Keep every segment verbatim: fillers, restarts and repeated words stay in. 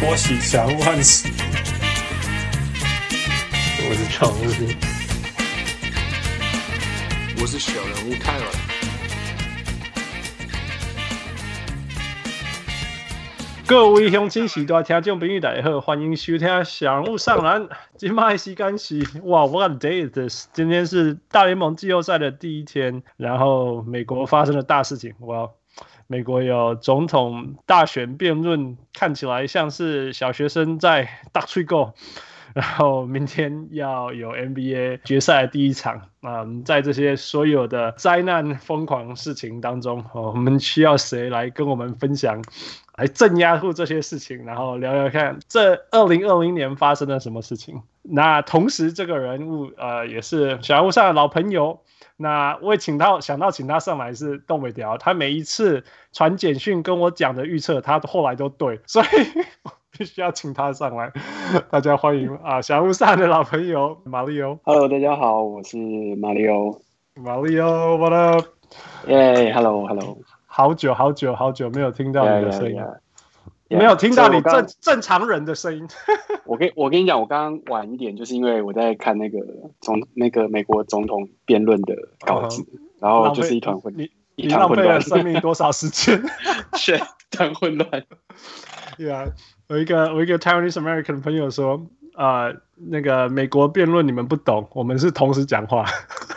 我喜祥萬喜， 我是常務， 我是小人物泰爾。 各位鄉親時代聽眾朋友大家好，歡迎收聽小人物上籃。今麥時間是哇 ，What a day is this？ 今天是大聯盟季後賽的第一天，然後美國發生了大事情，哇！美國有總統大選辯論，看起來像是小學生在打嘴鼓。然後明天要有 N B A 決賽的第一場，嗯，在這些所有的災難瘋狂事情當中，哦，我們需要誰來跟我們分享，來鎮壓住這些事情，然後聊聊看這二零二零年發生了什麼事情。那同時這個人物呃也是小人物上的老朋友，那我也請到想到請他上來是動尾條，他每一次傳簡訊跟我講的預測，他後來都對，所以必須要請他上來。大家歡迎啊，小人物上的老朋友馬里歐。 Hello， 大家好，我是馬里歐。 馬里歐 ，What up？ 耶 ，Hello，Hello。 好久好久好久沒有聽到你的聲音， yeah, yeah, yeah. 沒有聽到你正剛正常人的聲音。 我跟我跟你講，我剛剛晚一點，就是因為我在看那個總那個美國總統辯論的稿子， uh-huh. 然後就是一團混， 你一團混亂。 你浪費了生命多少時間？ 是，一團混亂。 Yeah， 我一個我一個 Taiwanese American 的朋友說，呃，那個美國辯論你們不懂，我們是同時講話。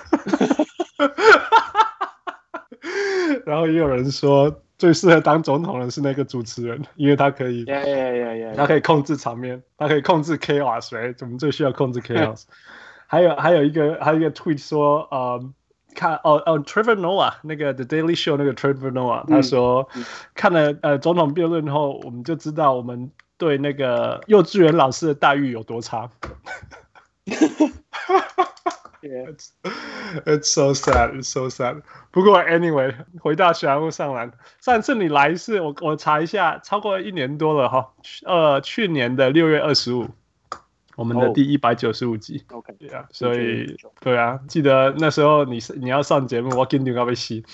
然後也有人說，最適合當總統的是那個主持人，因為他可以， yeah, yeah, yeah, yeah. 他可以控制場面，他可以控制 chaos， right？ 我們最需要控制 chaos。還有還有一個還有一個 tweet 說，呃，看哦哦 ，Trevor Noah 那個 The Daily Show 那個 Trevor Noah，、嗯、他說、嗯、看了呃總統辯論後，我們就知道我們對那個幼稚園老師的待遇有多差。Yeah. It's, it's so sad, it's so sad. 不過 anyway， 回到小人物上籃，上次你來是我我查一下，超過一年多了哈，呃，去年的六月二十五，我們的第一百九十五集。OK， 對啊，所以對啊，記得那時候你你要上節目，我跟你要被洗。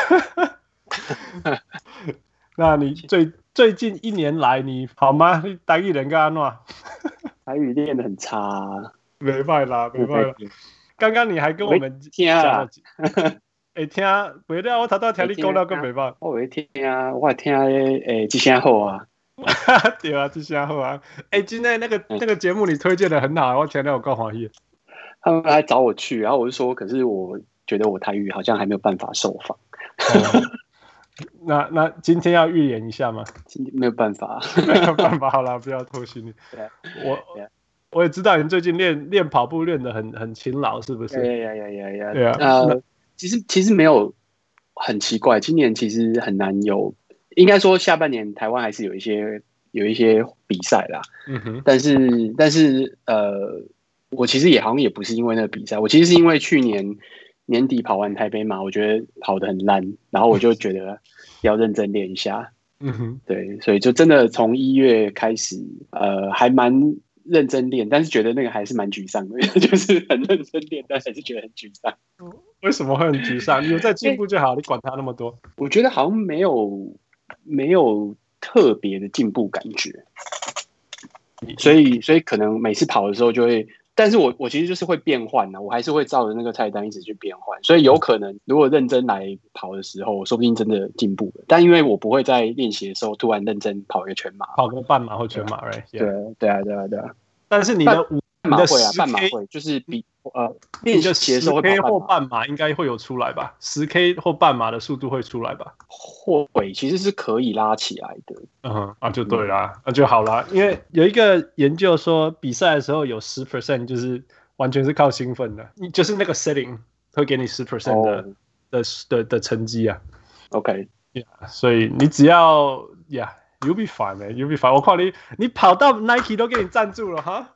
那你最最近一年來你好嗎？你台語練到怎樣？ 台語練得很差、啊， 沒辦啦，沒辦啦。剛剛你還跟我們聽啊， 哎聽，袂了，我頭頭聽你講了，更袂歹。 我會聽啊，我聽誒，這聲好啊， 對啊，這聲好啊。哎，今天那個那個節目你推薦的很好，我聽了我夠歡喜。 他們來找我去，然後我就說，可是我覺得我台語好像還沒有辦法受訪。 哦、那那今天要預演一下嗎？ 今天沒有辦法， 沒有辦法，好啦，不要拖行李。我。我也知道你最近練練跑步練得很很勤勞，是不是？ 對呀呀呀呀！對啊，呃，其實其實沒有很奇怪，今年其實很難有，應該說下半年台灣還是有一些有一些比賽啦。嗯哼。但是但是呃，我其實也好像也不是因為那個比賽，我其實是因為去年年底跑完台北馬，我覺得跑得很爛，然後我就覺得要認真練一下。嗯哼。對，所以就真的從一月開始，呃，還蠻。認真練，但是覺得那個還是蠻沮喪的，就是很認真練，但還是覺得很沮喪。 為什麼會很沮喪？你有在進步就好，你管他那麼多。 我覺得好像沒有沒有特別的進步感覺，所以所以可能每次跑的時候就會，但是我我其實就是會變換啊，我還是會照着那個菜單一直去變換，所以有可能如果認真來跑的時候，說不定真的進步了。但因為我不會在練習的時候突然認真跑一個全馬， 跑個半馬或全馬，對、right? 對對啊對啊對啊。 但是你的五半馬會啊，半馬會就是比呃練習的時候會跑半馬， 十 K 或半馬應該會有出來吧？十 K 或半馬的速度會出來吧？ 會，其實是可以拉起來的。嗯， 啊就對啦，那、嗯啊、就好啦。因為有一個研究說，比賽的時候有十 percent 就是完全是靠興奮的，就是那個 setting 會給你十 percent 的、oh. 的的的成績啊。OK，yeah, 所以你只要呀。Yeah, You'll be fine, man. You'll be fine. 我看你，你跑到 Nike 都給你贊助了哈。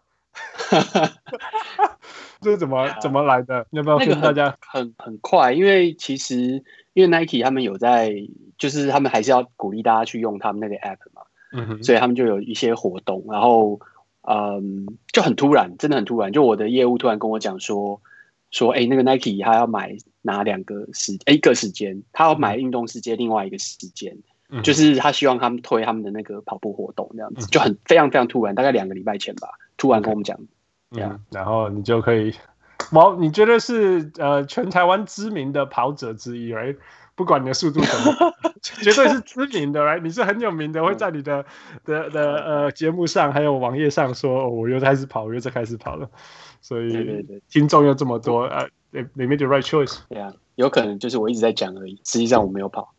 這是怎麼怎麼來的？要不要跟大家？ 那個、很很，很快，因為其實因為 Nike 他們有在，就是他們還是要鼓勵大家去用他們那個 app 嘛，嗯哼，所以他們就有一些活動，然後嗯，就很突然，真的很突然。就我的業務突然跟我講說，說哎、欸，那個 Nike 他要買哪兩個時，哎，一個時間，他要買運動時間，另外一個時間。 嗯、就是他希望他們推他們的那個跑步活動這樣子，嗯、就很非常非常突然，大概兩個禮拜前吧，突然跟我們講，這樣、 嗯，然後你就可以，哇，你覺得是呃全台灣知名的跑者之一 ，right？ 不管你的速度怎麼，絕對是知名的，right？ 你是很有名的，會在你的的的呃節目上還有網頁上說，哦、我又開始跑，我又在開始跑了，所以聽眾又這麼多，呃、uh, ，they made the right choice。 對啊，有可能就是我一直在講而已，實際上我沒有跑。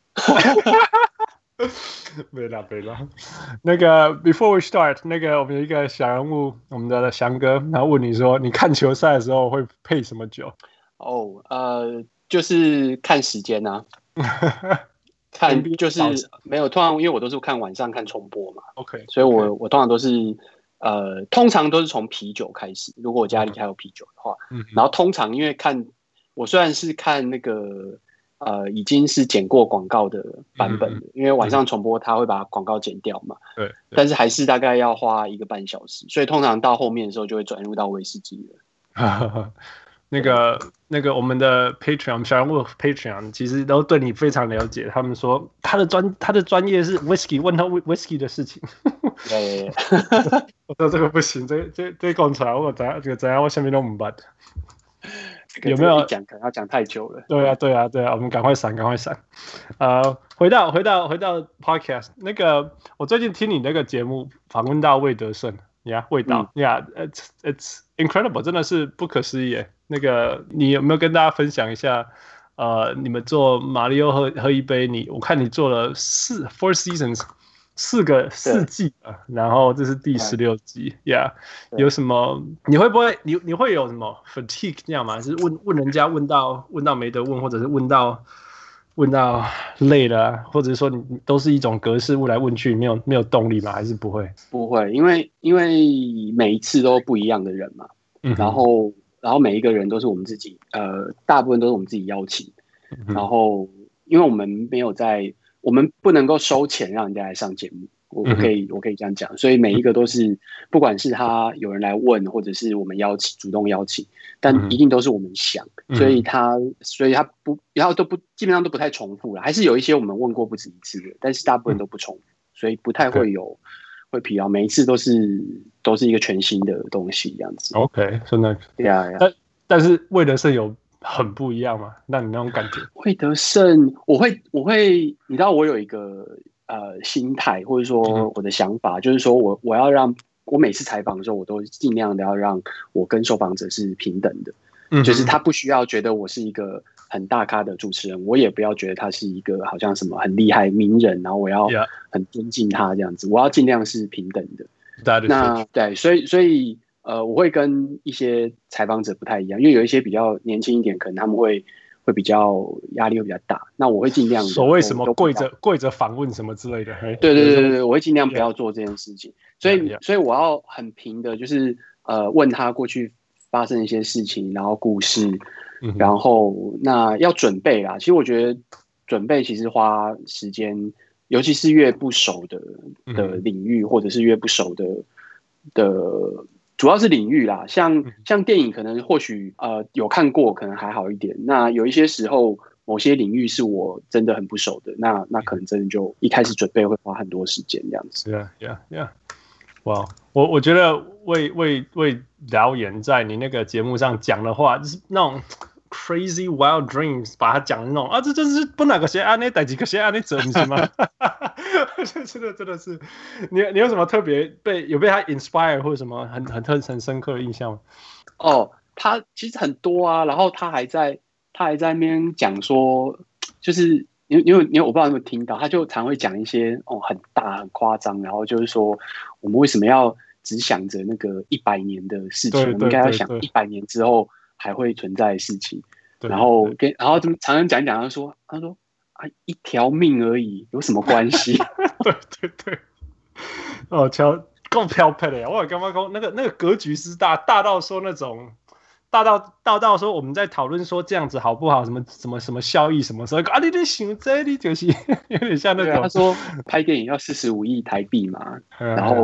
沒啦沒啦，那個 before we start， 那個我們有一個小人物，我們的翔哥，然後問你說，你看球賽的時候會配什麼酒？ 哦、oh, 呃，就是看時間啊。看就是沒有，通常因為我都是看晚上看重播嘛 ，OK， 所以我 okay. 我通常都是呃，通常都是從啤酒開始。如果我家裡還有啤酒的話，嗯，然後通常因為看我雖然是看那個呃已經是剪過廣告的版本的，嗯，因為晚上重播他會把廣告剪掉嘛，對，對，但是還是大概要花一個半小時，所以通常到後面的時候就會轉入到威士忌了。 那個那個我們的 Patreon 小人物 Patreon 其實都對你非常了解，他們說他的專他的專業是 whisky， 問他 whisky 的事情。 對， 我說這個不行，這這這講出來我怎樣這個怎樣我下面都不辦。有沒有講可能要講太久了？ 對啊對啊對啊，我們趕快閃趕快閃。呃，回到回到回到 Podcast 那個，我最近聽你那個節目訪問到魏德聖。呀、yeah, 味道呀、嗯 yeah, it's it's incredible， 真的是不可思議。那個你有沒有跟大家分享一下？呃，你們做馬里奧喝喝一杯，你我看你做了四 four seasons 四個四季啊，然後這是第十六集呀。Yeah, 有什麼？你會不會你你會有什麼 fatigue 這樣嗎？是問問人家問到問到沒得問，或者是問到？問到累了、啊，或者是說你都是一種格式問來問去，沒有沒有動力嗎？還是不會？ 不會，因為因為每一次都不一樣的人嘛，嗯、然後然後每一個人都是我們自己，呃，大部分都是我們自己邀請，嗯、然後因為我們沒有在，我們不能夠收錢讓人家來上節目。我可以，我可以這樣講，所以每一個都是，不管是他有人來問，或者是我們邀請，主動邀請，但一定都是我們想，嗯、所以他，所以他不，然後都不，基本上都不太重複了，還是有一些我們問過不止一次的，但是大部分都不重複，所以不太會有會疲勞，每一次都是都是一個全新的東西這樣子。 OK， 真的， 對啊， 但但是魏德聖有很不一樣嗎？那你那種感覺？ 魏德聖，我會，我會，你知道我有一個。呃，心態或者說我的想法，嗯、就是說我我要讓我每次採訪的時候，我都盡量的要讓我跟受訪者是平等的，嗯，就是他不需要覺得我是一個很大咖的主持人，我也不要覺得他是一個好像什麼很厲害名人，然後我要很尊敬他這樣子，我要盡量是平等的。 Yeah. 那對，所以所以呃，我會跟一些採訪者不太一樣，因為有一些比較年輕一點，可能他們會。會比較壓力會比較大，那我會盡量所謂什麼跪着跪着訪問什麼之類的， 對對對對對，我會盡量不要做這件事情。Yeah. 所以 yeah. 所以我要很平的，就是呃問他過去發生一些事情，然後故事，嗯、然後那要準備啦。其實我覺得準備其實花時間，尤其是越不熟的的領域，嗯、或者是越不熟的的。主要是領域啦，像像電影可能或許呃有看過，可能還好一點。那有一些時候，某些領域是我真的很不熟的，那那可能真的就一開始準備會花很多時間這樣子。 Yeah, yeah, yeah. 哇，我我覺得魏魏魏導演在你那個節目上講的話，就是那種 crazy wild dreams， 把它講的那種啊，這就是不哪個先按那，哪幾個先按那走，你知道嗎？真的真的是，你你有什麼特別被有被他 inspire 或者什麼很很特很深刻的印象嗎？ 哦，他其實很多啊，然後他還在他還在那邊講說，就是你你有你有我不知道你有沒有聽到，他就常會講一些哦很大很誇張，然後就是說我們為什麼要只想着那個一百年的事情，我們應該要想一百年之後還會存在的事情，對對對，然後跟然後常常講一講，他說他說。一條命而已，有什麼關係？ 對對對，哦，超夠飄配的呀！我剛剛說那個那個格局是大，大到說那種大到大到說我們在討論說這樣子好不好？什麼什麼什麼效益什麼時候啊？你在想這裡就是有點像那種、 啊、他說拍電影要四十五億台幣嘛，然後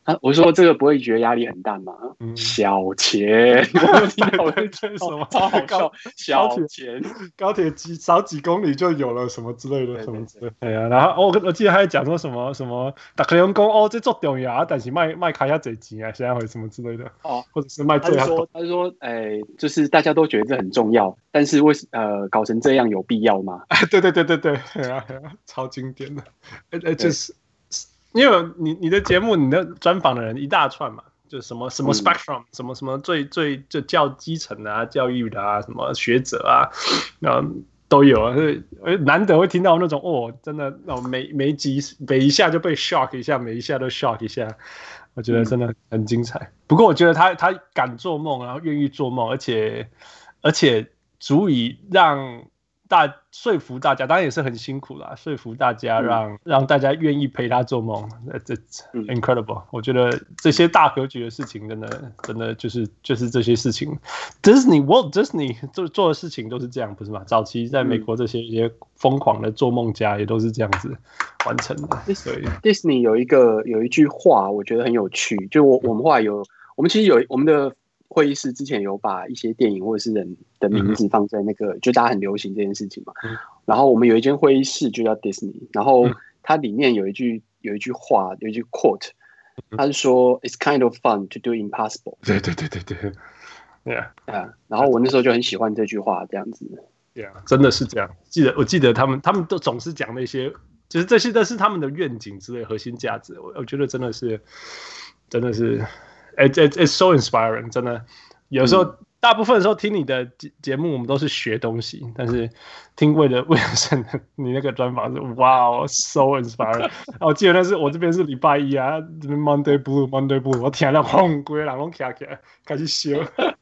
啊，我說這個不會覺得壓力很大嗎？嗯、小錢，我聽到我在什麼超好笑，小錢， 高鐵幾少幾公里就有了什麼之類的，對對對什麼之類的。對啊，然後我我記得還講說什麼什麼，大家用講哦，這做重要啊，但是賣賣開下這錢啊，現在會什麼之類的哦，或者是賣最好。 他是說，哎、欸，就是大家都覺得這很重要，但是為呃搞成這樣有必要嗎？ 對對對對對，對啊，超經典的，哎哎，就是因為你你的節目，你的專訪的人一大串嘛，就什麼什麼 spectrum，、嗯、什麼什麼最最就較基層的啊，教育的啊，什麼學者啊，嗯，都有啊，所以難得會聽到那種哦，真的那種每每集每一下就被 shock 一下，每一下都 shock 一下，我覺得真的很精彩。嗯、不過我覺得他他敢做夢，然後願意做夢，而且而且足以讓。大說服大家，當然也是很辛苦啦。說服大家讓，讓、嗯、讓大家願意陪他做夢，這 incredible、嗯。我覺得這些大格局的事情，真的，真的就是就是這些事情。Disney Walt Disney 做做的事情都是這樣，不是嗎？早期在美國這些一些瘋狂的做夢家也都是這樣子完成的。嗯、所以 Disney 有一個有一句話，我覺得很有趣。就我我們後來有，我們其實有我們的。會議室之前有把一些電影或者是人的名字放在那個，嗯、就大家很流行這件事情嘛。嗯、然後我們有一間會議室就叫 Disney， 然後它裡面有一句有一句話，有一句 quote， 它是說 It's kind of fun to do impossible。對對對對對，對啊， 啊，然後我那時候就很喜歡這句話，這樣子。 對啊，真的是這樣。記得我記得他們他們都總是講那些，就是這些都是他們的願景之類核心價值。我我覺得真的是真的是。It, it, it's so inspiring， 真的。有時候、嗯、大部分的時候聽你的節目，我們都是學東西，但是聽魏德魏德聖的你那個專訪是哇、wow, so inspiring。我記得那是我這邊是禮拜一啊，這邊 Monday Blue Monday Blue， 我聽了轟，規個人攏起來開始笑。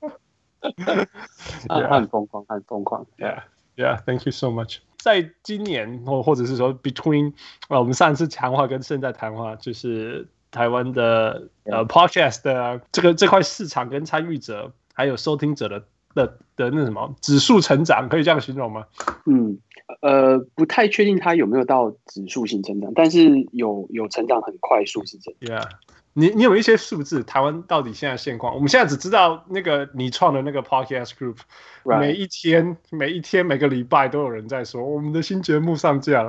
他很瘋狂，很瘋狂。 Yeah, yeah, thank you so much。在今年或或者是說 between， 我們上次談話跟現在談話就是。台灣的呃 podcast 的這個這塊市場跟參與者還有收聽者的的的那什麼指數成長，可以這樣形容嗎？ 嗯，呃，不太確定它有沒有到指數型成長，但是有有成長很快速是真的。 Yeah， 你你有一些數字，台灣到底現在現況？我們現在只知道那個你創的那個 podcast group，right. 每一天每一天每個禮拜都有人在說我們的新節目上架了。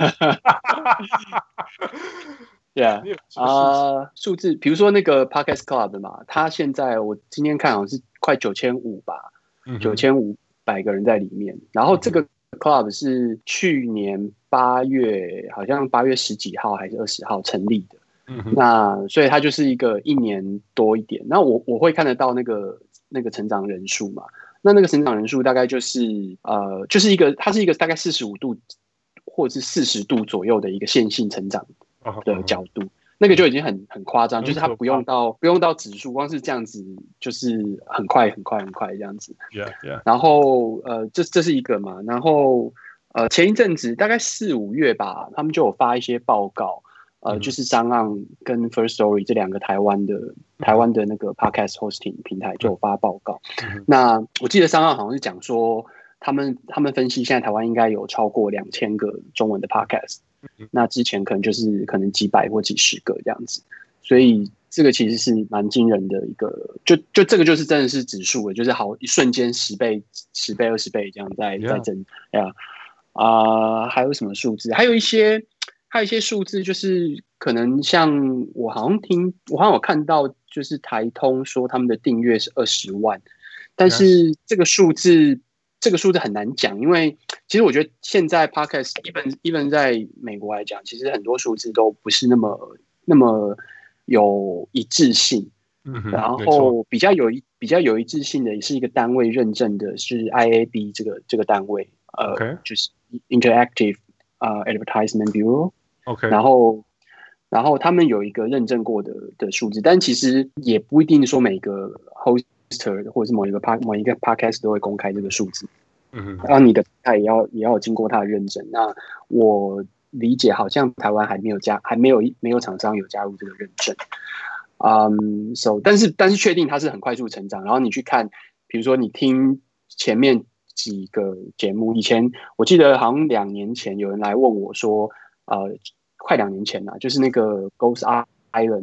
對啊，啊，數字，比如說那個 Podcast Club 嘛，它現在我今天看好像是快九千五吧，九千五百個人在裡面。然後這個 Club 是去年八月，好像八月十幾號還是二十號成立的。嗯、那所以它就是一個一年多一點。那我我會看得到那個那個成長人數嘛？那那個成長人數大概就是呃，就是一個它是一個大概四十五度或者是四十度左右的一個線性成長的角度，那個就已經很很誇張，就是它不用到不用到指數，光是這樣子就是很快很快很快這樣子。 Yeah, yeah. 然後呃，這這是一個嘛，然後呃，前一陣子大概四五月吧，他們就有發一些報告，呃，嗯、就是 SoundOn 跟 First Story 這兩個台灣的、嗯、台灣的那個 Podcast Hosting 平台就有發報告。嗯、那我記得 SoundOn 好像是講說，他們他們分析現在台灣應該有超過兩千個中文的 Podcast。那之前可能就是可能幾百或幾十個這樣子，所以這個其實是蠻驚人的一個，就就這個就是真的是指數，就是好一瞬間十倍、十倍、二十倍這樣在 Yeah. 在增，哎呀啊，還有什麼數字？還有一些還有一些數字，就是可能像我好像聽，我好像有看到，就是台通說他們的訂閱是二十萬，但是這個數字。Yes.這個數字很難講，因為其實我覺得現在 Podcast even even 在美國來講，其實很多數字都不是那麼那麼有一致性。嗯、然後比較有一比較有一致性的，也是一個單位認證的是 I A B 這個這個單位，呃，Okay. 就是 Interactive 呃、uh, Advertisement Bureau。OK， 然後然後他們有一個認證過的的數字，但其實也不一定說每個 host或者是某一個 p 某一個 podcast 都會公開這個數字，嗯，然後你的他也要也要經過他的認證。那我理解好像台灣還沒有加，還沒有沒有廠商有加入這個認證，嗯、um, ，so 但是但是確定它是很快速成長。然後你去看，比如說你聽前面幾個節目，以前我記得好像兩年前有人來問我說，呃，快兩年前了，就是那個 Ghost Island。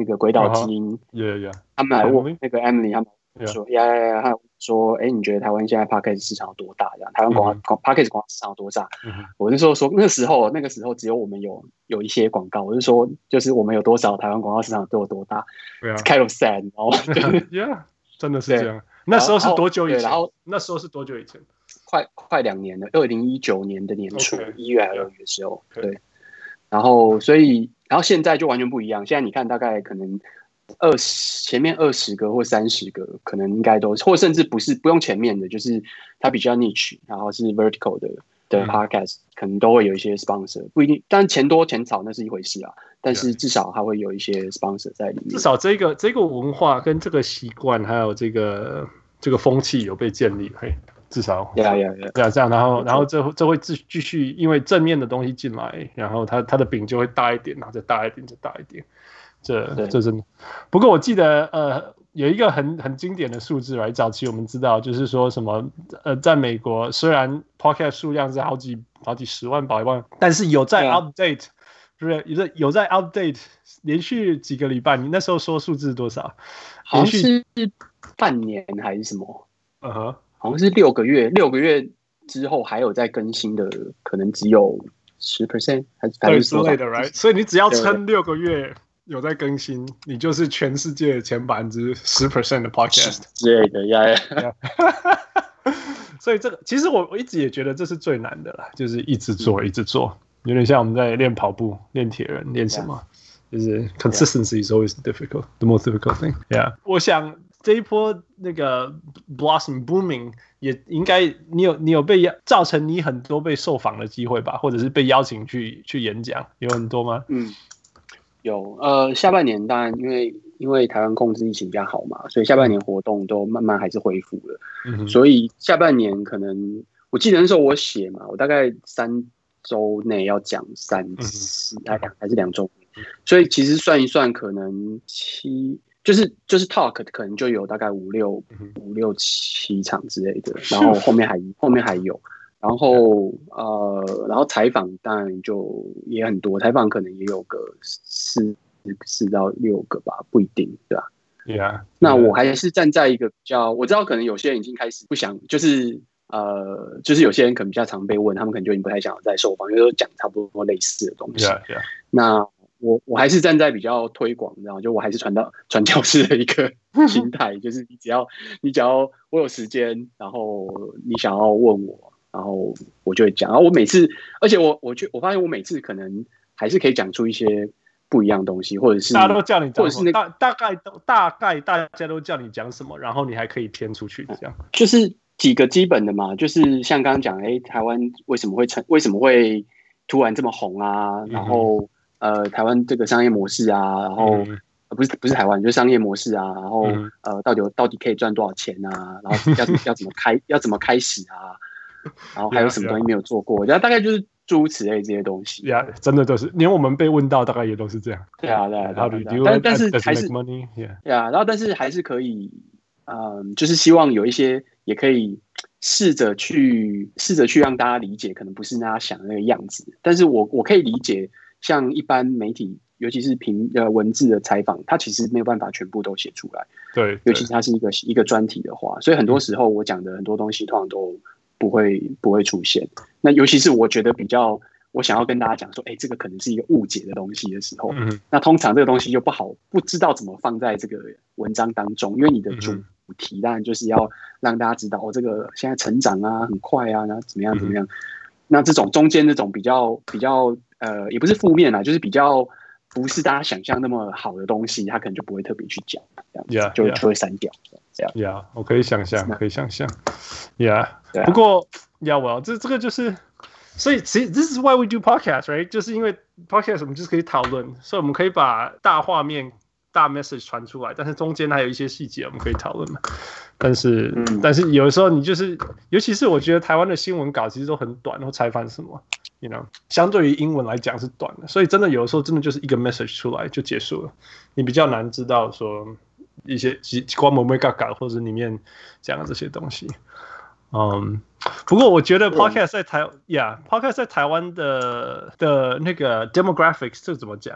那個鬼島之音， uh-huh. yeah, yeah. 他們來問那個 Emily， 他們說呀呀呀，他說，哎，你覺得台灣現在 Podcast 市場有多大？這樣，台灣廣告 Podcast 廣告市場有多大？嗯、我那時候說，那個時候那個時候只有我們有有一些廣告，我就說，就是我們有多少台灣廣告市場都有多大 ，yeah. kind of sad， 然後 ，yeah， 真的是這樣。那時候是多久以前？然後那時候是多久以前？ 快快兩年了，二零一九年的年初一、okay. 月還是二月的時候， okay. 對。然後所以，然後現在就完全不一樣。現在你看，大概可能二十前面二十個或三十個，可能應該都是，或甚至不是不用前面的，就是它比較 niche， 然後是 vertical 的的 podcast，、嗯、可能都會有一些 sponsor， 不一定，但錢多錢少那是一回事啊。但是至少它會有一些 sponsor 在裡面。至少這個這個文化跟這個習慣，還有這個這個風氣有被建立，嘿。至少，對啊，對啊，對啊，這樣，然後，然後這這會繼繼續，因為正面的東西進來，然後它它的餅就會大一點，然後再大一點，再大一點，這這真的。不過我記得，呃，有一個很很經典的數字來，早期我們知道，就是說什麼，呃，在美國雖然 podcast 數量是好幾好幾十萬、百萬，但是有在 update，是不是？有在有在 update， 連續幾個禮拜，你那時候說數字多少？ 好像是半年還是什麼？ 嗯哼。 好像是六個月，六個月之後還有在更新的，可能只有十 percent 還是對之類的 ，right？ 所以你只要撐六個月有在更新，你就是全世界前百分之十 percent 的 podcast 之類的呀呀。 所以這個其實我我一直也覺得這是最難的啦，就是一直做，一直做，有點像我們在練跑步、練鐵人、練什麼，就是 consistency is always difficult, the most difficult thing. Yeah， 我想。這一波那個 Blossom Booming 也應該你有你有被造成你很多被受訪的機會吧，或者是被邀請去去演講，有很多嗎？ 嗯，有。呃，下半年當然因為因為台灣控制疫情比較好嘛，所以下半年活動都慢慢還是恢復了。嗯，所以下半年可能我記得那時候我寫嘛，我大概三周內要講三次，還、嗯、還是兩周，所以其實算一算，可能七。就是就是 talk 可能就有大概五六五六七場之類的，然後後面還後面還有，然後呃，然後採訪當然就也很多，採訪可能也有個四四到六個吧，不一定，對吧？ 對啊。 那我還是站在一個比較，我知道可能有些人已經開始不想，就是呃，就是有些人可能比較常被問，他們可能就已經不太想再受訪，因為都講差不多類似的東西。 Yeah, yeah. 那我我還是站在比較推廣，然後就我還是傳到傳教士的一個心態，就是你只要你只要我有時間，然後你想要問我，然後我就會講。然後我每次，而且我我覺我發現我每次可能還是可以講出一些不一樣的東西，或者是大家都叫你講什麼， 或者是那個、 大大概都大概大家都叫你講什麼，然後你還可以偏出去這樣。 就是幾個基本的嘛，就是像剛剛講，哎，台灣為什麼會成為什麼會突然這麼紅啊？然後。嗯呃，台灣這個商業模式啊，然後、嗯呃、不是不是台灣，就是商業模式啊，然後、嗯、呃，到底到底可以賺多少錢啊？然後要要怎麼開要怎麼開始啊？然後還有什麼東西沒有做過？然後大概就是諸如此類這些東西。呀、yeah, 真的都是，連我們被問到，大概也都是這樣。對啊，對啊，對啊。對啊對啊但但是還是 money， yeah. 對啊，然後但是還是可以，嗯、呃，就是希望有一些也可以試着去試着去讓大家理解，可能不是大家想的那個樣子。但是我我可以理解。像一般媒體，尤其是評呃文字的採訪，它其實沒有辦法全部都寫出來。對，尤其它是一個一個專題的話，所以很多時候我講的很多東西通常都不會不會出現。那尤其是我覺得比較，我想要跟大家講說，哎、欸，這個可能是一個誤解的東西的時候，嗯、那通常這個東西就不好，不知道怎麼放在這個文章當中，因為你的主題當然就是要讓大家知道，哦，這個現在成長啊很快啊，然後怎麼樣怎麼樣。嗯、那這種中間這種比較比較。呃，也不是負面啦，就是比較不是大家想象那麼好的東西，他可能就不會特別去講，這樣子 yeah, 就 yeah. 就會刪掉，這樣。Yeah， 我可以想象，可以想象。Yeah，、啊、不過，Yeah， well，這這個就是，所以其實 This is why we do podcast，right？ 就是因為 podcast 我們就是可以討論，所以我們可以把大畫面、大 message 傳出來，但是中間還有一些細節我們可以討論嘛。但是、嗯，但是有的時候你就是，尤其是我覺得台灣的新聞稿其實都很短，然後採訪什麼。You know， 相對於英文來講是短的，所以真的有的時候真的就是一個 message 出來就結束了，你比較難知道說一些關門沒嘎嘎或者裡面講的這些東西。嗯，不過我覺得 podcast 在台，yeah，podcast 在台灣的的那個 demographics 這怎麼講啊？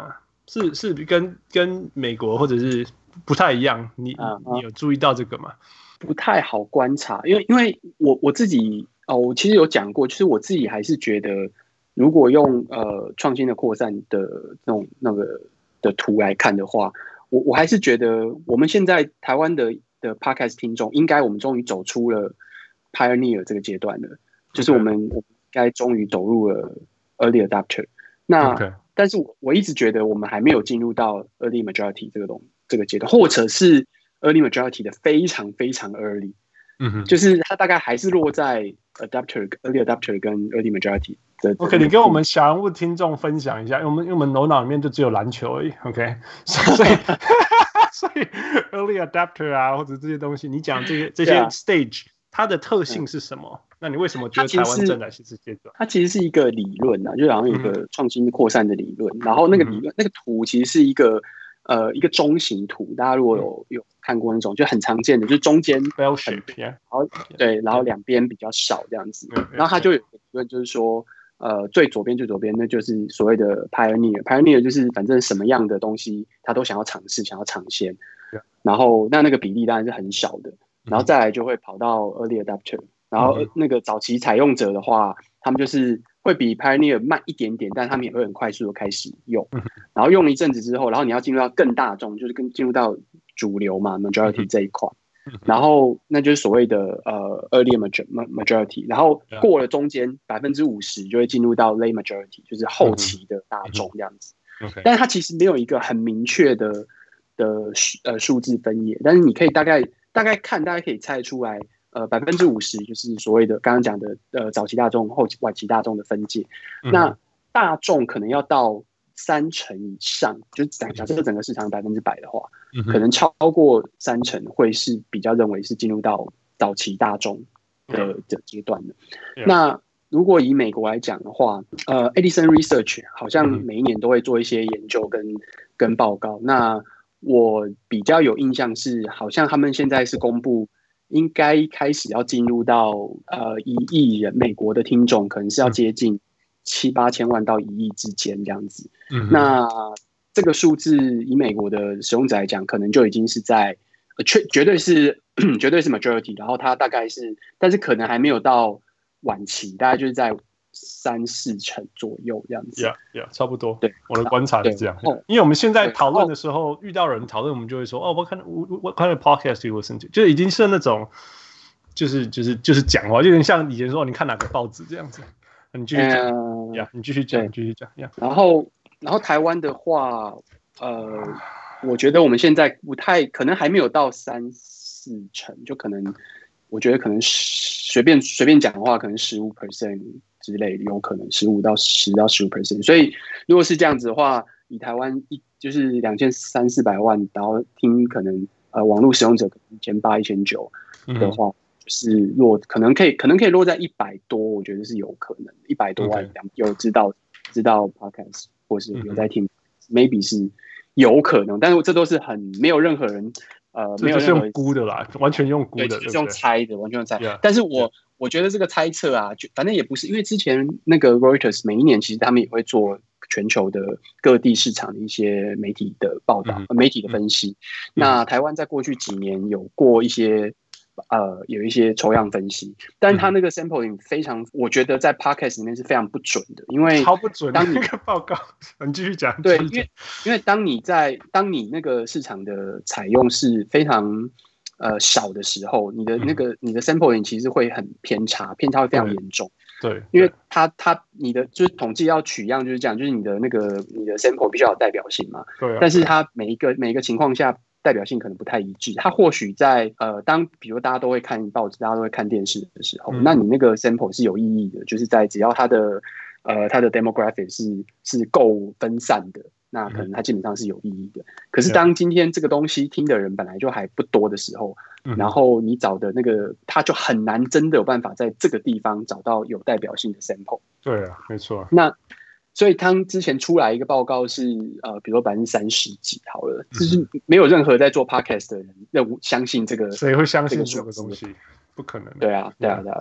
是是跟跟美國或者是不太一樣，你、啊、你有注意到這個嗎？ 不太好觀察，因為因為我我自己哦，我其實有講過，就是我自己還是覺得，如果用呃創新的擴散的那種那個的圖來看的話，我我還是覺得我們現在台灣的的 podcast 聽眾，應該我們終於走出了 pioneer 這個階段了， okay. 就是我們我們應該終於走入了 early adopter。那、okay. 但是我我一直覺得我們還沒有進入到 early majority 這個東這個階段，或者是 early majority 的非常非常 early， 嗯哼，就是它大概還是落在 adopter early adopter 跟 early majority 的。 OK， 你跟我們小人物聽眾分享一下，因為我們因為我們頭腦裡面就只有籃球而已。OK， 所以所以 early adopter 啊，或者這些東西，你講這些這些 stage，、啊、它的特性是什麼？嗯、那你為什麼覺得台灣正在是這階段？ 它其實是一個理論啊，就好像有一個創新擴散的理論、嗯，然後那個理論、嗯、那個圖其實是一個。呃，一個中型圖，大家如果有有看過那種，就很常見的，就是中間 bell shape， 然後對，然後兩邊比較少這樣子。然後它就有一個理論，就是說，呃，最左邊最左邊那就是所謂的 pioneer，pioneer 就是反正什麼樣的東西他都想要嘗試，想要嘗鮮。然後那那個比例當然是很少的，然後再來就會跑到 early adopter， 然後那個早期採用者的話，他們就是。會比 Pioneer 慢一點點，但他們也會很快速的開始用，然後用了一陣子之後，然後你要進入到更大眾，就是跟進入到主流嘛 ，majority 這一塊，然後那就是所謂的呃 early majority， 然後過了中間百分之五十就會進入到 late majority， 就是後期的大眾這樣子。但是它其實沒有一個很明確的的呃數字分野，但是你可以大概大概看，大家可以猜出來。呃，百分之五十就是所謂的剛剛講的呃早期大眾、後期晚期大眾的分界。嗯、那大眾可能要到三成以上，就假假設整個市場百分之百的話、嗯，可能超過三成會是比較認為是進入到早期大眾的的階段的、嗯。那如果以美國來講的話，呃 ，Edison Research 好像每一年都會做一些研究跟、嗯、跟報告。那我比較有印象是，好像他們現在是公布。應該開始要進入到呃一億人，美國的聽眾可能是要接近七八千萬到一億之間這樣子。嗯，那這個數字以美國的使用者來講，可能就已經是在絕絕對是絕對是 majority， 然後它大概是，但是可能還沒有到晚期，大概就是在三四成左右這樣子。 Yeah, yeah， 差不多。 對， 我的觀察是這樣。因為我們現在討論的時候，遇到人討論，我們就會說，哦，我看我我看的 podcast you listen to， 就已經是那種，就是就是就是講話，就有點像以前說，你看哪個報紙這樣子。你繼續講，呀、呃， yeah, 你繼續講，繼續講，呀、yeah。 然後，然後台灣的話，呃，我覺得我們現在不太可能還沒有到三四成，就可能，我覺得可能隨便隨便講的話，可能十五 percent。之類的有可能十五到十到十五 percent， 所以如果是這樣子的話，以台灣一就是兩千三四百萬，然後聽可能呃網絡使用者一千八一千九的話，嗯、就是落可能可以可能可以落在一百多，我覺得是有可能一百多萬、okay. 有知道知道 podcast 或是有在聽、嗯、，maybe 是有可能，但是這都是很沒有任何人呃沒有任何人用估的啦，完全用估的， 對，就是用猜的，完全用猜。Yeah, 但是我。Yeah. 我覺得這個猜測啊，就反正也不是，因為之前那個 Reuters 每一年其實他們也會做全球的各地市場的一些媒體的報道、嗯、媒體的分析。嗯、那台灣在過去幾年有過一些呃有一些抽樣分析，但他那個 sampling 非常，嗯、我覺得在 podcast 裡面是非常不準的，因為超不準。當你那個報告，你繼續講。 對，因為因為當你在當你那個市場的採用是非常。呃，少的時候，你的那個、嗯、你的 sampling 其實會很偏差，偏差會非常嚴重。 對，對因為它它你的就是統計要取樣就是這樣，就是你的那個你的 sample 必須要有代表性嘛。對、啊。但是它每一個每一個情況下代表性可能不太一致。它或許在呃，當比如大家都會看報紙，大家都會看電視的時候，嗯、那你那個 sample 是有意義的，就是在只要它的呃它的 demographic 是是夠分散的。那可能它基本上是有意義的，可是當今天這個東西聽的人本來就還不多的時候，然後你找的那個，他就很難真的有辦法在這個地方找到有代表性的 sample。 對啊，沒錯。 那所以他之前出來一個報告是，呃，比如說百分之三十幾好了，就是沒有任何在做 podcast 的人認相信這個， 誰會相信這個東西？不可能。 對啊，對啊，對啊。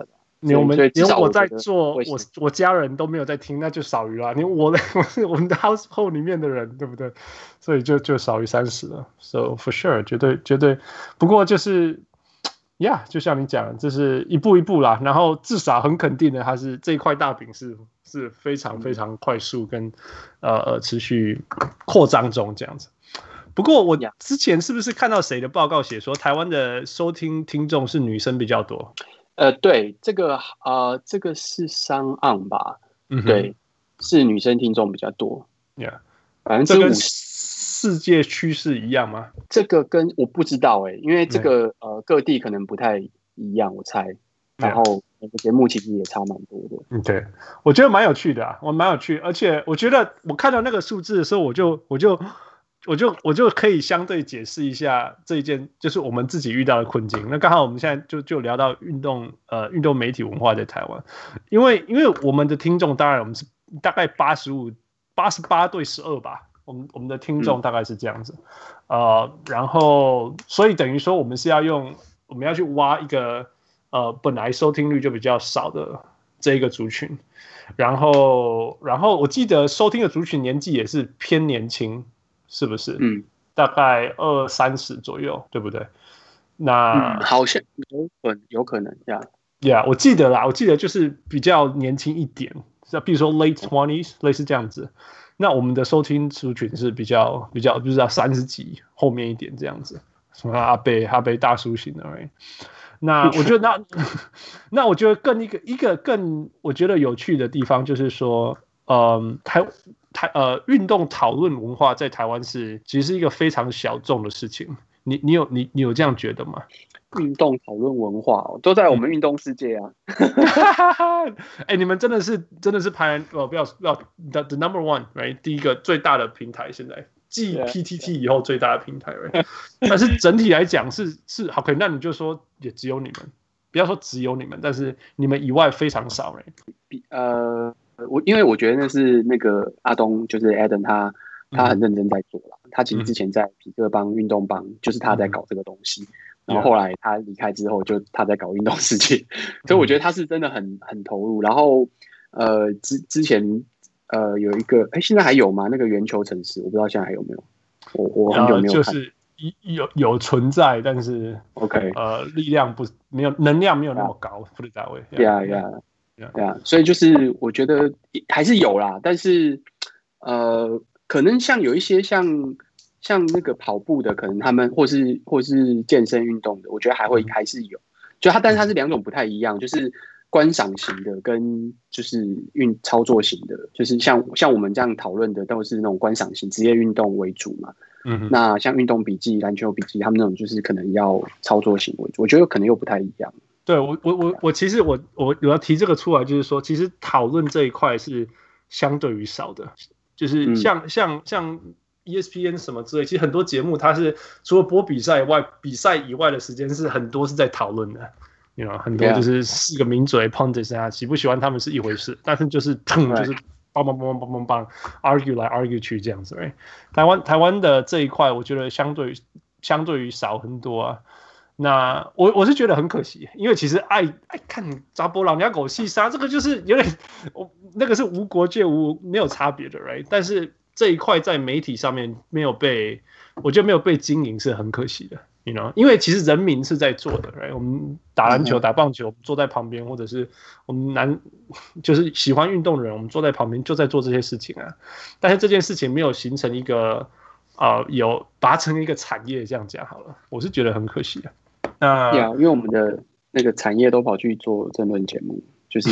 連我們連我在做，我我家人都沒有在聽，那就少於了。你我的我們的 household 裡面的人，對不對？所以就就少於三十了。So for sure， 絕對絕對。不過就是呀， yeah, 就像你講，這是一步一步啦。然後至少很肯定的，它是這一塊大餅是是非常非常快速跟呃呃持續擴張中這樣子。不過我之前是不是看到誰的報告寫說，台灣的收聽聽眾是女生比較多？ 呃，對，這個呃，這個是商岸吧？嗯，對，是女生聽眾比較多。 Yeah， 百分之五十。 世界趨勢一樣嗎？ 這個跟我不知道哎、欸，因為這個、嗯、呃各地可能不太一樣，我猜。然後每個節目其實也差蠻多的。嗯， 對，我覺得蠻有趣的啊，我蠻有趣，而且我覺得我看到那個數字的時候，我就我就。我就我就可以相對解釋一下這一件，就是我們自己遇到的困境。那剛好我們現在就就聊到運動，呃，運動媒體文化在台灣，因為因為我們的聽眾，當然我們是大概八十五、八十八對十二吧，我們我們的聽眾大概是這樣子，嗯、呃，然後所以等於說我們是要用，我們要去挖一個呃本來收聽率就比較少的這一個族群，然後然後我記得收聽的族群年紀也是偏年輕。是不是？嗯，大概二三十左右，對不對？那、 嗯、好像有可有可能呀呀， yeah, 我記得啦，我記得就是比較年輕一點，比如說 late twenties， 類似這樣子。那我們的收聽族群是比較比較，就是要三十幾後面一點這樣子，什麼阿伯阿伯大叔型的。Right? 那我覺得那那我覺得更一個一個更我覺得有趣的地方就是說，嗯，台。台呃，運動討論文化在台灣是其實是一個非常小眾的事情。你你有你你有這樣覺得嗎？ 運動討論文化、哦、都在我們運動世界啊！ 哎、欸，你們真的是真的是排哦，不要不要 the, the number one，right？ 第一個最大的平台，現在繼 P T T 以後最大的平台，right？ 但是整體來講是是好，可以，那你就說也只有你們，不要說只有你們，但是你們以外非常少，right？ 呃。我因為我覺得那是那個阿東，就是 Adam 他他很認真在做啦、嗯、他其實之前在匹克幫運動幫，就是他在搞這個東西，嗯、然後後來他離開之後，就他在搞運動世界，嗯、所以我覺得他是真的很很投入。然後呃之之前呃有一個哎、欸、現在還有嗎？那個圓球城市，我不知道現在還有沒有，我我很久沒有看。 就是有有存在，但是 OK 呃力量不沒有能量沒有那麼高，不是單位。 Yeah yeah。對啊，所以就是我覺得還是有啦，但是呃，可能像有一些像像那個跑步的，可能他們或是或是健身運動的，我覺得還會還是有，就它，但是它是兩種不太一樣，就是觀賞型的跟就是運操作型的，就是像像我們這樣討論的都是那種觀賞型職業運動為主嘛。嗯哼，那像運動筆記、籃球筆記，他們那種就是可能要操作型為主，我覺得可能又不太一樣。 對，我我我我其實我我我要提這個出來，就是說，其實討論這一塊是相對於少的，就是像、嗯、像像 E S P N 什麼之類，其實很多節目它是除了播比賽以外，比賽以外的時間是很多是在討論的，你知道，很多就是四個名嘴 pundits 啊，喜不喜歡他們是一回事，但是就是砰就是梆梆梆梆梆梆梆 argue 來 argue 去這樣子，欸、台灣台灣的這一塊，我覺得相對相對於少很多啊。那我我是覺得很可惜，因為其實愛愛看查甫人家狗戲殺，這個就是有點，我那個是無國界無沒有差別的 ，right？ 但是這一塊在媒體上面沒有被，我覺得沒有被經營是很可惜的 ，you know？ 因為其實人民是在做的 ，right？ 我們打籃球、打棒球，坐在旁邊，或者是我們男就是喜歡運動的人，我們坐在旁邊就在做這些事情啊。但是這件事情沒有形成一個呃有拔成一個產業，這樣講好了，我是覺得很可惜啊。那、 yeah, 因為我們的那個產業都跑去做政論節目，就是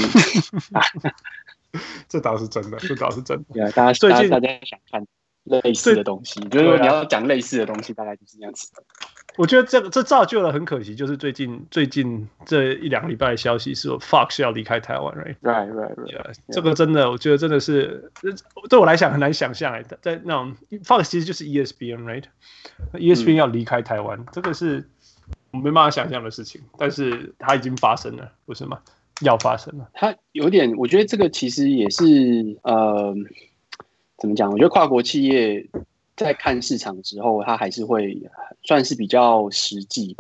這倒是真的，這倒是真的。 Yeah, 大家最近大家想看類似的東西，就是說你要講類似的東西，大概就是這樣子。 我覺得這個這造就了很可惜，就是最近最近這一兩個禮拜的消息是說 Fox 要離開台灣 ，right right right right。 Yeah, 這個真的，我覺得真的是對我來講很難想象哎，在那種 Fox 其實就是 E S P N，right？E S P N 要離開台灣，嗯、這個是。我沒辦法想象的事情，但是它已經發生了，不是嗎？要發生了。 它有點，我覺得這個其實也是呃，怎麼講？我覺得跨國企業在看市場之後，它還是會算是比較實際吧。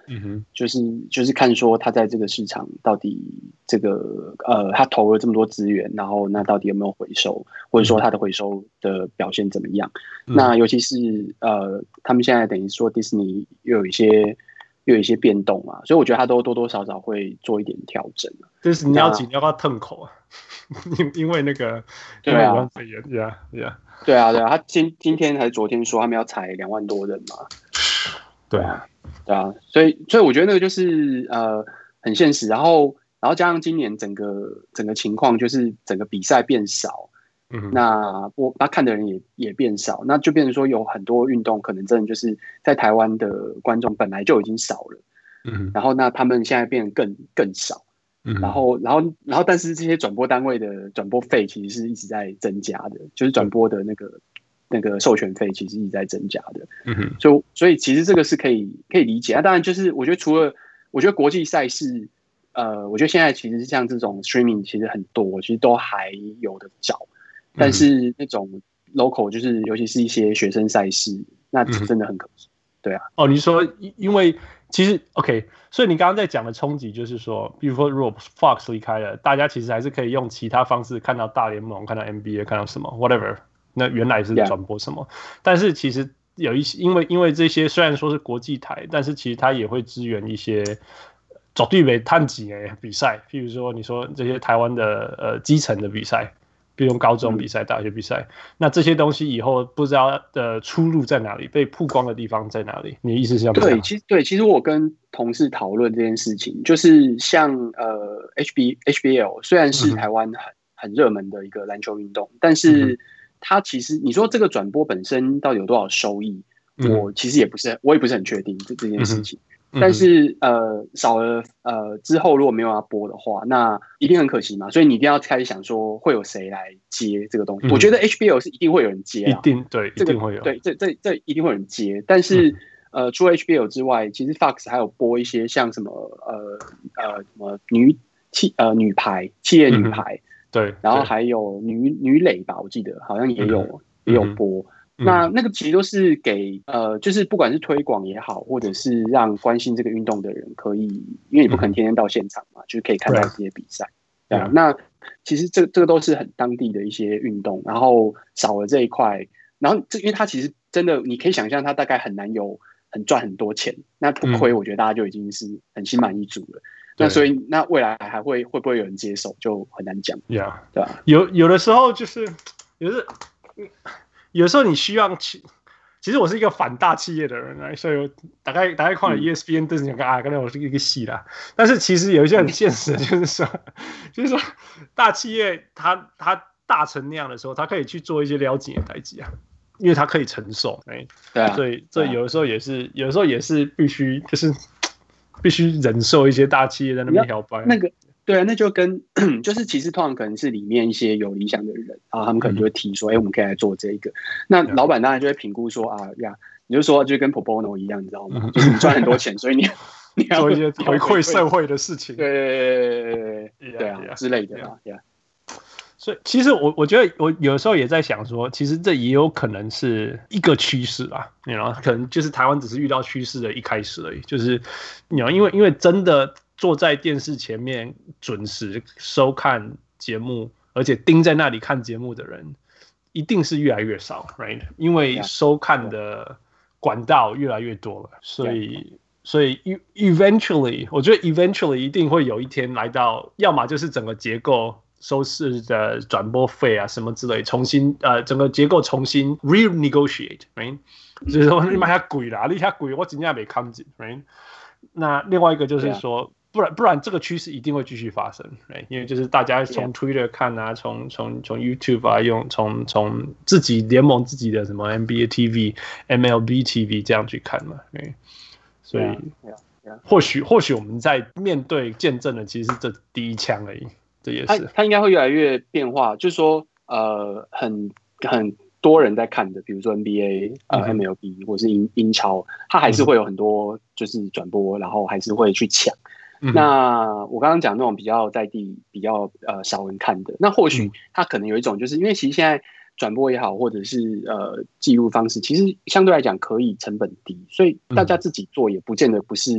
嗯哼，就是就是看說他在這個市場到底這個呃，他投了這麼多資源，然後那到底有沒有回收，或者說他的回收的表現怎麼樣？嗯、那尤其是呃，他們現在等於說迪士尼又有一些又有一些變動啊，所以我覺得他都多多少少會做一點調整。迪士尼要緊要不要吞口啊？因因為那個對啊， 武漢肺炎，yeah yeah， 對啊對啊，他今今天還是昨天說他們要裁兩萬多人嘛， 對啊。 對啊，所以所以我覺得那個就是呃很現實，然後然後加上今年整個整個情況就是整個比賽變少，嗯，那我那看的人也也變少，那就變成說有很多運動可能真的就是在台灣的觀眾本來就已經少了，嗯，然後那他們現在變得更更少，嗯，然後然後然後但是這些轉播單位的轉播費其實是一直在增加的，就是轉播的那個。那個授權費其實一直在增加的，嗯哼，所以所以其實這個是可以可以理解。那、啊、當然就是我覺得除了我覺得國際賽事，呃，我覺得現在其實像這種 streaming 其實很多，其實都還有的找。但是那種 local 就是尤其是一些學生賽事，那真的很可惜。對啊。哦， 你說因為其實 OK， 所以你剛剛在講的衝擊就是說，比如說如果 Fox 離開了，大家其實還是可以用其他方式看到大聯盟，看到 N B A， 看到什麼 whatever。那原來是轉播什麼？ Yeah. 但是其實有一些，因為因為這些雖然說是國際台，但是其實它也會支援一些絕對沒探級的比賽，譬如說你說這些台灣的呃基層的比賽，比如高中比賽、嗯、大學比賽，那這些東西以後不知道的出路在哪裡，被曝光的地方在哪裡？你的意思是這樣？ 對，其實對，其實我跟同事討論這件事情，就是像呃 H B H B L 雖然是台灣很、嗯、很熱門的一個籃球運動，但是。嗯它其實，你說這個轉播本身到底有多少收益？嗯、我其實也不是，我也不是很確定這這件事情。嗯、但是呃，少了呃之後如果沒有要播的話，那一定很可惜嘛。所以你一定要開始想說，會有誰來接這個東西？嗯、我覺得 H B L 是一定會有人接， 一定對， 這個、 一定會有。 對，這這這一定會有人接。但是、嗯、呃，除了 H B L 之外，其實 Fox 還有播一些像什麼呃呃什麼女企呃女排企業女排。嗯對， 然後還有女女壘吧，我記得好像也有、嗯、也有播。嗯、那那個其實都是給呃，就是不管是推廣也好，或者是讓關心這個運動的人可以，因為你不可能天天到現場嘛，嗯、就是可以看到這些比賽。對啊，那其實這這個都是很當地的一些運動，然後少了這一塊，然後這因為它其實真的，你可以想象它大概很難有很賺很多錢，那不虧，我覺得大家就已經是很心滿意足了。嗯那所以，那未來還會會不會有人接手，就很難講。 Yeah， 對吧？ 有有的時候就是，有的有的時候你需要去。其實我是一個反大企業的人，所以我大概大概看了 E S P N 都是講啊，剛才我是一個戲啦。但是其實有一些很現實的，就是說，就是說大企業它它大成那樣的時候，它可以去做一些了解的代誌啊，因為它可以承受。哎，對啊，所以這有的時候也是，有的時候也是必須就是。必須忍受一些大企業在那邊搖擺， 那個對啊，那就跟就是其實通常可能是裡面一些有理想的人，然後他們可能就會提說，哎、嗯欸，我們可以來做這個。那老闆當然就會評估說啊呀，你就說就跟 Pro Bono 一樣，你知道嗎？嗯、就是你賺很多錢，所以你你要做一些回饋社會的事情， 對對對對對對啊 yeah, 之類的啊 yeah, yeah. 所以其實我我覺得我有時候也在想說，其實這也有可能是一個趨勢啦，你知道，可能就是台灣只是遇到趨勢的一開始而已。就是你知道，因為因為真的坐在電視前面準時收看節目，而且盯在那裡看節目的人，一定是越來越少 ，right？ 因為收看的管道越來越多了，所以所以 eventually， 我覺得 eventually 一定會有一天來到，要麼就是整個結構。收視的轉播費啊，什麼之類，重新呃，整個結構重新 renegotiate，right？ 就是說你買下貴啦，你下貴，我真正沒看見 ，right？ 那另外一個就是說，不然不然這個趨勢一定會繼續發生 ，right？ 因為就是大家從 Twitter 看啊，從從從 YouTube 啊，用從從自己聯盟自己的什麼 N B A T V、M L B T V 這樣去看嘛，right？ 所以或許或許我們在面對見證的其實是這第一槍而已。這也是它它應該會越來越變化，就是說，呃，很很多人在看的，比如說 N B A、呃、嗯、M L B 或是英英超，它還是會有很多就是轉播，嗯、然後還是會去搶。嗯、那我剛剛講那種比較在地、比較呃少人看的，那或許它可能有一種，就是因為其實現在轉播也好，或者是呃記錄方式，其實相對來講可以成本低，所以大家自己做也不見得不是。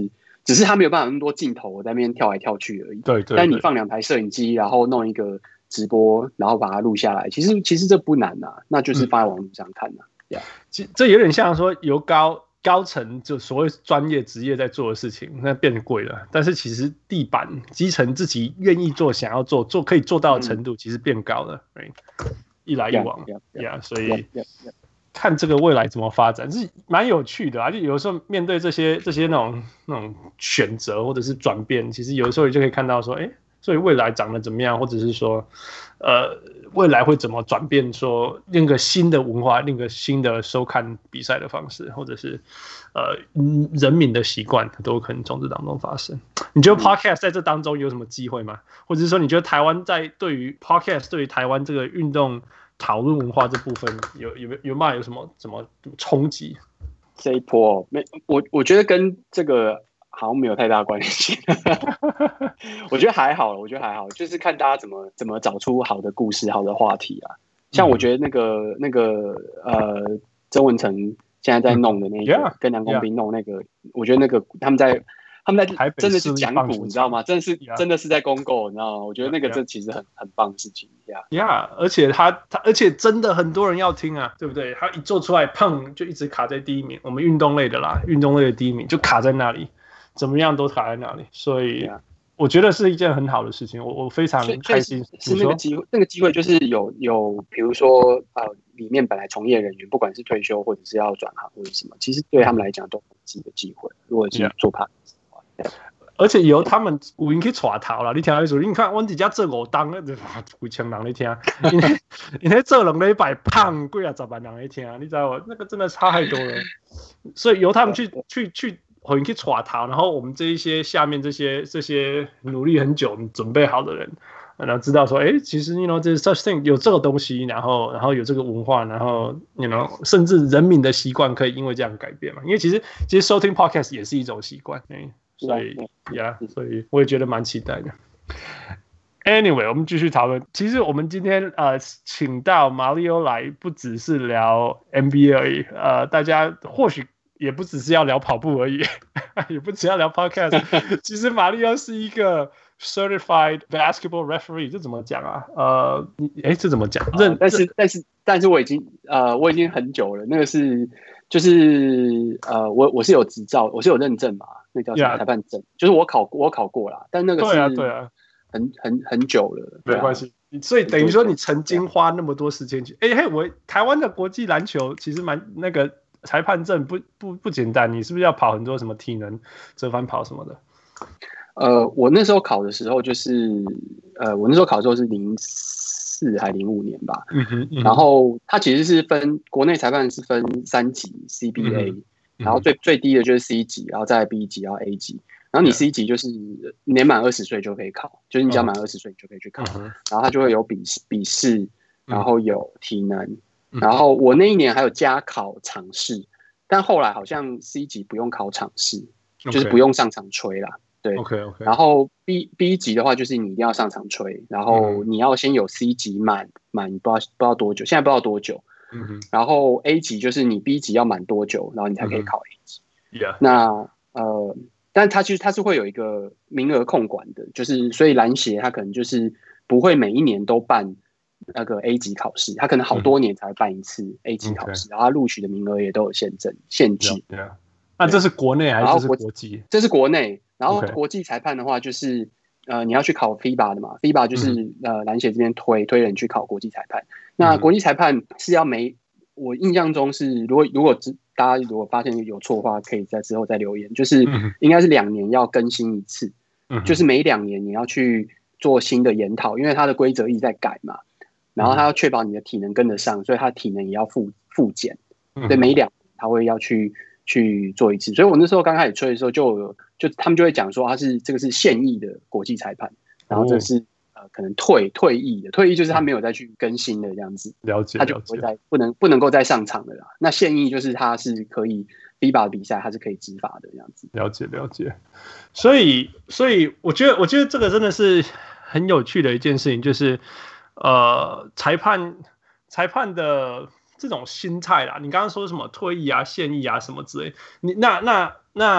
只是他沒有辦法那麼多鏡頭我在那邊跳來跳去而已。 對 對, 對。 但你放兩台攝影機，然後弄一個直播，然後把它錄下來，其實其實這不難啊，那就是放在網絡上看啊。 嗯 yeah. 這有點像說由高高層就所謂專業職業在做的事情，那變貴了。但是其實地板基層自己願意做、想要做、做可以做到的程度，其實變高了。嗯 right? 一來一往 ，yeah, yeah, yeah, 所以 yeah, yeah, yeah. 看這個未來怎麼發展是蠻有趣的啊。就有時候面對這些這些那種那種選擇或者是轉變，其實有的時候你就可以看到說，哎，所以未來長得怎麼樣，或者是說，呃，未來會怎麼轉變？說另一個新的文化，另一個新的收看比賽的方式，或者是呃人民的習慣，都有可能從這當中發生。你覺得 Podcast 在這當中有什麼機會嗎？或者是說，你覺得台灣在對於 Podcast 對於台灣這個運動討論文化這部分有有有沒有什麼什麼衝擊？ 這一波沒，我我覺得跟這個好像沒有太大關係。我覺得還好，我覺得還好，就是看大家怎麼怎麼找出好的故事、好的話題啊。像我覺得那個、嗯、那個呃，曾文成現在在弄的那個，嗯 yeah, 跟梁公斌弄那個， yeah. 我覺得那個他們在。他們在真的是講古，你知道嗎？真的是、yeah. 真的是在公購，你知道嗎？我覺得那個這其實很、yeah. 很棒的事情呀。 呀、yeah. yeah. 而且他他而且真的很多人要聽啊，對不對？他一做出來，砰就一直卡在第一名。我們運動類的啦，運動類的第一名就卡在那裡，怎麼樣都卡在那裡。所以、yeah. 我覺得是一件很好的事情，我我非常開心。 是那個機會，那個機會就是有有，比如說呃，裡面本來從業人員，不管是退休或者是要轉行或者什麼，其實對他們來講都是一個機會。如果是做 part。Yeah. 而且由他們有人去帶頭啦，你聽他說，你看我們一家做五檔，幾千人在聽，因為因為做兩禮拜，胖幾啊十萬人在聽，你知道嗎？那個真的差太多了。所以由他們去去去，有人去帶頭，然後我們這一些下面這些這些努力很久、準備好的人，然後知道說，哎，其實 you know 這 such thing 有這個東西，然後然後有這個文化，然後 you know 甚至人民的習慣可以因為這樣改變嘛？因為其實其實收聽 podcast 也是一種習慣，嗯。所以呀， yeah, 所以我也覺得蠻期待的。Anyway， 我們繼續討論。其實我們今天呃請到馬里歐來，不只是聊 N B A 而已。呃，大家或許也不只是要聊跑步而已，也不只要聊 Podcast。其實馬里歐是一個 Certified Basketball Referee， 這怎麼講啊？呃，哎，這怎麼講？ 認、呃，但是但是但是我已經呃我已經很久了。那個是就是呃我我是有執照，我是有認證嘛。那叫什麼裁判證？ Yeah. 就是我考我考過啦，但那個是對啊對啊，很很很久了， 沒關係。所以等於說你曾經花那麼多時間去，哎嘿，我台灣的國際籃球其實蠻那個裁判證不不不簡單，你是不是要跑很多什麼體能、折返跑什麼的？ 呃，我那時候考的時候就是呃，我那時候考的時候是零四還零五年吧，嗯哼嗯哼，然後它其實是分國內裁判是分三級 C B A。嗯然後最最低的就是 C 級，然後再來 B 級，然後 A 級。然後你 C 級就是年滿二十歲就可以考，就是你只要滿二十歲你就可以去考。然後它就會有筆筆試，然後有體能。然後我那一年還有加考場試，但後來好像 C 級不用考場試，就是不用上場吹啦。對 ，OK OK。然後 B B 級的話就是你一定要上場吹，然後你要先有 C 級滿滿不知道不知道多久，現在不知道多久。嗯、然後 A 級就是你 B 級要滿多久，然後你才可以考 A 級。嗯 yeah. 那呃，但它其實它是會有一個名額控管的，就是所以籃協它可能就是不會每一年都辦那個 A 級考試，它可能好多年才會辦一次 A 級考試，嗯、然後它錄取的名額也都有限制限制。Yeah, yeah. 那這是國內還是國際？這是國內，然後國際裁判的話就是。呃，你要去考 F I B A 的嘛 ？F I B A 就是、嗯、呃籃協這邊推推人去考國際裁判。那國際裁判是要每，我印象中是，如果如果大家如果發現有錯的話，可以在之後再留言。就是應該是兩年要更新一次，嗯、就是每兩年你要去做新的研討，因為它的規則一直在改嘛。然後它要確保你的體能跟得上，所以它的體能也要複複檢。對，每兩年他會要去。去做一次，所以我那時候剛開始吹的時候就有，就他們就會講說他是這個是現役的國際裁判，然後這是、哦、呃可能退退役的，退役就是他沒有再去更新的這樣子， 了解， 他就不會再不能不能夠再上場的啦。那現役就是他是可以 F I B A 的比賽，他是可以執法的這樣子。 了解了解，所以所以我覺得我覺得這個真的是很有趣的一件事情，就是呃裁判裁判的。這種心態啦，你剛剛說什麼退役啊、現役啊什麼之類，你那那那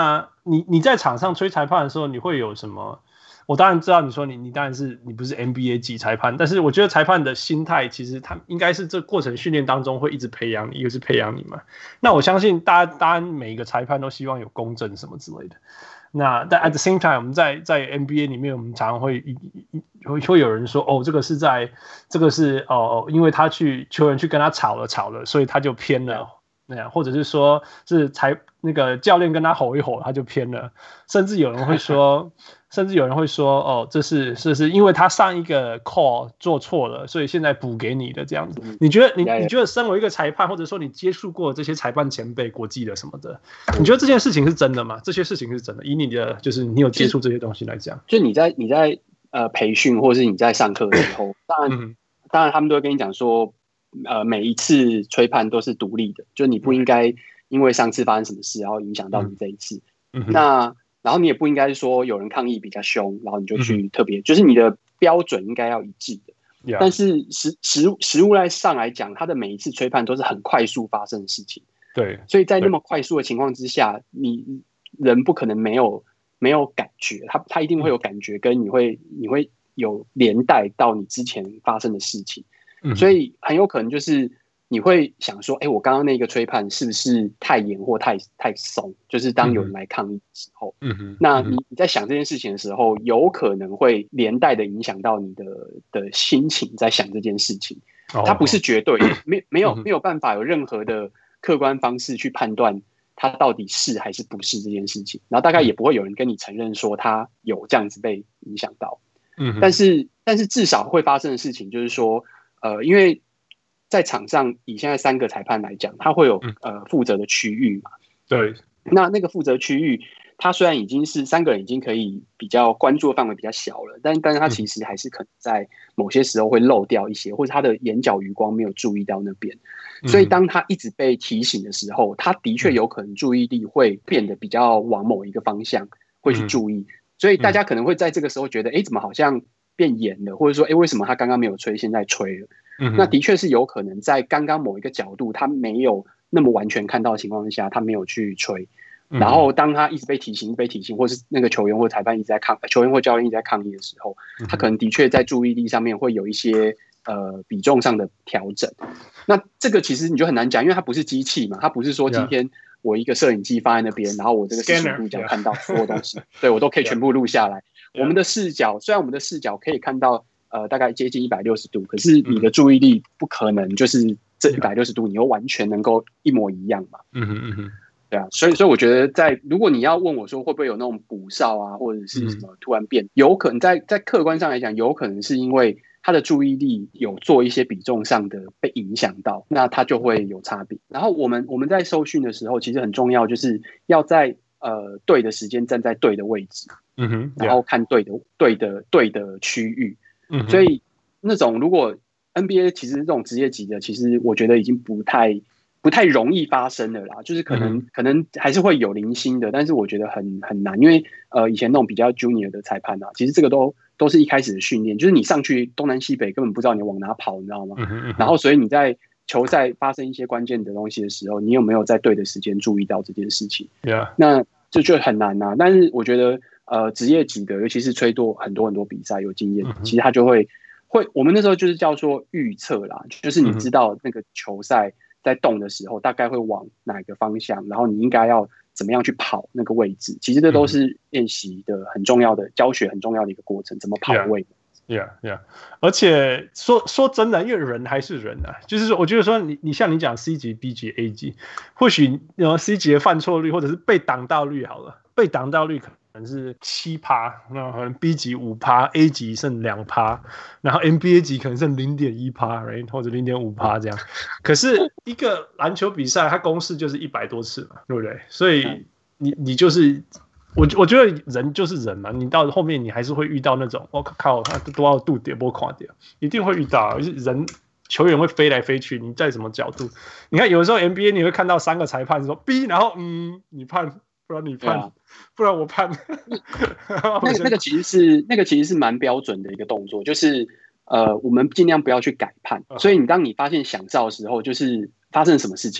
你你在場上吹裁判的時候，你會有什麼？我當然知道你說你你當然是你不是 N B A 級裁判，但是我覺得裁判的心態其實他應該是這過程訓練當中會一直培養你，一個是培養你嘛。那我相信大家當然每一個裁判都希望有公正什麼之類的。那但 at the same time， 我們在在 N B A 裡面，我們常常會會會有人說，哦，這個是在這個是哦，因為他去球員去跟他吵了吵了，所以他就偏了。那樣，或者是說是裁那個教練跟他吼一吼，他就偏了。甚至有人會說，甚至有人會說，哦，這是這是因為他上一個 call 做錯了，所以現在補給你的這樣子。你覺得你你覺得身為一個裁判，或者說你接觸過這些裁判前輩、國際的什麼的，你覺得這件事情是真的嗎？這些事情是真的？以你的就是你有接觸這些東西來講， 就你在你在呃培訓或者是你在上課的時候，當然、嗯、當然他們都會跟你講說。呃，每一次吹判都是獨立的，就你不應該因為上次發生什麼事，然後影響到你這一次。嗯、那然後你也不應該說有人抗議比較兇，然後你就去特別，嗯、就是你的標準應該要一致的。Yeah. 但是實實實務來上來講，它的每一次吹判都是很快速發生的事情。對，所以在那麼快速的情況之下，你人不可能沒有沒有感覺，他他一定會有感覺，跟你會你會有連帶到你之前發生的事情。所以很有可能就是你會想說，哎、欸，我剛剛那個吹判是不是太嚴或太太鬆？就是當有人來抗議的時候，嗯哼，那你你在想這件事情的時候，有可能會連帶的影響到你的的心情，在想這件事情。它不是絕對的，沒沒有沒有辦法有任何的客觀方式去判斷它到底是還是不是這件事情。然後大概也不會有人跟你承認說他有這樣子被影響到。嗯，但是但是至少會發生的事情就是說。呃，因為在場上以現在三個裁判來講，他會有呃負責的區域嘛。對，那那個負責區域，他雖然已經是三個人已經可以比較關注的範圍比較小了，但但是他其實還是可能在某些時候會漏掉一些，或者他的眼角餘光沒有注意到那邊。所以當他一直被提醒的時候，他的確有可能注意力會變得比較往某一個方向會去注意。所以大家可能會在這個時候覺得，哎，怎麼好像變嚴了，或者說，哎，為什麼他剛剛沒有吹，現在吹了？嗯、那的確是有可能在剛剛某一個角度，他沒有那麼完全看到的情況下，他沒有去吹。嗯、然後當他一直被提醒、被提醒，或是那個球員或裁判一直在抗，球員或教練一直在抗議的時候，嗯、他可能的確在注意力上面會有一些呃比重上的調整。那這個其實你就很難講，因為它不是機器嘛，它不是說今天我一個攝影機放在那邊，然後我這個四十五度角看到所有東西， yeah. 對我都可以全部錄下來。Yeah. 我們的視角，雖然我們的視角可以看到。呃，大概接近一百六十度，可是你的注意力不可能就是這一百六十度，你又完全能夠一模一樣嘛？嗯哼嗯哼，對啊，所以所以我覺得在，在如果你要問我說會不會有那種補哨啊，或者是什麼突然變，嗯、有可能在在客觀上來講，有可能是因為他的注意力有做一些比重上的被影響到，那他就會有差別。然後我們我們在受訓的時候，其實很重要，就是要在呃對的時間站在對的位置，嗯哼，然後看對的對的對的區域。嗯、所以那種如果 N B A 其實這種職業級的，其實我覺得已經不太不太容易發生了啦。就是可能、嗯、可能還是會有零星的，但是我覺得很很難，因為呃以前那種比較 junior 的裁判啊，其實這個都都是一開始的訓練，就是你上去東南西北根本不知道你往哪跑，你知道嗎？嗯嗯、然後所以你在球賽發生一些關鍵的東西的時候，你有沒有在對的時間注意到這件事情？ Yeah. 那這就很難啊。但是我覺得。呃，職業級的，尤其是吹多很多很多比賽有經驗，嗯、其實他就會會，我們那時候就是叫做預測啦，就是你知道那個球賽在動的時候，大概會往哪個方向，然後你應該要怎麼樣去跑那個位置。其實這都是練習的很重要的、嗯、教學很重要的一個過程，怎麼跑位。 Yeah, yeah. 而且說說真的，因為人還是人啊，就是說，我覺得說你你像你講 C 級、B 級、A 級，或許然後 C 級的犯錯率或者是被擋到率好了，被擋到率可能。可能是七趴，那可能 B 級五趴 ，A 級剩兩趴，然後 N B A 級可能剩零點一趴，或者零點五趴這樣。可是一個籃球比賽，它公式就是一百多次嘛，對不對？所以你你就是我我覺得人就是人嘛，你到後面你還是會遇到那種我、哦、靠，他多少度點波垮掉，一定會遇到。人球員會飛來飛去，你在什麼角度？你看有的時候 N B A 你會看到三個裁判說 B， 然後嗯，你判。不然你判，啊、不然我判。那個那個其實是那個其實是蠻標準的一個動作，就是呃，我們盡量不要去改判。Uh huh. 所以你當你發現響哨的時候，就是發生什麼事情，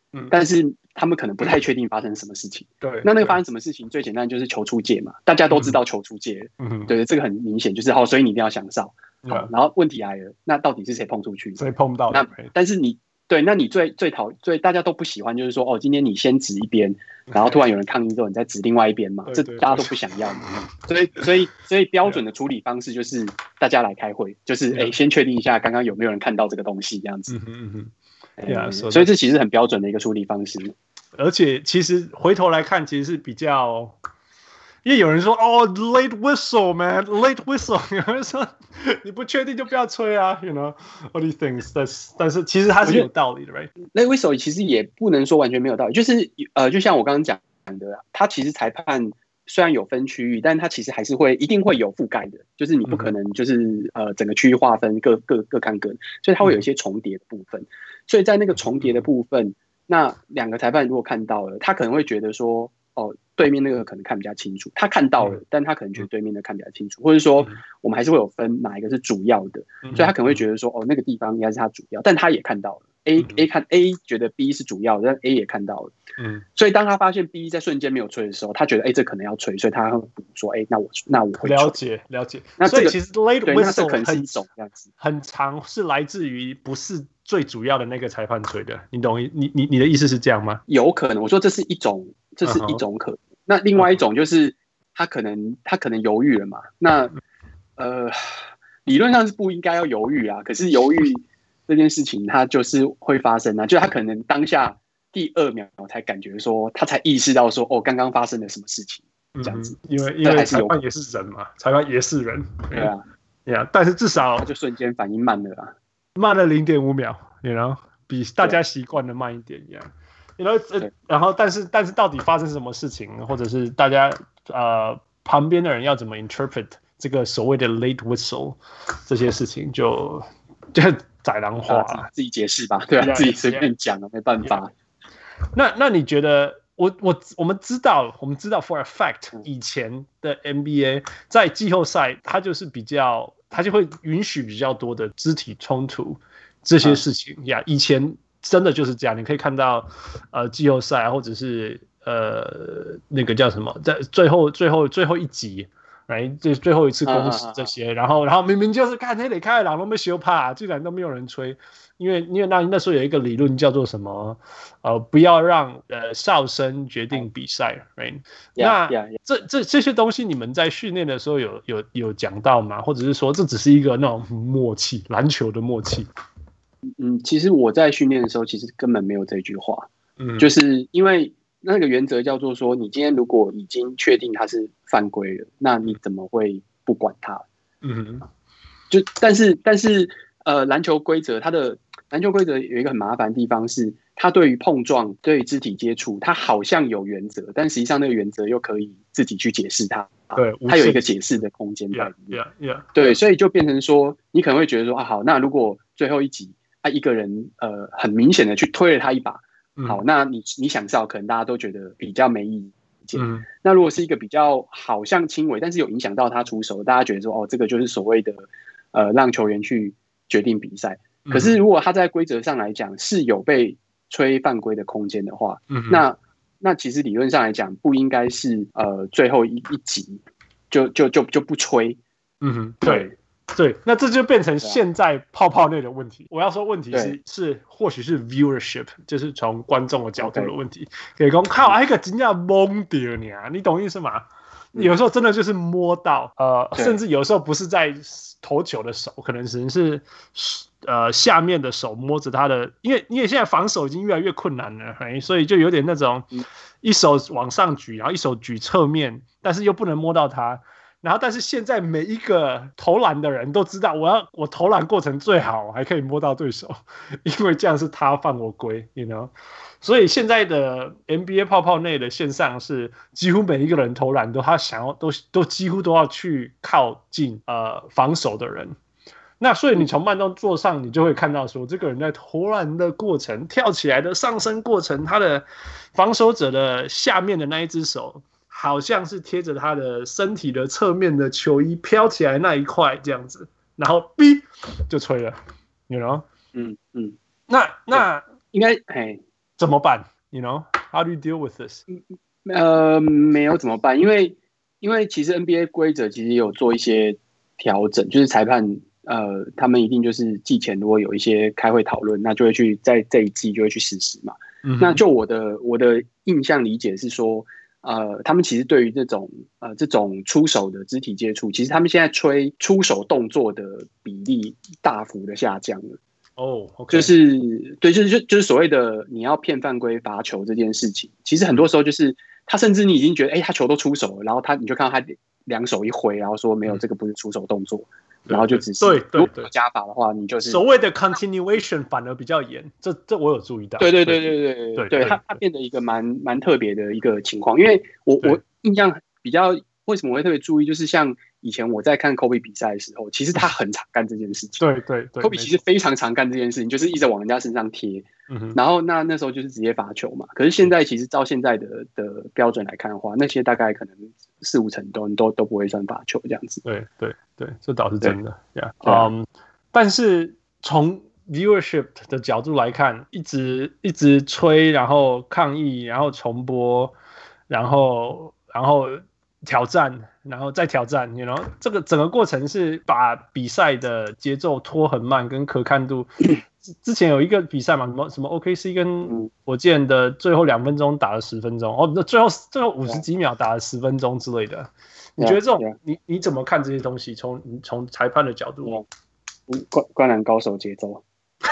嗯，但是他們可能不太確定發生什麼事情。對，那那個發生什麼事情，最簡單就是球出界嘛，大家都知道球出界。嗯，對，這個很明顯，就是好，所以你一定要想哨。好，然後問題來了，那到底是誰碰出去？ 誰碰到？ 那但是你對，那你最最討最大家都不喜歡，就是說哦，今天你先指一邊，然後突然有人抗議之後，你再指另外一邊嘛，這大家都不想要嘛。所以所以所以標準的處理方式就是大家來開會，就是哎，先確定一下剛剛有沒有人看到這個東西，這樣子。嗯嗯嗯。Yeah, so 所以這其實很標準的一個處理方式。 而且其實回頭來看，其實是比較。因為有人說哦 ，late whistle man，late whistle， 有人說你不確定就不要吹啊 ，you know all these things。但是但是其實它是有道理的 ，right？late whistle 其實也不能說完全沒有道理，就是呃，就像我剛剛講的，它其實裁判雖然有分區域，但它其實還是會一定會有覆蓋的，就是你不可能就是呃整個區域劃分各各各看各，所以它會有一些重疊的部分。所以在那個重疊的部分，那兩個裁判如果看到了，他可能會覺得說。哦，對面那個可能看比較清楚，他看到了，但他可能覺得對面的看比較清楚，或者說我們還是會有分哪一個是主要的，所以他可能會覺得說，哦，那個地方應該是他主要，但他也看到了 ，A A 看 A 覺得 B 是主要的，但 A 也看到了，嗯，所以當他發現 B 在瞬間沒有吹的時候，他覺得哎，這可能要吹，所以他會補說，哎，那我那我會吹。 了解了解， 那所以其實 late whistle 可能是一種這樣子， 很常是來自於不是最主要的那個裁判吹的，你懂？你你你的意思是這樣嗎？ 有可能，我說這是一種，這是一種可能。那另外一種就是他可能他可能猶豫了嘛，那呃理論上是不應該要猶豫啊，可是猶豫這件事情它就是會發生啊，就他可能當下第二秒才感覺說，他才意識到說哦剛剛發生了什麼事情這樣子， 嗯、因為因為裁判也是人嘛，裁判也是人， 對啊， 對啊，但是至少他就瞬間反應慢了啊， 慢了零點五秒，你知道，比大家習慣的慢一點一樣。You know, 然後，但是，但是，到底發生什麼事情，或者是大家呃旁邊的人要怎麼 interpret 這個所謂的 late whistle 這些事情就，就就宰狼話、啊， 自己解釋吧，對啊， yeah, 自己隨便講啊， yeah, 沒辦法。 Yeah. 那那你覺得，我我我們知道，我們知道 for a fact， 以前的 N B A 在季後賽，它就是比較，它就會允許比較多的肢體衝突這些事情呀、嗯 yeah, 以前。真的就是這樣，你可以看到，呃，季後賽或者是呃那個叫什麼，在最後最後最後一集，來最最後一次公示這些，啊啊啊然後然後明明就是看那裡開朗都沒修怕，居然都沒有人吹，因為因為那那時候有一個理論叫做什麼，呃，不要讓呃哨聲決定比賽 ，right？ 那 yeah, yeah. 這這這些東西你們在訓練的時候有有有講到嗎？或者是說這只是一個那種默契，籃球的默契？ 嗯，其實我在訓練的時候，其實根本沒有這句話。嗯，就是因為那個原則叫做說，你今天如果已經確定它是犯規了，那你怎麼會不管它？嗯，就但是但是呃，籃球規則它的籃球規則有一個很麻煩的地方是，它對於碰撞、對於肢體接觸，它好像有原則，但實際上那個原則又可以自己去解釋它。對，它有一個解釋的空間在裡面。 Yeah, yeah, yeah. 對，所以就變成說，你可能會覺得說啊，好，那如果最後一集。他一個人呃很明顯的去推了他一把，好，那你你想哨可能大家都覺得比較沒意見。嗯、那如果是一個比較好像輕微，但是有影響到他出手，大家覺得說哦，這個就是所謂的呃讓球員去決定比賽。可是如果他在規則上來講是有被吹犯規的空間的話，嗯、那那其實理論上來講不應該是呃最後一一集就就就就不吹。嗯哼，對。 對，那這就變成現在泡泡內的問題。我要說問題是是或許是 viewership， 就是從觀眾的角度的問題。可以說靠，哎個真正懵掉你啊，你懂意思嗎？嗯、有時候真的就是摸到，呃，甚至有時候不是在投球的手，可能只是呃下面的手摸着他的，因為因為現在防守已經越來越困難了，所以就有點那種一手往上舉，然後一手舉側面，但是又不能摸到他。然後，但是現在每一個投籃的人都知道，我要我投籃過程最好還可以摸到對手，因為這樣是他犯我規 ，you know。所以現在的 N B A 泡泡內的線上是幾乎每一個人投籃都他想要都都幾乎都要去靠近呃防守的人。那所以你從慢動作上你就會看到說，這個人在投籃的過程、跳起來的上升過程，他的防守者的下面的那一隻手。好像是貼着他的身體的側面的球衣飄起來那一塊這樣子，然後嗶就吹了，you know？ 嗯嗯，那那應該哎， 怎麼辦 ？You know, how do you deal with this？ 呃，沒有怎麼辦？因為因為其實 N B A 規則其實也有做一些調整，就是裁判呃，他們一定就是季前如果有一些開會討論，那就會去在這一季就會去實施嘛。嗯、那就我的我的印象理解是說，呃，他們其實對於這種呃這種出手的肢體接觸，其實他們現在吹出手動作的比例大幅的下降了。 哦、oh, okay. 就是對，就是就就是所謂的你要騙犯規罰球這件事情，其實很多時候就是他甚至你已經覺得，哎、欸，他球都出手了，然後他你就看到他兩手一揮，然後說沒有，這個不是出手動作，嗯、然後就只是對對對， 加罰的話，你就是所謂的 continuation 反而比較嚴，這這我有注意到。 對對對對對對對，對，他他變得一個蠻蠻特別的一個情況，因為我我印象比較為什麼我會特別注意，就是像。以前我在看 Kobe 比賽的時候，其實他很常幹這件事情。 對對對 ，Kobe 其實非常常幹這件事情，就是一直往人家身上貼。嗯、然後那那時候就是直接罰球嘛。可是現在其實照現在的的標準來看的話，那些大概可能四五成都都都不會算罰球這樣子。 對對對，這倒是真的。Yeah. 嗯，但是從 viewership 的角度來看，一直一直吹，然後抗議，然後重播，然後然後。挑戰，然後再挑戰 you know 這個整個過程是把比賽的節奏拖很慢，跟可看度。之前有一個比賽嘛，什麼什麼 O K C 跟火箭的最後兩分鐘打了十分鐘，哦，最後最後五十幾秒打了十分鐘之類的。Yeah. 你覺得這種 yeah. 你你怎麼看這些東西？從從裁判的角度， 灌灌籃高手節奏。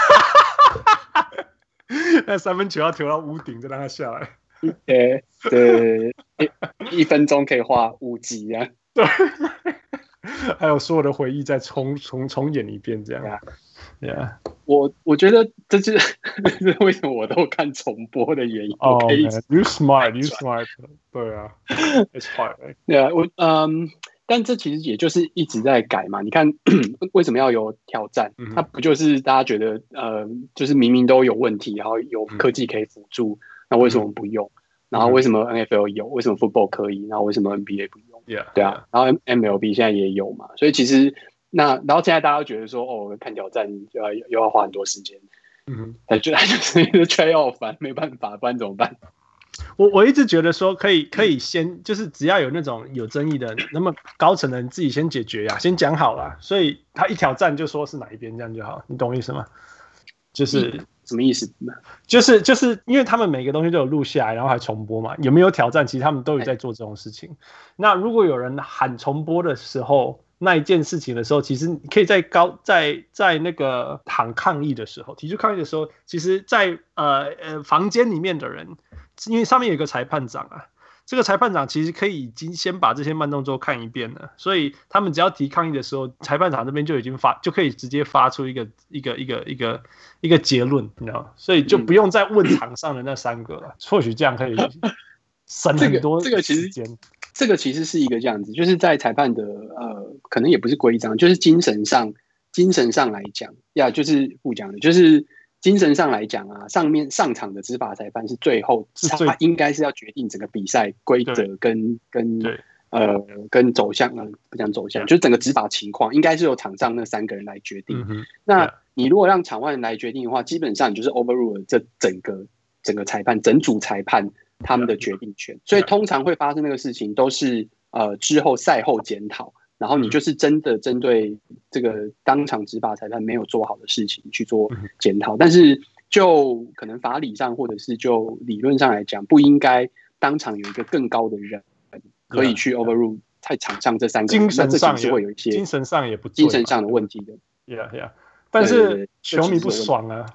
那三分球要投到屋頂，再讓他下來。 對對，一, 一分鐘可以畫五集啊！ 對，還有所有的回憶再重重重演一遍，這樣。Yeah. 我我覺得這就是為什麼我都看重播的原因。 哦、oh, ，You smart, you smart。對啊 ，It's hard。 對啊，我嗯，但這其實也就是一直在改嘛。你看，為什麼要有挑戰？嗯、它不就是大家覺得呃，就是明明都有問題，然後有科技可以輔助。嗯，那為什麼不用？嗯、然後為什麼 N F L 有？為什麼 Football 可以？然後為什麼 N B A 不用？ Yeah, 對啊， yeah. 然後 M L B 現在也有嘛，所以其實那然後現在大家都覺得說，哦，看挑戰就要又要花很多時間，嗯，他就他就是一個 trade off，沒辦法，不然怎麼辦？ 我我一直覺得說，可以可以先就是只要有那種有爭議的，那麼高層的人自己先解決呀，先講好啦，所以他一挑戰就說是哪一邊，這樣就好，你懂我意思嗎？就是。嗯，什麼意思？ 就是就是因為他們每個東西都有錄下來，然後還重播嘛。有沒有挑戰？其實他們都有在做這種事情。那如果有人喊重播的時候，那一件事情的時候，其實你可以在高在在那個喊抗議的時候，提出抗議的時候，其實在呃呃房間裡面的人，因為上面有一個裁判長啊。這個裁判長其實可以已經先把這些慢動作看一遍了，所以他們只要提抗議的時候，裁判長這邊就已經發，就可以直接發出一個一個一個一個一個結論，你知道嗎？所以就不用再問場上的那三個了。嗯、或許這樣可以省很多時間。這個、這個其實這個其實是一個這樣子，就是在裁判的呃，可能也不是規章，就是精神上精神上來講呀，就是不講的，就是。精神上來講啊，上面上場的執法裁判是最後，他應該是要決定整個比賽規則跟跟呃跟走向啊，不講走向，就是整個執法情況，應該是由場上那三個人來決定。嗯、那你如果讓場外人來決定的話，基本上你就是 overrule 這整個整個裁判整組裁判他們的決定權。所以通常會發生那個事情，都是呃之後賽後檢討。然後你就是真的針對這個當場執法裁判沒有做好的事情去做檢討，但是就可能法理上或者是就理論上來講，不應該當場有一個更高的人可以去 overrule 在場上這三個人， 精神上那這是會有一些精神上也不精神上的問題的。 Yeah, yeah. 但是球迷不爽啊。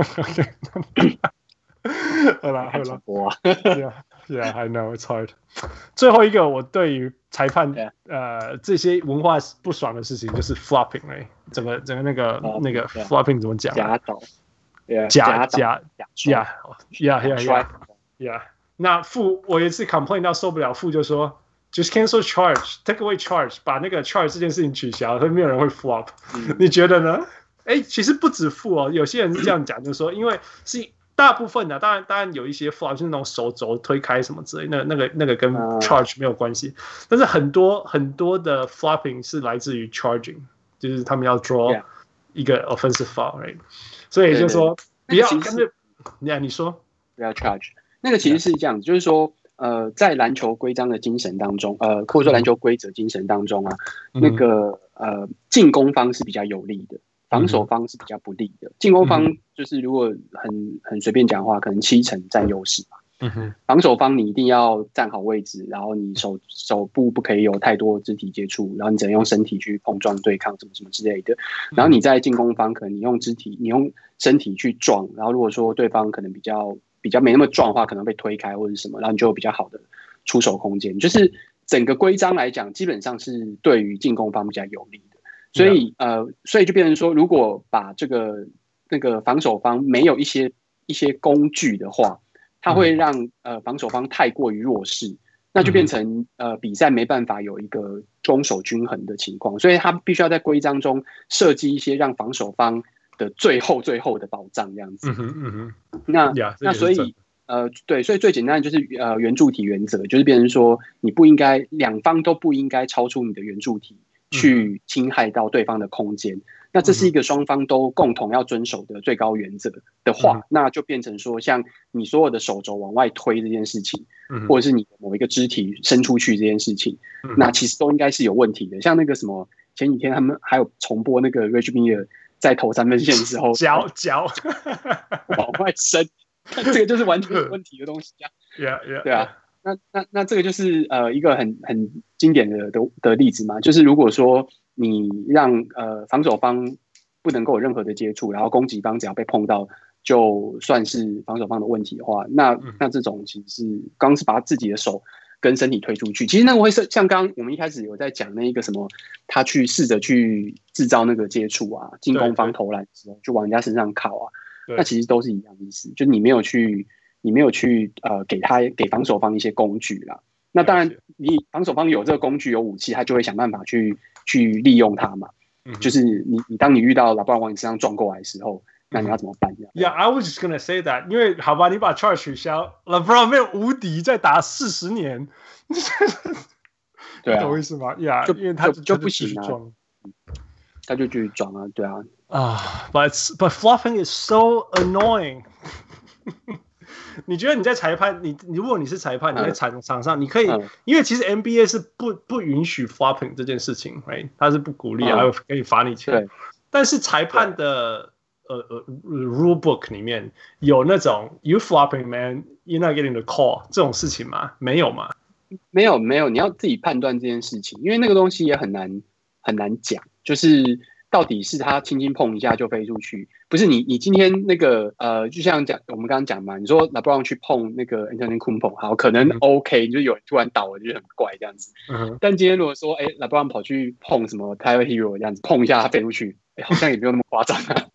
好了好了， 播啊。 Yeah, yeah, I know it's hard. 最後一個，我對於裁判 yeah. 呃這些文化不爽的事情，就是 flopping 哎，整個整個那個、uh, 那個 flopping 怎麼講？ 假倒， 假假假呀呀呀呀！那副我也是 complain 到受不了，副就說 just cancel charge, take away charge， 把那個 charge 這件事情取消，所以沒有人會 flop。嗯、你覺得呢？哎，其實不止副哦，有些人是這樣講，就是說，因為是。大部分的、啊，當然當然有一些 flop 就是那種手肘推開什麼之類，那個那個那個跟 charge 沒有關係。Uh, 但是很多很多的 flopping 是來自於 charging， 就是他們要 draw 一個 offensive foul，right？ 所以就是說不要跟着，你啊，你說不要 charge。那個其實是這樣子， yeah. 就是說，呃，在籃球規章的精神當中，呃，或者說籃球規則精神當中啊，嗯、那個呃，進攻方是比較有利的，防守方是比較不利的。進、嗯、攻方就是如果很很隨便講的話，可能七成佔優勢嘛。嗯哼，防守方你一定要站好位置，然後你手手部不可以有太多肢體接觸，然後你只能用身體去碰撞對抗什麼什麼之類的。然後你在進攻方，可能你用肢體，你用身體去撞，然後如果說對方可能比較比較沒那麼壯的話，可能被推開或者什麼，然後你就有比較好的出手空間。就是整個規章來講，基本上是對於進攻方比較有利的。所以、yeah. 呃，所以就變成說，如果把這個那個防守方沒有一些一些工具的話，它會讓呃防守方太過於弱勢，那就變成呃比賽沒辦法有一個攻守均衡的情況，所以他必須要在規章中設計一些讓防守方的最後最後的保障這樣子。嗯哼嗯哼。那、yeah, 那所以呃對，所以最簡單的就是呃圓柱體原則，就是變成說你不應該兩方都不應該超出你的圓柱體去侵害到對方的空間。那這是一個雙方都共同要遵守的最高原則的話、嗯，那就變成說，像你所有的手肘往外推這件事情，嗯、或者是你某一個肢體伸出去這件事情，嗯、那其實都應該是有問題的。像那個什麼，前幾天他們還有重播那個 Reggie Miller 在投三分線的時候，腳腳往外伸，這個就是完全有問題的東西啊。Yeah, yeah, 對啊，那那那這個就是呃一個很很經典的的的例子嘛，就是如果說。你讓呃防守方不能夠有任何的接觸，然後攻擊方只要被碰到，就算是防守方的問題的話，那那這種其實是剛是把自己的手跟身體推出去，其實那個會是像剛剛我們一開始有在講那一個什麼，他去試着去製造那個接觸啊，進攻方投籃的時候就往人家身上靠啊，那其實都是一樣的意思，就是你沒有去你沒有去呃給他給防守方一些工具啦。那當然，你防守方有這個工具、有武器，他就會想辦法去去利用它嘛。嗯、就是你，你當你遇到LeBron往你身上撞過來的時候，嗯、那你要怎麼辦 ？Yeah, I was just gonna say that， 因為好吧，你把 charge 取消 ，LeBron 沒有無敵，再打四十年， 對啊， 懂我意思嗎 ？Yeah， 就因為他就，就不行啊，他就繼續撞啊，對啊。 啊、uh, ，but but flopping is so annoying 。你覺得你在裁判，你如果你是裁判，你在場場上，你可以，嗯、因為其實 N B A 是不不允許 flopping 這件事情 ，right？ 他是不鼓勵，還、嗯、可以罰你錢。但是裁判的呃呃 rule book 裡面有那種 you flopping man, you're not getting the call 這種事情嗎？沒有嗎？ 沒有沒有，你要自己判斷這件事情，因為那個東西也很難很難講，就是。到底是他輕輕碰一下就飛出去，不是你你今天那個呃，就像講我們剛剛講嘛，你說 LeBron 去碰那個 Antetokounmpo， 好，可能 OK，、嗯、就有人突然倒了，就很怪這樣子。嗯、但今天如果說哎 LeBron 跑去碰什麼 Tyler Hero 這樣子，碰一下他飛出去，哎，好像也沒有那麼誇張啊。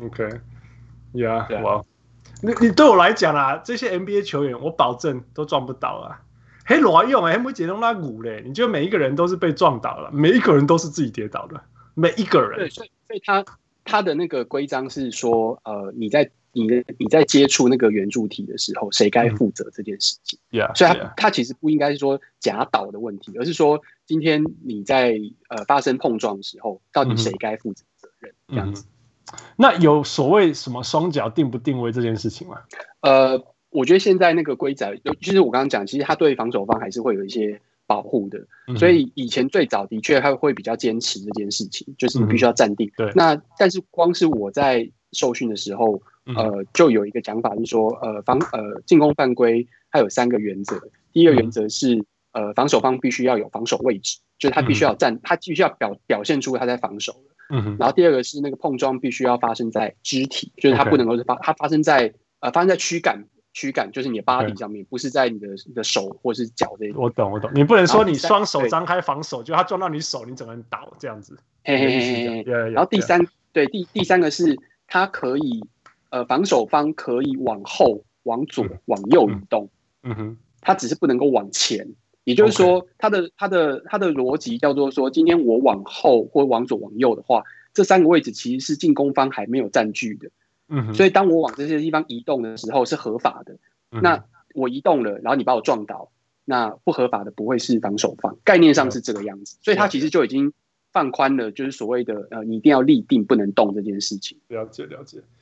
OK，Yeah， 哇，你你對我來講啊，這些 N B A 球員我保證都撞不倒啊。嘿，羅用哎，沒解弄那鼓嘞，你覺得每一個人都是被撞倒了，每一個人都是自己跌倒的，每一個人。 對，所以。所以他他的那個規章是說，呃，你在你你在接觸那個圓柱體的時候，誰該負責這件事情？嗯 yeah, 所以他，他、yeah. 他其實不應該是說夾倒的問題，而是說今天你在呃發生碰撞的時候，到底誰該負責責任？嗯、這樣子。 那有所謂什麼雙腳定不定位這件事情嗎？ 呃，我覺得現在那個規則，就是我剛剛講，其實他對防守方還是會有一些保護的，所以以前最早的確他會比較堅持這件事情，就是你必須要站定。對，那但是光是我在受訓的時候，呃，就有一個講法是說，呃，防呃進攻犯規它有三個原則，第一個原則是呃防守方必須要有防守位置，就是他必須要站，他必須要表表現出他在防守了。嗯，然後第二個是那個碰撞必須要發生在肢體，就是它不能夠是發它發生在呃發生在軀幹。軀幹就是你的 body 上面，不是在你的你的手或是腳這一種。我懂，我懂。你不能說你雙手張開防守，就他撞到你手，你整個人倒這樣子。 嘿嘿嘿嘿。然後第三，對第第三個是，他可以呃防守方可以往後、往左、嗯、往右移動。嗯哼。他只是不能夠往前，也就是說，他的他的他的邏輯叫做說，今天我往後或往左往右的話，這三個位置其實是進攻方還沒有佔據的。嗯，所以當我往這些地方移動的時候是合法的，嗯、那我移動了，然後你把我撞倒，那不合法的不會是防守方，概念上是這個樣子，所以他其實就已經放寬了，就是所謂的呃，你一定要立定不能動這件事情。 了解了解，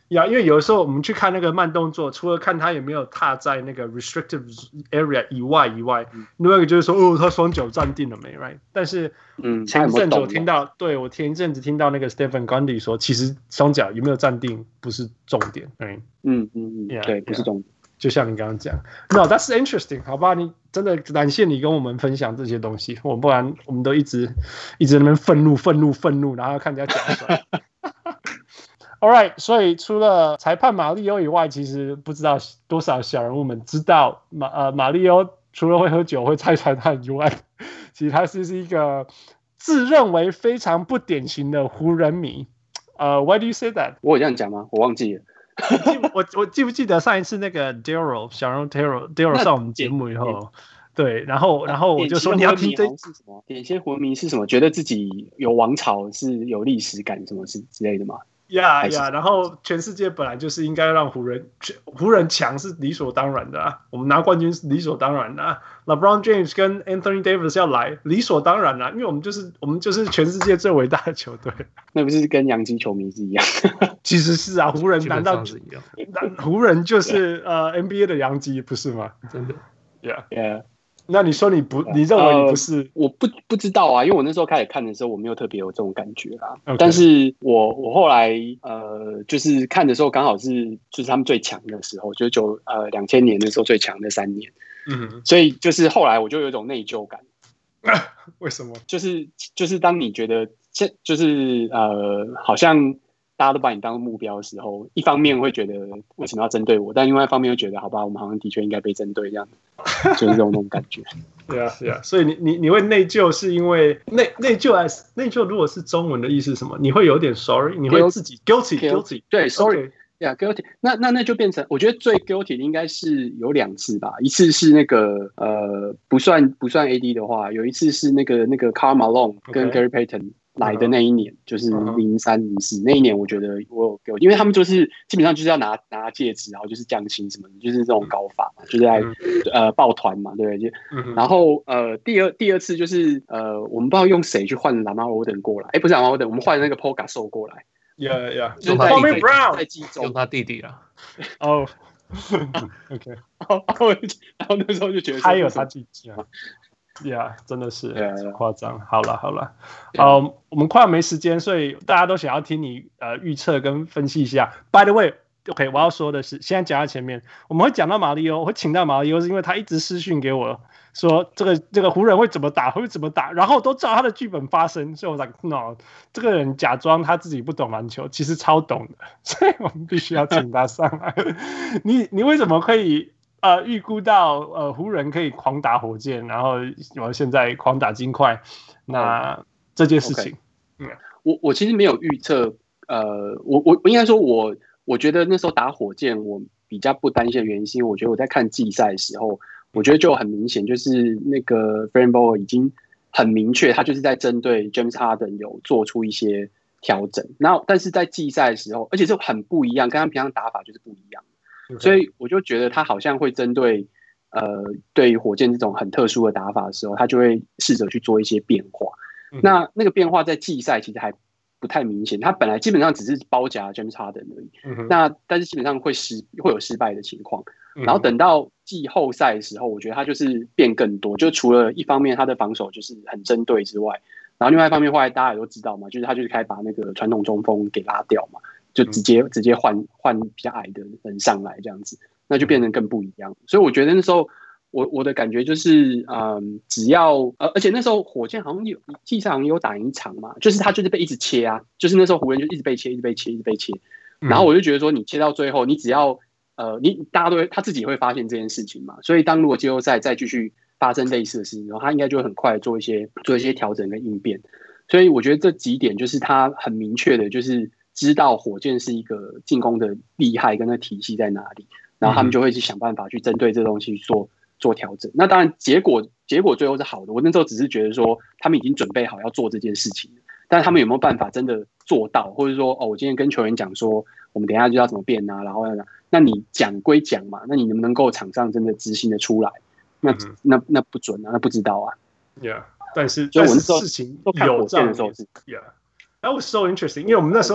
呀，因為有的時候我們去看那個慢動作，除了看他有沒有踏在那個 restrictive area 以外以外，嗯、另外一個就是說，哦，他雙腳站定了沒 ，right？ 但是，嗯，前一陣子我聽到，對我前一陣子聽到那個 Stephen Gundy 說，其實雙腳有沒有站定不是重點，嗯嗯嗯， yeah, 對，不是重點。 就像你剛剛講 ，No, that's interesting， 好吧？你真的感謝你跟我們分享這些東西，我不然我們都一直一直在那邊憤怒憤怒憤怒，然後看人家講出來。All right， 所以除了裁判馬里歐以外，其實不知道多少小人物們知道馬呃馬里歐除了會喝酒、會拆彩蛋以外，其實他是是一個自認為非常不典型的湖人迷。呃、uh, ，Why do you say that？ 我有這樣講嗎？我忘記了。 我我記不記得上一次那個 Daryl 小人物 Daryl Daryl 上我們節目以後，對，然後然後我就說你要聽這是什麼？典型湖人迷是什麼？覺得自己有王朝是有歷史感，什麼是之類的嗎？ 呀、yeah, 呀、yeah, 然後全世界本來就是應該讓湖人湖人強是理所當然的啊，我們拿冠軍是理所當然的啊。LeBron James 跟 Anthony Davis 要來，理所當然啦、啊，因為我們就是我們就是全世界最偉大的球隊。 那不是跟洋基球迷是一樣？ 其實是啊，湖人難道是一樣？湖人就是呃 N B A 的洋基不是嗎？ 真的 ，Yeah Yeah。 那你說你不，你認為你不是？ 呃、我不不知道啊，因為我那時候開始看的時候，我沒有特別有這種感覺啦。Okay. 但是我我後來呃，就是看的時候，剛好是就是他們最強的時候，就是九呃兩千年的時候最強的三年。嗯，所以就是後來我就有一種內疚感。 為什麼？ 就是就是當你覺得這就是呃好像。大家都把你當目標的時候，一方面會覺得為什麼要針對我，但另外一方面又覺得好吧，我們好像的確應該被針對這樣，就是這種那種感覺。 對啊，對啊，所以你你你會內疚，是因為內內疚還是內疚？如果是中文的意思是什麼？你會有點 sorry， 你會自己 guilty guilty， 對 sorry， yeah guilty。那那那就變成，我覺得最 guilty 的應該是有兩次吧，一次是那個呃不算不算 A D 的話，有一次是那個那個 Karl Malone 跟 Gary Payton。來的那一年、uh huh. 就是零三零四那一年，我覺得我有給我，因為他們就是基本上就是要拿拿戒指，然後就是降薪什麼的，就是這種搞法嘛，就是在、uh huh. 呃抱團嘛，對不對？就、uh huh. 然後呃第二第二次就是呃我們不知道用誰去換 Lamar Odom 過來，哎不是 Lamar Odom，我們換那個 Paul Gasol 過來 ，Yeah Yeah， 就是在 Bobby Brown 在季中用他弟弟啊， 哦、oh. ，OK， 然後然後那時候就覺得還有他弟弟啊。Yeah， 真的是 yeah, yeah. 誇張。好了好了，呃、yeah. um, 我們快要沒時間，所以大家都想要聽你呃預測跟分析一下。By the way，OK，、okay, 我要說的是，現在講到前面，我們會講到馬里歐，我會請到馬里歐，是因為他一直私訊給我說這個這個湖人會怎麼打，會怎麼打，然後都照他的劇本發生。所以我說 ，no， 這個人假裝他自己不懂籃球，其實超懂的，所以我們必須要請他上來。你你為什麼可以？呃，預估到呃湖人可以狂打火箭，然後我現在狂打金塊，那、oh, 這件事情，okay. 嗯，我我其實沒有預測，呃，我我我應該說我，我我覺得那時候打火箭，我比較不擔心的原因，是因為我覺得我在看季賽的時候，我覺得就很明顯，就是那個 Frank Vogel 已經很明確，他就是在針對 James Harden 有做出一些調整，然後但是在季賽的時候，而且這很不一樣，跟他平常打法就是不一樣。Okay. 所以我就覺得他好像會針對呃對於火箭這種很特殊的打法的時候，他就會試着去做一些變化。嗯、那那個變化在季賽其實還不太明顯，他本來基本上只是包夾 James Harden 而已。嗯、哼那但是基本上會失會有失敗的情況。嗯、然後等到季後賽的時候，我覺得他就是變更多，就除了一方面他的防守就是很針對之外，然後另外一方面後來大家也都知道嘛，就是他就是開始把那個傳統中鋒給拉掉嘛。就直接直接換換比較矮的人上來這樣子，那就變成更不一樣。所以我覺得那時候我我的感覺就是，嗯，只要呃，而且那時候火箭好像有季賽好像有打贏一場嘛，就是他就是被一直切啊，就是那時候湖人就一直被切，一直被切，一直被切。然後我就覺得說，你切到最後，你只要呃，你大家都會他自己會發現這件事情嘛。所以當如果季後賽再繼續發生類似的事情，然後他應該就會很快做一些做一些調整跟應變。所以我覺得這幾點就是他很明確的，就是。知道火箭是一個進攻的厲害跟那體系在哪裡，然後他們就會去想辦法去針對這東西做做調整。那當然結果結果最後是好的。我那時候只是覺得說他們已經準備好要做這件事情，但是他們有沒有辦法真的做到，或者說哦，我今天跟球員講說我們等一下就要怎麼變啊，然後那你講歸講嘛，那你能不能夠場上真的執行的出來？那那那不準啊，那不知道啊。 Yeah， 但是所以我那時候事情有這樣的時候是 Yeah。 That was so interesting， 因為我們那時候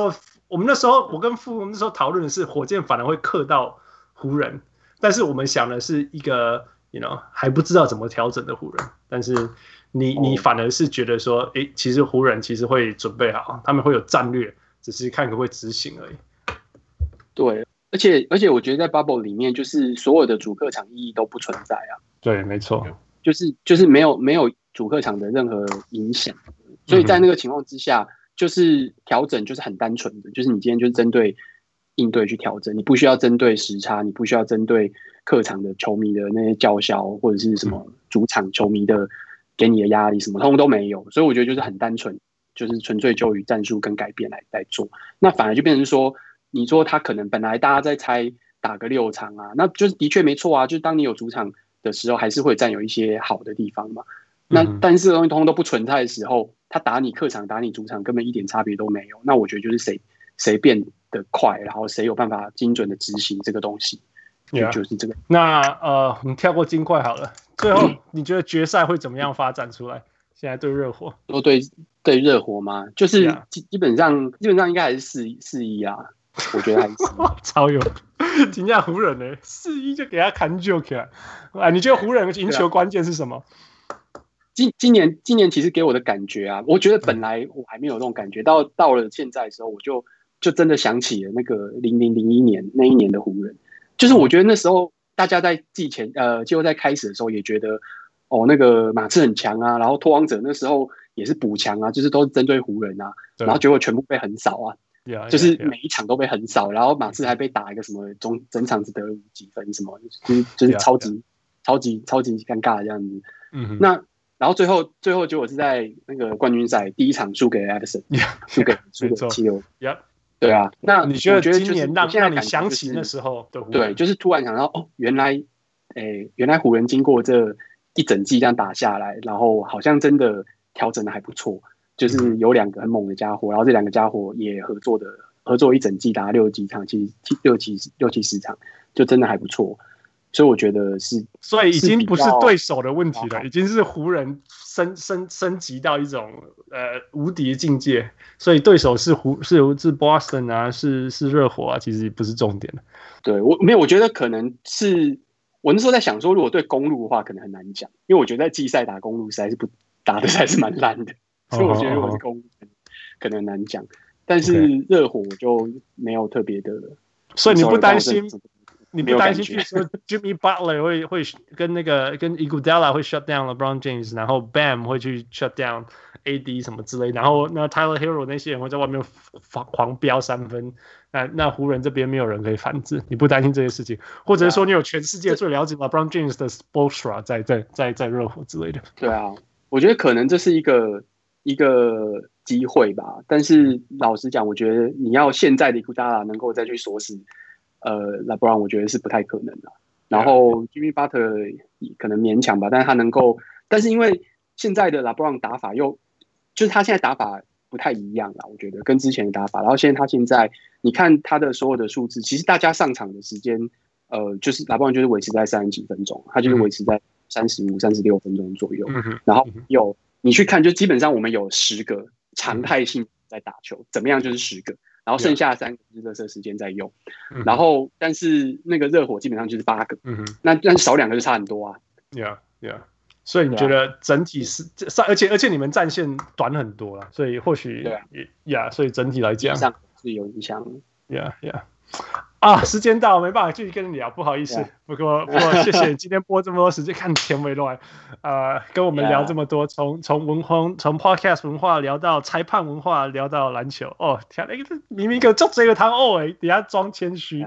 我們那時候我跟傅我們那時候討論的是火箭反而會克到湖人，但是我們想的是一個 you know 還不知道怎麼調整的湖人，但是你你反而是覺得說，哎、欸，其實湖人其實會準備好，他們會有戰略，只是看可不可以執行而已。 對，而且而且我覺得在 Bubble 裡面，就是所有的主客場意義都不存在啊。對， 沒錯， 就是就是沒有沒有主客場的任何影響，所以在那個情況之下，就是調整就是很單純的，就是你今天就是針對應對去調整，你不需要針對時差，你不需要針對客場的球迷的那些叫囂或者是什麼主場球迷的給你的壓力，什麼通通都沒有，所以我覺得就是很單純，就是純粹就以戰術跟改變來來做，那反而就變成說。你說他可能本來大家在猜打個六場啊，那就是的確沒錯啊，就是當你有主場的時候，還是會佔有一些好的地方嘛。那但是東西通通都不存在的時候，他打你客場打你主場根本一點差別都沒有。那我覺得就是誰誰變得快，然後誰有辦法精準的執行這個東西，就、yeah. 就是這個。 那呃，我們跳過金塊好了。最後你覺得決賽會怎麼樣發展出來？現在對熱火， 說對對熱火嗎？就是基基本上基本上應該還是四四一啊。我覺得還是超有，評價湖人呢、欸，四一就給他砍就起來。啊，你覺得湖人贏球關鍵是什麼？ 今今年今年其實給我的感覺啊，我覺得本來我還沒有那種感覺，到到了現在的時候，我就就真的想起了那個零零零一年那一年的湖人，就是我覺得那時候大家在季前呃季後賽開始的時候也覺得哦那個馬刺很強啊，然後拓荒者那時候也是補強啊，就是都是針對湖人啊，然後結果全部被橫掃啊。 Yeah, yeah, 就是每一場都被橫掃，然後馬刺還被打一個什麼中整場只得幾分什麼，就是就是超級 yeah, yeah. 超級超級尷尬的這樣子。嗯、那然後最後最後結果是在那個冠軍賽第一場輸給 Addison， 輸、yeah, 給輸給七六。 Yeah, 對啊，那你覺得今年讓讓你想起那時候的湖人？ 對，就是突然想到哦，原來誒、欸、原來湖人經過這一整季這樣打下來，然後好像真的調整的還不錯。就是有兩個很猛的家伙，然後這兩個家伙也合作的合作一整季打六幾場，其實六七六七十場，就真的還不錯。所以我覺得是， 所以已經不是對手的問題了，已經是湖人升升升級到一種呃無敵的境界。所以對手是湖是是 Boston 啊，是是熱火啊，其實不是重點。 對我沒有，我覺得可能是我那時候在想說，如果對公鹿的話，可能很難講，因為我覺得在季賽打公鹿實在是不打的還是蠻爛的。所以我覺得我是公鹿可能難講，但是熱火我就沒有特別的。 所以你不擔心，你不擔心，據說 Jimmy Butler 會會跟那個跟 Iguodala 會 shut down LeBron James， 然後 Bam 會去 shut down A D 什麼之類，然後那 Tyler Hero 那些人會在外面狂飆三分，那那湖人這邊沒有人可以反制，你不擔心這些事情，或者是說你有全世界最了解 LeBron James 的 Spoelstra 在在在在熱火之類的？ 對啊，我覺得可能這是一個。一個機會吧，但是老實講，我覺得你要現在的伊庫達拉能夠再去鎖死呃 LeBron， 我覺得是不太可能的。然後 Jimmy Butler 可能勉強吧，但是他能夠，但是因為現在的 LeBron 打法又就是他現在打法不太一樣啦，我覺得跟之前的打法。然後現在他現在你看他的所有的數字，其實大家上場的時間，呃，就是 LeBron 就是維持在三十幾分鐘，他就是維持在三十五、三十六分鐘左右，嗯、然後有。你去看，就基本上我們有十個常態性在打球，嗯、怎麼樣就是十個，然後剩下三個是垃圾時間在用，嗯、然後但是那個熱火基本上就是八個，嗯、那但是少兩個就差很多啊。 Yeah, yeah. 所以你覺得整體是，啊、而且而且你們戰線短很多了，所以或許對啊，Yeah， 所以整體來講是有影響。 Yeah, yeah. 啊，時間到，沒辦法繼續跟你聊，不好意思。Yeah. 不過，不過，謝謝你今天播這麼多時間，看田維亂，呃，跟我們聊這麼多，從從文化，從 podcast 文化聊到裁判文化，聊到籃球。哦，天，那個明明一個做這個湯哦，哎，底下裝謙虛。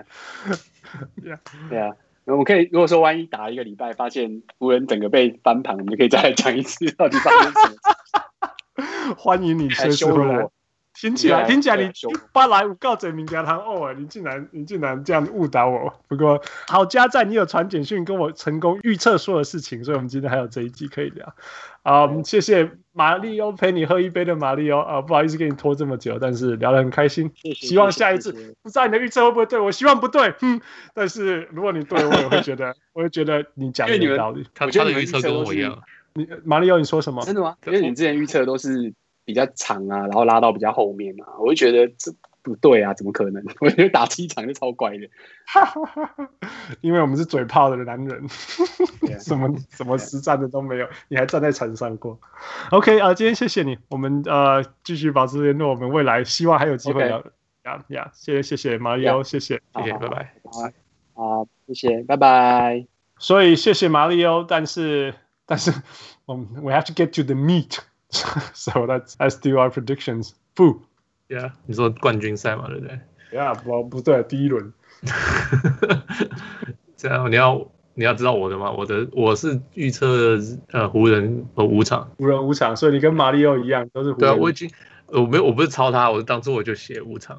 Yeah. 對啊，我們可以如果說萬一打一個禮拜，發現湖人整個被翻盤，我們就可以再來講一次到底發生什麼事。 歡迎你隨時回來。聽起來，聽起來你巴萊五告嘴名家堂哦，你竟然你竟然這樣誤導我。不過好家在你有傳簡訊跟我成功預測所有事情，所以我們今天還有這一集可以聊。啊、嗯，謝謝馬力歐陪你喝一杯的馬力歐啊，不好意思給你拖這麼久，但是聊得很開心。謝謝希望下一次謝謝不知道你的預測會不會對，我希望不對，嗯，但是如果你對，我也會覺得，我會覺得你講的有道理。 他他的預測跟我一樣。 你馬力歐你說什麼？ 真的嗎？因為你之前預測都是比較長啊，然後拉到比較後面啊，我就覺得這不對啊，怎麼可能？我覺得打七場就超怪的。 因為我們是嘴炮的男人，什麼什麼實戰的都沒有，你還站在場上過。OK 啊、呃，今天謝謝你，我們呃繼續保持聯絡，我們未來希望還有機會聊。呀呀，謝謝謝謝馬里奧，謝謝謝謝，拜拜。 好，謝謝，拜拜。 所以謝謝馬里奧，但是但是我們 we have to get to the meat 。So let's let's do our predictions. 不 ，Yeah， 你說冠軍賽嘛，對不對 ？Yeah， 不不對，第一輪。 這樣你要你要知道我的嗎？我的我是預測呃湖人和五場， 湖人五場，所以你跟馬里奧一樣都是湖人。 對啊，我已經我沒有我不是抄他，我當初我就寫五場。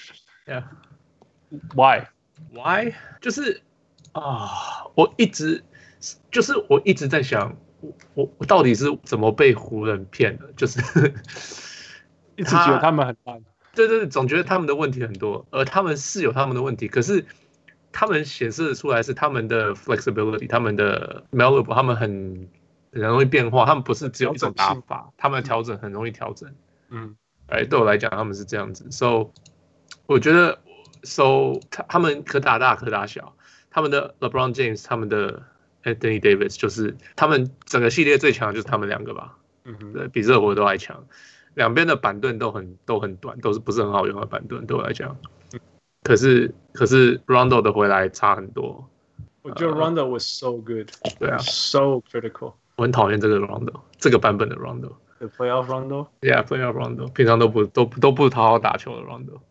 Yeah，Why？ Why？ 就是啊，我一直就是我一直在想。我我到底是怎麼被湖人騙的？就是一直覺得他們很爛， 對對對，總覺得他們的問題很多，而他們是有他們的問題，可是他們顯示出來是他們的 flexibility， 他們的 malleable， 他們很很容易變化，他們不是只有一種打法，他們的調整很容易調整。嗯，哎，對我來講他們是這樣子 ，so 我覺得 so 他他們可打大可打小，他們的 LeBron James， 他們的Anthony Davis 就是他們整個系列最強的就是他们兩個吧，嗯哼，对，比熱火都還強。兩邊的板凳都很都很短，都是不是很好用的板凳，對我來講。可是可是 Rondo 的回來差很多。 我覺得 Rondo was so good， 對啊 ，so critical。 我很討厭這個 Rondo， 這個版本的 Rondo。The playoff Rondo。Yeah， playoff Rondo， 平常都不都都不好好打球的 Rondo。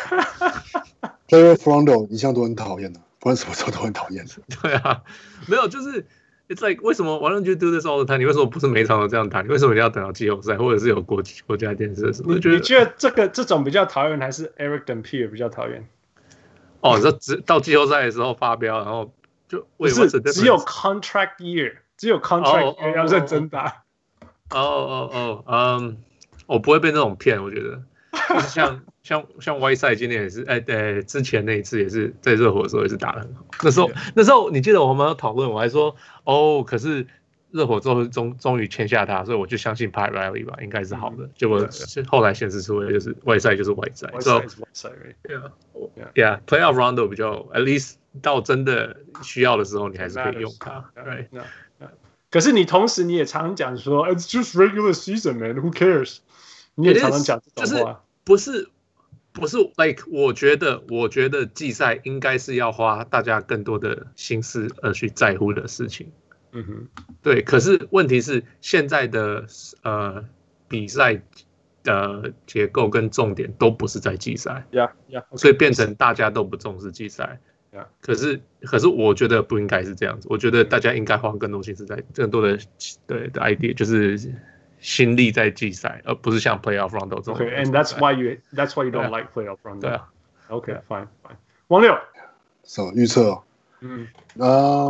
playoff Rondo 一向都很討厭的。不管什麼時候都很討厭。 對啊，沒有，就是 it's like 為什麼 Why don't you do this all the time？ 你為什麼不是每場都這樣打？你為什麼你要等到季後賽，或者是有國國家電視的時候？ 你覺得你覺得這個這種比較討厭，還是 Eric Dampier 比較討厭？ 哦，你說到季後賽的時候發飆，然後就不是只有 contract year， 只有 contract year 要認真打。 哦哦哦，嗯，我不會被那種騙，我覺得就是像。像像 Whiteside 今年也是，哎、欸、哎，之前那一次也是在熱火的時候也是打得很好。那時候那時候你記得我們有討論，我還說哦，可是熱火最後終終於簽下他，所以我就相信 Pat Riley 吧，應該是好的。結果後來顯示出來就是 Whiteside 就是 Whiteside， so yeah yeah playoff Rondo 比較 at least 到真的需要的時候，你還是可以用它。Right？ 可是你同時你也常常講說 ，It's just regular season, man. Who cares？ 你也常常講這種話， 不是。不是 ，like 我覺得，我覺得季賽應該是要花大家更多的心思而去在乎的事情。嗯哼，對。可是問題是，現在的呃比賽的結構跟重點都不是在季賽， yeah, yeah, okay. 所以變成大家都不重視季賽。Yeah. 可是，可是我覺得不應該是這樣子。我覺得大家應該花更多心思在更多的對的 idea， 就是。心力在季賽，而不是像 playoff Rondo 這種。 Okay, and that's why you that's why you don't like playoff Rondo. 對啊。 Okay, fine, fine. 王六， 什麼預測？嗯啊，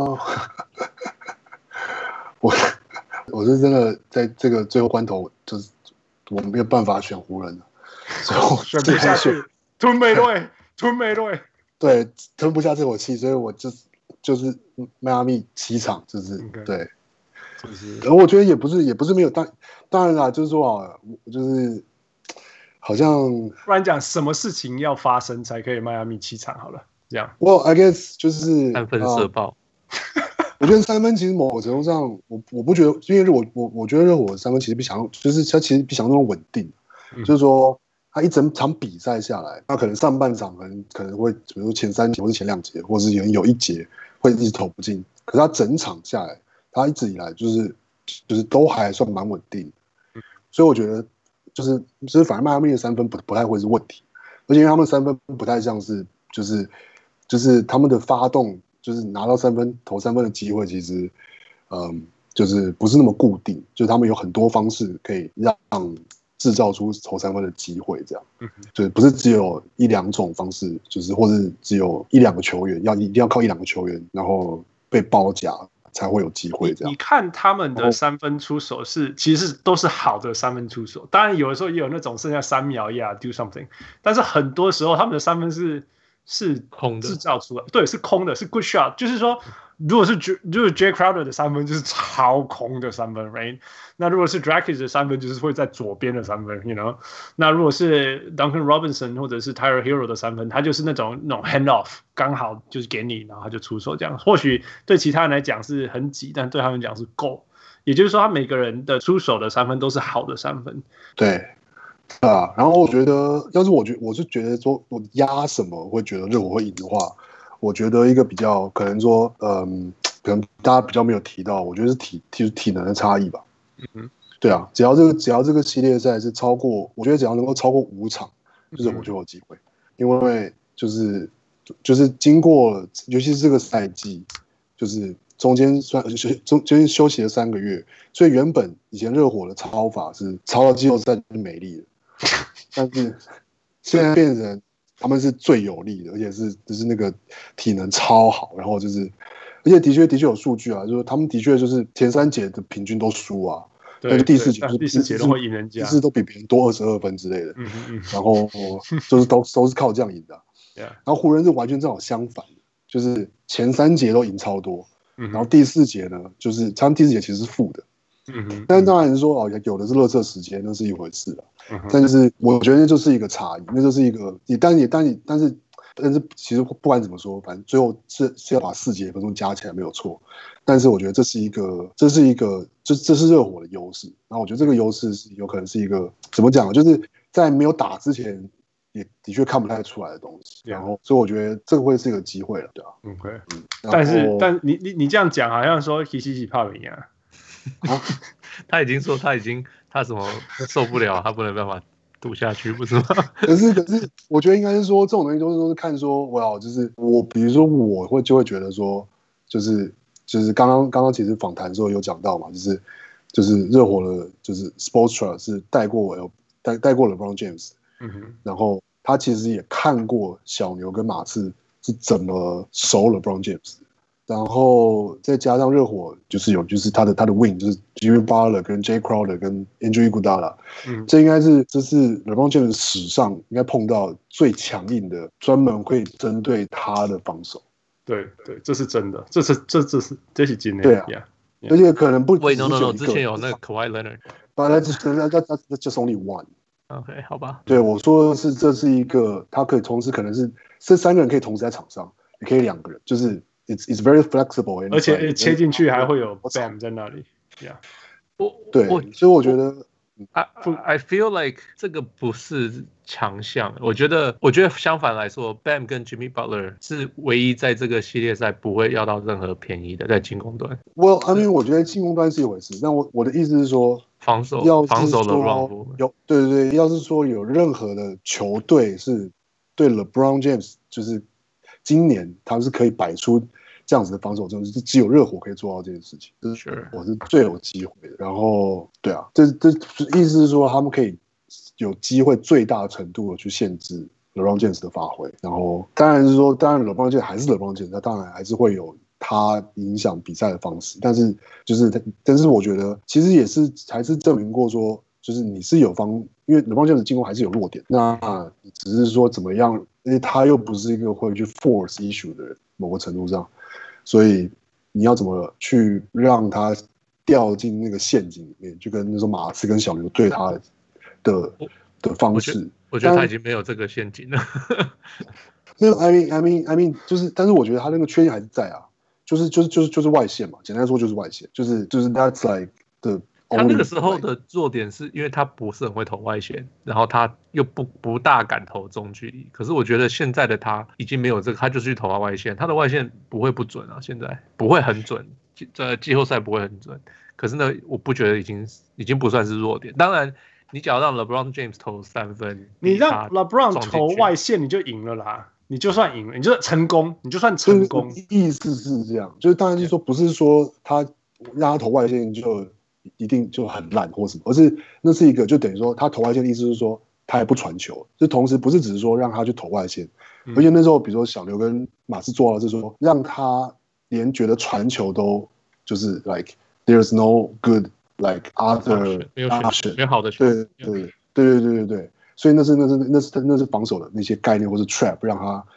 我我是真的在這個最後關頭，就是我沒有辦法選湖人了，所以我選不下去，吞沒對，吞沒對， 對，吞不下這口氣，所以我就就是邁阿密七場，就是對。而我覺得也不是，也不是沒有，當當然啦，就是說啊，就是好像不然講什麼事情要發生才可以邁阿密七場好了，這樣。 Well, I guess 就是三分射爆。 我覺得三分其實某種程度上，我我不覺得，因為我我我覺得熱火三分其實比想，就是他其實比想那種穩定，嗯、就是說他一整場比賽下來，他可能上半場可能可能會，比如說前三節或是前兩節，或是有有一節會一直投不進，可是他整場下來。他一直以來就是就是都還算蠻穩定，所以我覺得就是就是反正邁阿密的三分不不太會是問題，而且因為他們三分不太像是就是就是他們的發動就是拿到三分投三分的機會其實嗯就是不是那麼固定，就是他們有很多方式可以讓製造出投三分的機會，這樣，就是不是只有一兩種方式，就是或是只有一兩個球員要一定要靠一兩個球員然後被包夾。才會有機會這樣。 你看他們的三分出手是，其實都是好的三分出手。當然有的時候也有那種剩下三秒呀 do something， 但是很多時候他們的三分是是空的， 製造出來，對，是空的，是 good shot。就是說， 如果是如果 Jay Crowder 的三分就是超空的三分 ，right？ 那如果是 Dragic 的三分就是会在左邊的三分 ，you know？ 那如果是 Duncan Robinson 或者是 Tyler Hero 的三分，他就是那種那種 hand off， 剛好就是給你，然後他就出手這樣。或許對其他人來講是很擠，但對他們講是夠。也就是說，他每個人的出手的三分都是好的三分。 對，啊，然後我覺得，要是我覺我是覺得說，我壓什麼會覺得熱火會贏的話，我覺得一個比較可能說，嗯，可能大家比較沒有提到，我覺得是體體體能的差異吧。嗯哼，對啊，只要這個只要這個系列賽是超過，我覺得只要能夠超過五場，就是我就有機會，因為就是就是經過，尤其是這個賽季，就是。中間算中間休息了三個月，所以原本以前熱火的操法是操到季後賽就是沒力的，但是現在變成他們是最有力的，而且是就是那個體能超好，然後就是而且的確的確有數據啊，就是他們的確就是前三節的平均都輸啊，但是第四節就是第四節都會贏人家， 第四都比別人多二十二分之類的， 嗯嗯然後就是都都是靠這樣贏的、啊，然後湖人是完全正好相反的，就是前三節都贏超多。然後第四節呢，就是他們第四節其實是負的，嗯哼，但是當然是說哦，有的是垃圾時間，那是一回事了。嗯、但就是我覺得那就是一個差異，那就是一個你，但也但你但是但是其實不管怎麼說，反正最後是是要把四節分鐘加起來沒有錯。但是我覺得這是一個，這是一個，這這是熱火的優勢。然後我覺得這個優勢是有可能是一個怎麼講，就是在沒有打之前。也的確看不太出來的東西，然後所以我覺得這個會是一個機會了，對吧、啊、 ？OK，、嗯、但是但你你你這樣講，好像說希西奇怕贏啊， 他已經說他已經他什麼受不了，他不能辦法賭下去，不是嗎？ 可是可是，我覺得應該是說這種東西都是都是看說，哇，就是我比如說我會就會覺得說，就是就是剛剛剛剛其實訪談的時候有講到嘛，就是就是熱火的，就是 Spoelstra 是帶過我帶帶過 LeBron James。嗯哼，然後他其實也看過小牛跟馬刺是怎麼守 LeBron James， 然後再加上熱火就是有就是他的他的 wing 就是 Jimmy Butler 跟 Jay Crowder 跟 Andrew Iguodala， 嗯，這應該是這是 LeBron James 史上應該碰到最強硬的專門會針對他的防守。 對對，這是真的，這是這這是這是真的。 對啊， yeah, yeah. 而且可能不只是 Wait, no, no, no, 之前有那個 Kawhi Leonard，But that's that's that's just only one。OK， 好吧。 對，我說的是，這是一個，他可以同時可能是這三個人可以同時在場上，也可以兩個人，就是 it's it's very flexible， 而且切進去還會有 Bam 在那裡。Yeah， 我對，所以我覺得 I I feel like 這個不是強項，我覺得我覺得相反來說 ，Bam 跟 Jimmy Butler 是唯一在這個系列賽不會要到任何便宜的，在進攻端。 Well， I mean， 我覺得進攻端是一回事，但我我的意思是說。 防守， 要防守的有對對對，要是說有任何的球隊是對 LeBron James， 就是今年他是可以擺出這樣子的防守，就是只有熱火可以做到這件事情，這是我是最有機會的。然後對啊，這這意思是說他們可以有機會最大程度的去限制 LeBron James 的發揮。然後當然是說，當然 LeBron James 還是 LeBron James，他當然還是會有。他影響比賽的方式，但是就是，但是我覺得其實也是還是證明過說，就是你是有方，因為 LeBron James 進攻還是有弱點，那只是說怎麼樣，因為他又不是一個會去 force issue 的人，某個程度上，所以你要怎麼去讓他掉進那個陷阱裡面，就跟那時候馬刺跟小牛對他的的，的方式我，我覺得他已經沒有這個陷阱了。 沒有 I mean I mean I mean 就是，但是我覺得他那個缺陷還是在啊。就是就是就是就是外線嘛，簡單說就是外線，就是就是 that's like the。 他那個時候的弱點是因為他不是很會投外線，然後他又不不大敢投中距離。可是我覺得現在的他已經沒有這個，他就是去投他外線，他的外線不會不準啊，現在不會很準，在季後賽不會很準。可是呢，我不覺得已經已經不算是弱點。當然，你只要讓 LeBron James 投三分， 你讓 LeBron 投外線，你就贏了啦。你就算贏了，你就成功，你就算成功。 意思是這樣，就是當然是說，不是說他讓他投外線就一定就很爛或什麼，而是那是一個就等於說他投外線的意思是說他也不傳球，就同時不是只是說讓他去投外線，嗯、而且那時候比如說小牛跟馬刺做到就是說讓他連覺得傳球都就是 like there's no good like other 沒有選沒有好的球，對對對對對對對。所以那是那是那是那是防守的那些概念或是 trap， 讓他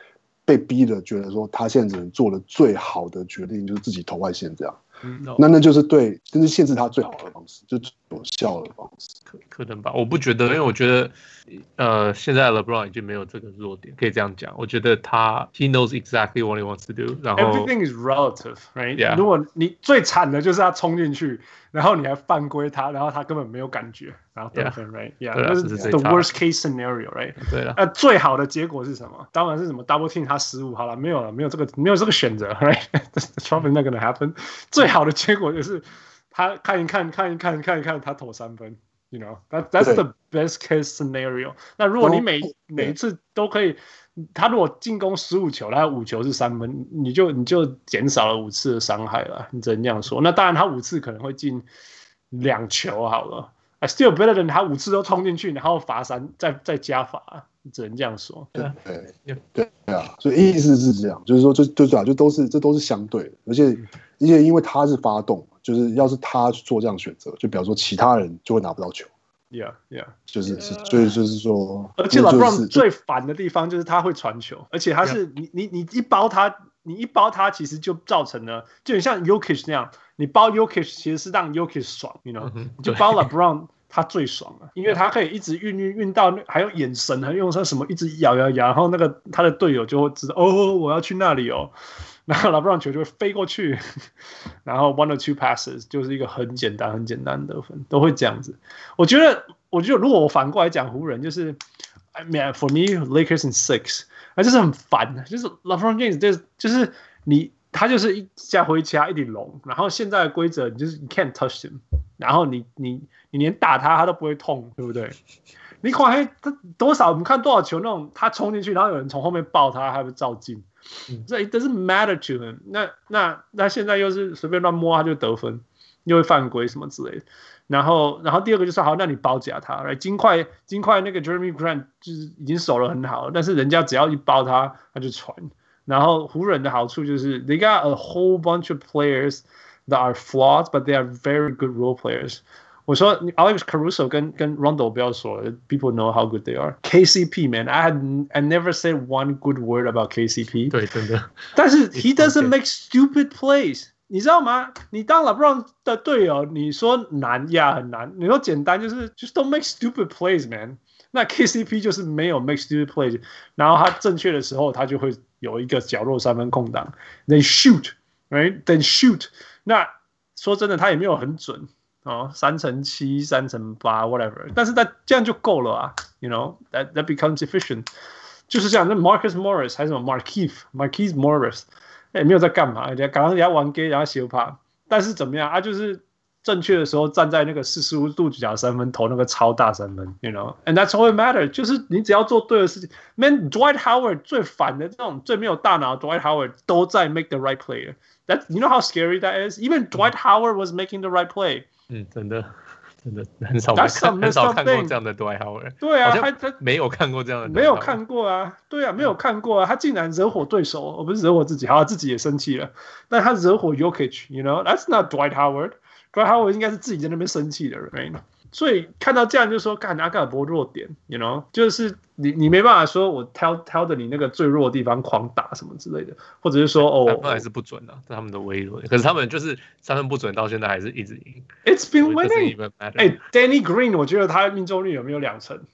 被逼的觉得說他現在只能做的最好的決定就是自己投外線這樣。 嗯， 那那就是对，這是限制他最好的方式，就最有效的方式。 可可能吧，我不覺得，因為我覺得，呃，現在 LeBron 已經沒有這個弱點，可以這樣講。我覺得他 he knows exactly what he wants to do。然後 everything is relative, right？、 Yeah. 如果你最慘的就是他衝進去，然後你還犯規他，然後他根本沒有感覺，然後得分 ，right？ Yeah， 那是 the worst case scenario，right？ 對了， 那最好的結果是什麼？當然是什麼 double team 他失誤，好了，沒有了，沒有這個沒有這個選擇 ，right？That's probably not gonna happen。最好的結果就是他看一看看一看看一看他投三分。You know, that that's the best case scenario. 那如果你每每一次都可以，他如果進攻十五球，他五球是三分，你就你就減少了五次的傷害了。你只能這樣說。那當然，他五次可能會進兩球好了。I still better than 他五次都衝進去，然後罰三，再再加罰，你只能這樣說。 對對對對啊，所以意思是這樣，就是說，就就對啊，就都是這都是相對的，而且而且因為他是發動。就是要是他做這樣選擇，就比方說其他人就會拿不到球。 Yeah, yeah， 就是是，所以就是說， 而且 LeBron 最煩的地方就是他會傳球，而且他是你你你一包他，你一包他，其實就造成了，就很像 Jokic 那樣，你包 Jokic 其實是讓 Jokic 爽 ，you know，、嗯、你就包 LeBron 他最爽了，因為他可以一直運運運到，還有眼神，還用說什麼一直搖搖搖，然後那個他的隊友就會知道，哦，我要去那裡哦。然後 LeBron 球就會飛過去，然後 one or two passes 就是一個很簡單、很簡單的得分，都會這樣子。我覺得，我覺得如果我反過來講湖人，就是 I mean for me Lakers in six， 那就是很煩，就是 LeBron James 就是就是你他就是一家回家一頂龍，然後現在的規則你就是你 can't touch him， 然後你你你連打他他都不會痛，對不對？你看他多少，我們看多少球那種他衝進去，然後有人從後面抱他，還會照進。這 it doesn't matter to him 那。那那那現在又是隨便亂摸他就得分，又會犯規什麼之類的。然後然後第二個就是好，那你包夾他，來金塊金塊那個 Jeremy Grant 就是已經守得很好了，但是人家只要一包他，他就傳。然後湖人的好處就是 they got a whole bunch of players that are flawed, but they are very good role players。我說 Alex Caruso 跟跟 Rondo 不要說了 ，people know how good they are. K C P man, I had I never said one good word about K C P. 對，真的。 但是 he doesn't make stupid plays， 你知道嗎？你當 LeBron 的隊友，你說難呀很難，你說簡單就是 just don't make stupid plays, man。那 K C P 就是沒有 make stupid plays， 然後他正確的時候，他就會有一個角落三分空檔 ，then shoot, right? Then shoot。那說真的，他也沒有很準。哦，三乘七、三乘八 ，whatever， 但是他這樣就夠了啊 ，you know that that becomes efficient， 就是這樣。那 Marcus Morris 還是什麼 Markieff Markieff Morris， 也沒有在幹嘛，人家剛剛人家玩 gay， 然後斜趴，但是怎麼樣啊？就是正確的時候站在那個四十五度角三分投那個超大三分 ，you know，and that's all it matters， 就是你只要做對的事情。Man Dwight Howard 最煩的這種最沒有大腦 Dwight Howard 都在 make the right play， that you know how scary that is， even Dwight Howard was making the right play。嗯， 真的，真的很少看，很少看過這樣的 Dwight Howard。 對啊，他他沒有看過這樣的， 沒有看過啊。對啊，沒有看過啊。他竟然惹火對手，我不是惹火自己，好，自己也生氣了。但他惹火 Jokic，you know，that's not Dwight Howard。Dwight Howard 應該是自己在那邊生氣的人。所以看到這樣就說，幹阿卡伯弱點 ，you know， 就是你你沒辦法說我挑挑的你那個最弱的地方狂打什麼之類的，或者是說哦， 三分還是不準的、啊，這他們的微弱。可是他們就是三分不準，到現在還是一直贏。 It's been winning。哎、欸、，Danny Green， 我覺得他命中率有沒有兩成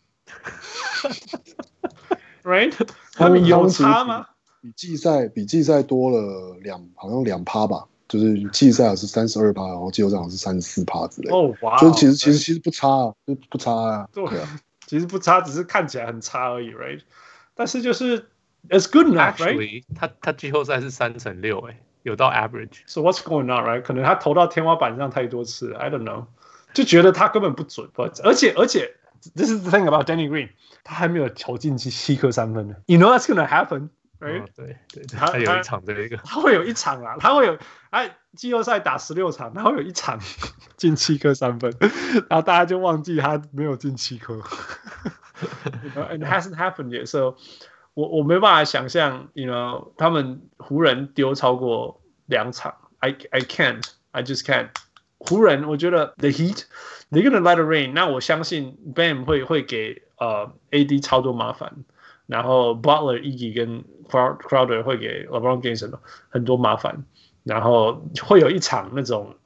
？Right？ 他們有差嗎？ 比季賽比季賽多了兩，好像兩趴吧。就是季賽是三十二趴，然後季後賽是三十四趴之類的。哦，哇！所以其實其實其實不差啊，就不差啊。對啊， 其實不差，只是看起來很差而已 ，right？ 但是就是 it's good enough， right？ 他他季後賽是三成六，哎，有到 average。 So what's going on, right？ 可能他投到天花板上太多次了 ，I don't know， 就覺得他根本不準。而且而且 ，this is the thing about Danny Green， 他還沒有投進七七顆三分呢。You know that's gonna happen。Right? 哦、對對，他，他有一場這個， 他會有一場啦，他會有，哎，季後賽打十六場，他會有一場進七顆三分，然後大家就忘記他沒有進七顆。And it hasn't happened yet, so 我我沒辦法想象 ，you know， 他們湖人丟超過兩場 ，I I can't, I just can't。湖人，我覺得 the Heat, they're gonna let it rain。那我相信 Bam 會會給呃 A D 超多麻煩。 然後 Butler、Iggy 跟 Crowder 會給 LeBron James 很多麻煩，然後會有一場那種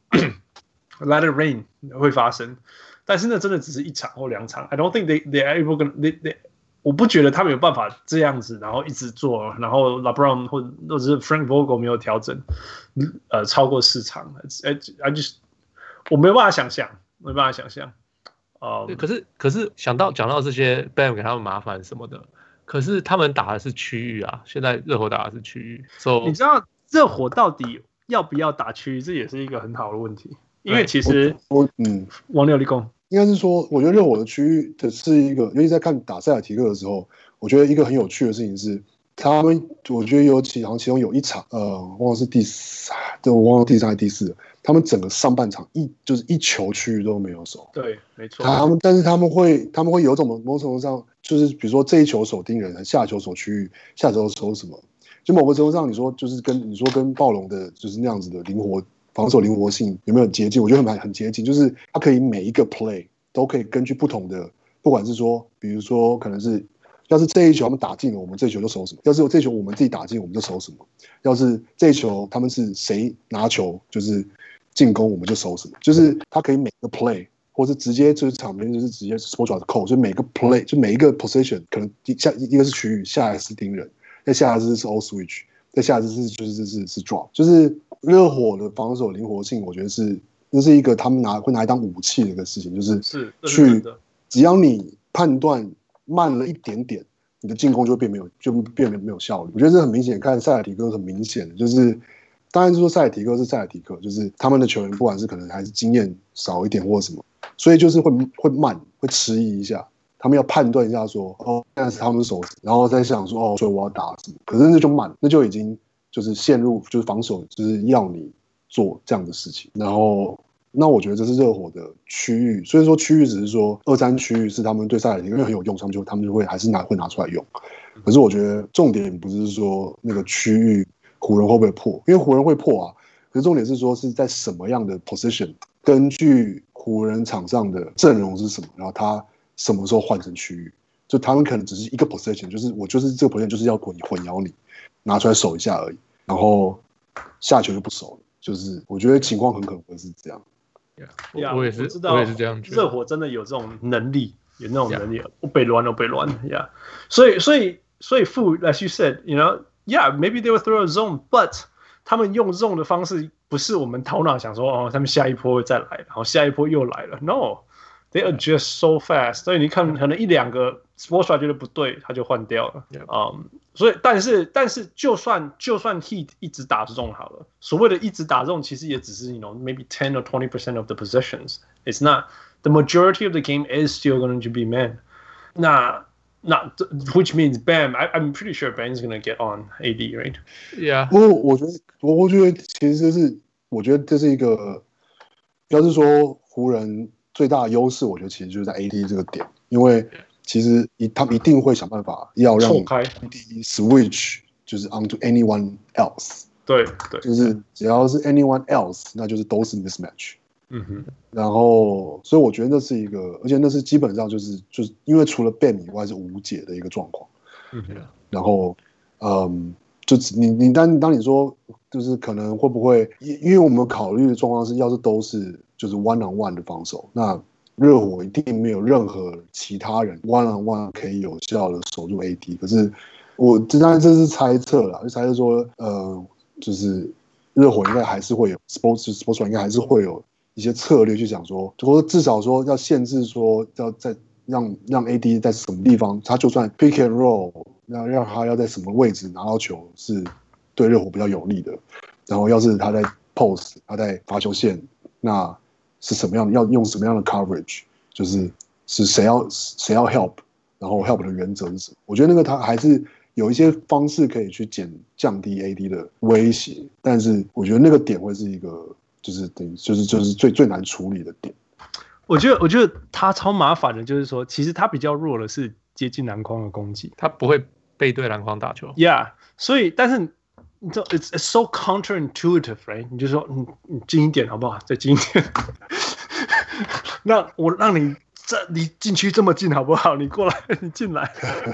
Let it rain 會發生，但是那真的只是一場或兩場。I don't think they they are able to they they 我不覺得他們有辦法這樣子，然後一直做，然後 LeBron 或或者是 Frank Vogel 沒有調整，呃，超過四場 ，I I just 我沒有辦法想象，沒辦法想象。哦、um, 可是可是想到講到這些 Bam 給他們麻煩什麼的，可是他們打的是區域啊，現在熱火打的是區域， so, 你知道熱火到底要不要打區域，這也是一個很好的問題，因為其實我，我嗯， 王六立功應該是說，我覺得熱火的區域的是一個，尤其在看打塞爾提克的時候，我覺得一個很有趣的事情是，他們我覺得有其好像其中有一場，呃，忘了是第三，對，我忘了第三還是第四。他們整個上半場一就是一球區域都沒有守， 對，沒錯。 他們但是他們會他們會有種某種程度上，就是比如說這一球守盯人，下球守區域，下球守什麼？就某個程度上，你說就是跟你說跟暴龍的就是那樣子的靈活防守靈活性有沒有很接近？我覺得很很接近，就是他可以每一個 play 都可以根據不同的，不管是說比如說可能是要是這一球他們打進了，我們這一球就守什麼；要是這一球我們自己打進，我們就守什麼；要是這一球他們是誰拿球，就是。進攻我們就守什麼，就是他可以每個 play， 或是直接就是場邊就是直接 sport 扣，就每個 play 就每一個 position 可能下一個是區域，下來是盯人，再下來是是 all switch， 再下來是就是是是是 drop， 就是熱火的防守靈活性，我覺得是那是一個他們拿會拿來當武器的一個事情，就是是去只要你判斷慢了一點點，你的進攻就會變沒有就變沒有效率。我覺得這很明顯，看塞爾提克很明顯的就是。當然是說塞爾提克是塞爾提克，就是他們的球員不管是可能還是經驗少一點或什麼，所以就是會會慢，會遲疑一下，他們要判斷一下說，哦，現在是他們手，然後再想說，哦，所以我要打什麼？可是那就慢，那就已經就是陷入就是防守，就是要你做這樣的事情。然後，那我覺得這是熱火的區域，所以說區域只是說二三區域是他們對塞爾提克因為很有用，他們就他們就會還是拿會拿出來用。可是我覺得重點不是說那個區域。湖人會不會破？因為湖人會破啊。可是重點是說是在什麼樣的 position， 根據湖人場上的陣容是什麼，然後他什麼時候換成區域，就他們可能只是一個 position， 就是我就是這個 position 就是要混混淆你，拿出來守一下而已，然後下球就不守了。就是我覺得情況很可能會是這樣。 Yeah, 我也是， 我知道， 我也是這樣覺得。 熱火真的有這種能力，有那種能力，我被亂了，被亂了呀。所以，所以，所以，負 ，as you said，you know。Yeah, maybe they will throw a zone, but 他們用 zone 的方式不是我們頭腦想說哦，他們下一波會再來，然後下一波又來了。No, they adjust so fast. 所以你看，可能一兩個 Spoelstra 覺得不對，他就換掉了。嗯、yeah. um, 所以但是但是就算就算 Heat 一直打 zone 好了，所謂的一直打 zone 其實也只是 you know maybe ten or twenty percent of the possessions. It's not the majority of the game is still going to be man. 那Not which means Bam. I, I'm pretty sure Bam's gonna get on A D, right? Yeah. 不過我覺得，我覺得其實這是，我覺得這是一個，要是說湖人最大的優勢，我覺得其實就是在 A D 這個點，因為其實一他們一定會想辦法要讓 A D switch 就是 onto anyone else。 對對， 就是只要是 anyone else， 那就是都是 mismatch。 嗯哼， 然後，所以我覺得那是一個，而且那是基本上就是就是因為除了 Bam 以外是無解的一個狀況。 嗯哼， 然後，嗯，就你你當當你說就是可能會不會，因因為我們考慮的狀況是，要是都是就是 one on one 的防守，那熱火一定沒有任何其他人 one on one 可以有效的守住 A D。可是我這當然這是猜測啦，就猜測說，呃，就是熱火應該還是會有 sports sports 應該還是會有。一些策略去講說，或者至少說要限制說要在讓讓 A D 在什麼地方，他就算 pick and roll，讓讓他要在什麼位置拿到球是對熱火比較有利的。然後要是他在 post， 他在罰球線，那是什麼樣的？要用什麼樣的 coverage？就是是誰要誰要 help， 然後 help 的原則是什麼？我覺得那個他還是有一些方式可以去減降低 A D 的威脅，但是我覺得那個點會是一個。就是等於就是就是最最難處理的點。 我覺得我覺得他超麻煩的，就是說，其實他比較弱的是接近籃筐的攻擊， 他不會背對籃筐打球。 Yeah， 所以但是你知道 ，it's it's so counterintuitive, right？ 你就說，你你近一點好不好？再近一點。那我讓你這離禁區這麼近好不好？你過來，你進來，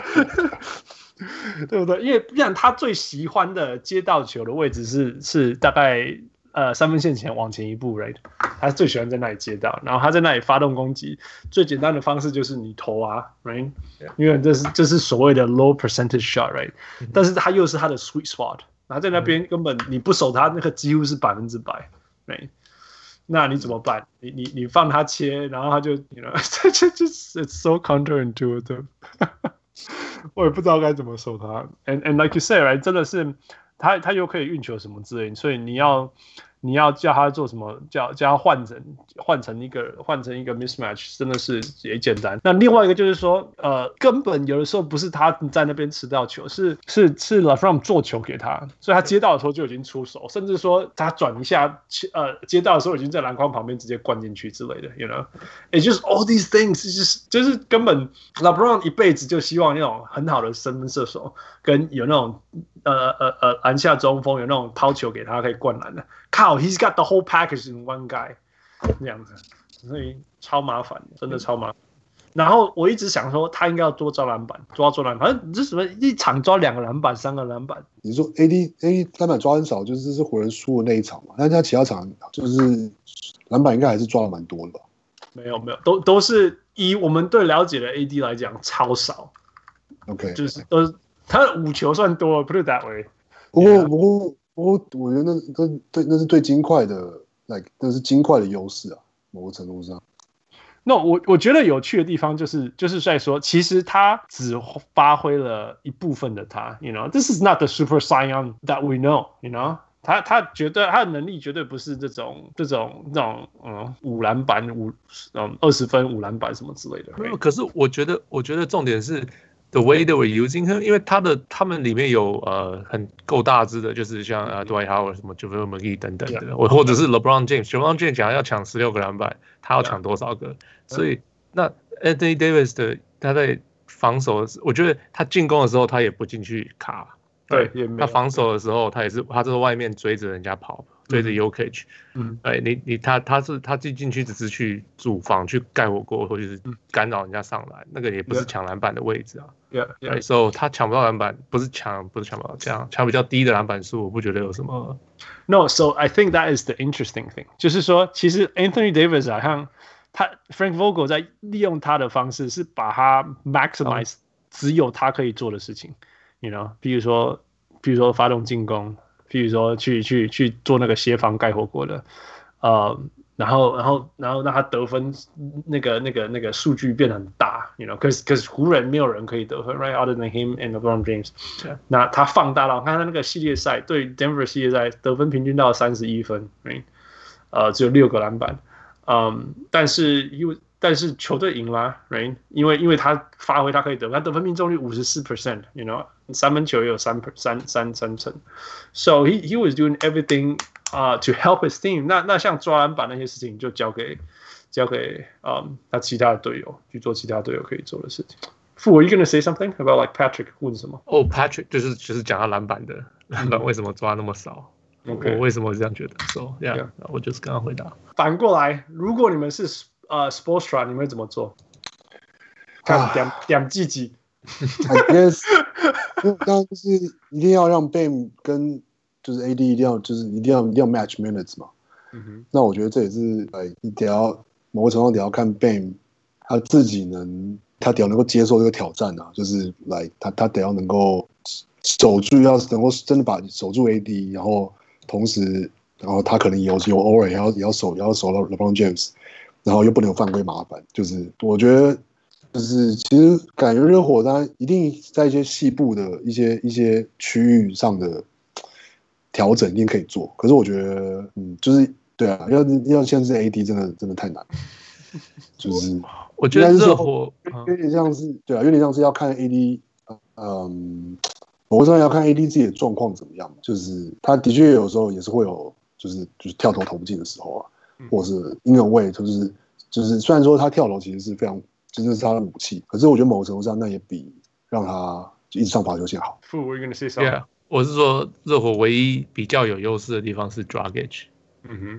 對不对？因為不然他最喜歡的接到球的位置是是大概呃三分線前往前一步 ，right？ 他最喜歡在那裡接到，然後他在那裡發動攻擊。最簡單的方式就是你投啊 ，right？ 因為這是這是所謂的 low percentage shot，right？、嗯、但是他又是他的 sweet spot， 然後在那邊根本你不守他，那個幾乎是百分之百 ，right？那你怎麼辦？你你你放他切，然後他就，you know， 這這 it's so counterintuitive 我也不知道該怎麼守他。And and like you say, right， 真的是他他又可以運球什麼之類的，所以你要你要叫他做什麼，叫叫他換成換成一個換成一個 mismatch， 真的是也簡單。那另外一個就是說，呃，根本有的時候不是他在那邊吃到球，是是是 LeBron 做球給他，所以他接到的時候就已經出手，甚至說他轉一下，呃，接到的時候已經在籃筐旁邊直接灌進去之類的 ，you know，it just all these things， 就是就是根本 LeBron 一輩子就希望那種很好的三分射手，跟有那種呃呃呃籃下中鋒，有那種拋球給他可以灌籃的。靠 ，He's got the whole package in one guy， 這樣子，所以超麻煩，真的超麻煩。然後我一直想說，他應該要多抓籃板，抓抓籃板，反正這什麼一場抓兩個籃板、三個籃板。 你說 A D A D 籃板抓很少，就是是湖人輸的那一場嘛？但是他其他場就是籃板應該還是抓的蠻多的吧？ 沒有沒有，都都是以我們對了解的 A D 來講超少。 OK， 就是都是他的五球算多 ，put it that way。 不過不過。我我覺得那那對那是對金塊的 ，like 那是金塊的優勢啊，某個程度上。 那、no, 我我覺得有趣的地方就是就是在說，其實他只發揮了一部分的他 ，you know，this is not the super saiyan that we know，you know， 他他絕對他的能力絕對不是這種這種這種嗯五籃板五嗯二十分五籃板什麼之類的。 沒有，可是我覺得我覺得重點是。The way they were using him，因為他的他們裡面有呃很夠大只的，就是像呃 Dwight Howard 什麼 JaVale McGee 等等的，我、yeah. 或者是 LeBron James，LeBron James 講要搶十六個籃板，他要搶多少個？ Yeah. 所以那 Anthony Davis 的他在防守，我覺得他進攻的時候他也不進去卡，對，他防守的時候他也是他在外面追着人家跑。追着 Jokic， 嗯，哎，你你他他是他進進去只是去主防去蓋火鍋，或者是干擾人家上籃，那個也不是搶籃板的位置啊。 Yeah, yeah. Right, so 他搶不到籃板，不是搶不是搶不到，這樣搶比較低的籃板數，我不覺得有什麼。 No, so I think that is the interesting thing， 就是說，其實 Anthony Davis 好像他 Frank Vogel 在利用他的方式是把他 maximize 只有他可以做的事情 ，you know， 比如說比如說發動進攻。比如說去去去做那個協防蓋火鍋的，呃，然後然後然後讓他得分那個那個那個數據變得很大 ，you know， 可是可是湖人沒有人可以得分 ，right other than him and LeBron James。那他放大到看他那個系列賽對 Denver 系列賽得分平均到三十一分 ，right， 呃，只有六個籃板，嗯，但是因為但是球隊贏了 ，right， 因為因為他發揮他可以得分，他得分命中率五十四 percent，you know。三分球也有三三三三成 ，so he he was doing everything 啊、uh, to help his team 那。那那像抓籃板那些事情就交給交給嗯他其他的隊友去做其他隊友可以做的事情。Fu, are you gonna say something about like Patrick 問什麼？ 哦、oh, ，Patrick 就是就是講他籃板的籃板為什麼抓那麼少？ Okay. 我為什麼這樣覺得 ？So yeah，, yeah. 我就是剛剛回答。 反過來，如果你們是呃 Spoelstra， 你們會怎麼做？看點點自己。 I guess， 當然就是一定要讓 Bam 跟就是 A D 一定要就是一定要一定要 match minutes 嘛。嗯、那我覺得這也是呃，你得要某個程度得要看 Bam 他自己能，他得要能夠接受這個挑戰啊，就是來他他得要能夠守住，要能夠真的把守住 A D， 然後同時然後他可能有有偶爾也要也要守也要守到 LeBron James， 然後又不能有犯規麻煩，就是我覺得。就是其實感覺熱火當然一定在一些細部的一些一些區域上的調整一定可以做，可是我覺得嗯就是對啊，要要限制 A D 真的真的太難，就是我覺得熱火有點像是對啊，有點像是要看 A D， 嗯，某種程度要看 A D 自己的狀況怎麼樣，就是他的確有時候也是會有就是就是跳投投不進的時候啊，或者是 in a way 就是就是雖然說他跳投其實是非常。真的是他的武器，可是我覺得某個程度上，那也比讓他就一直上罰球線好。 Fu, we're gonna say something. Yeah, 我是說熱火唯一比較有優勢的地方是 Dragic。 嗯哼，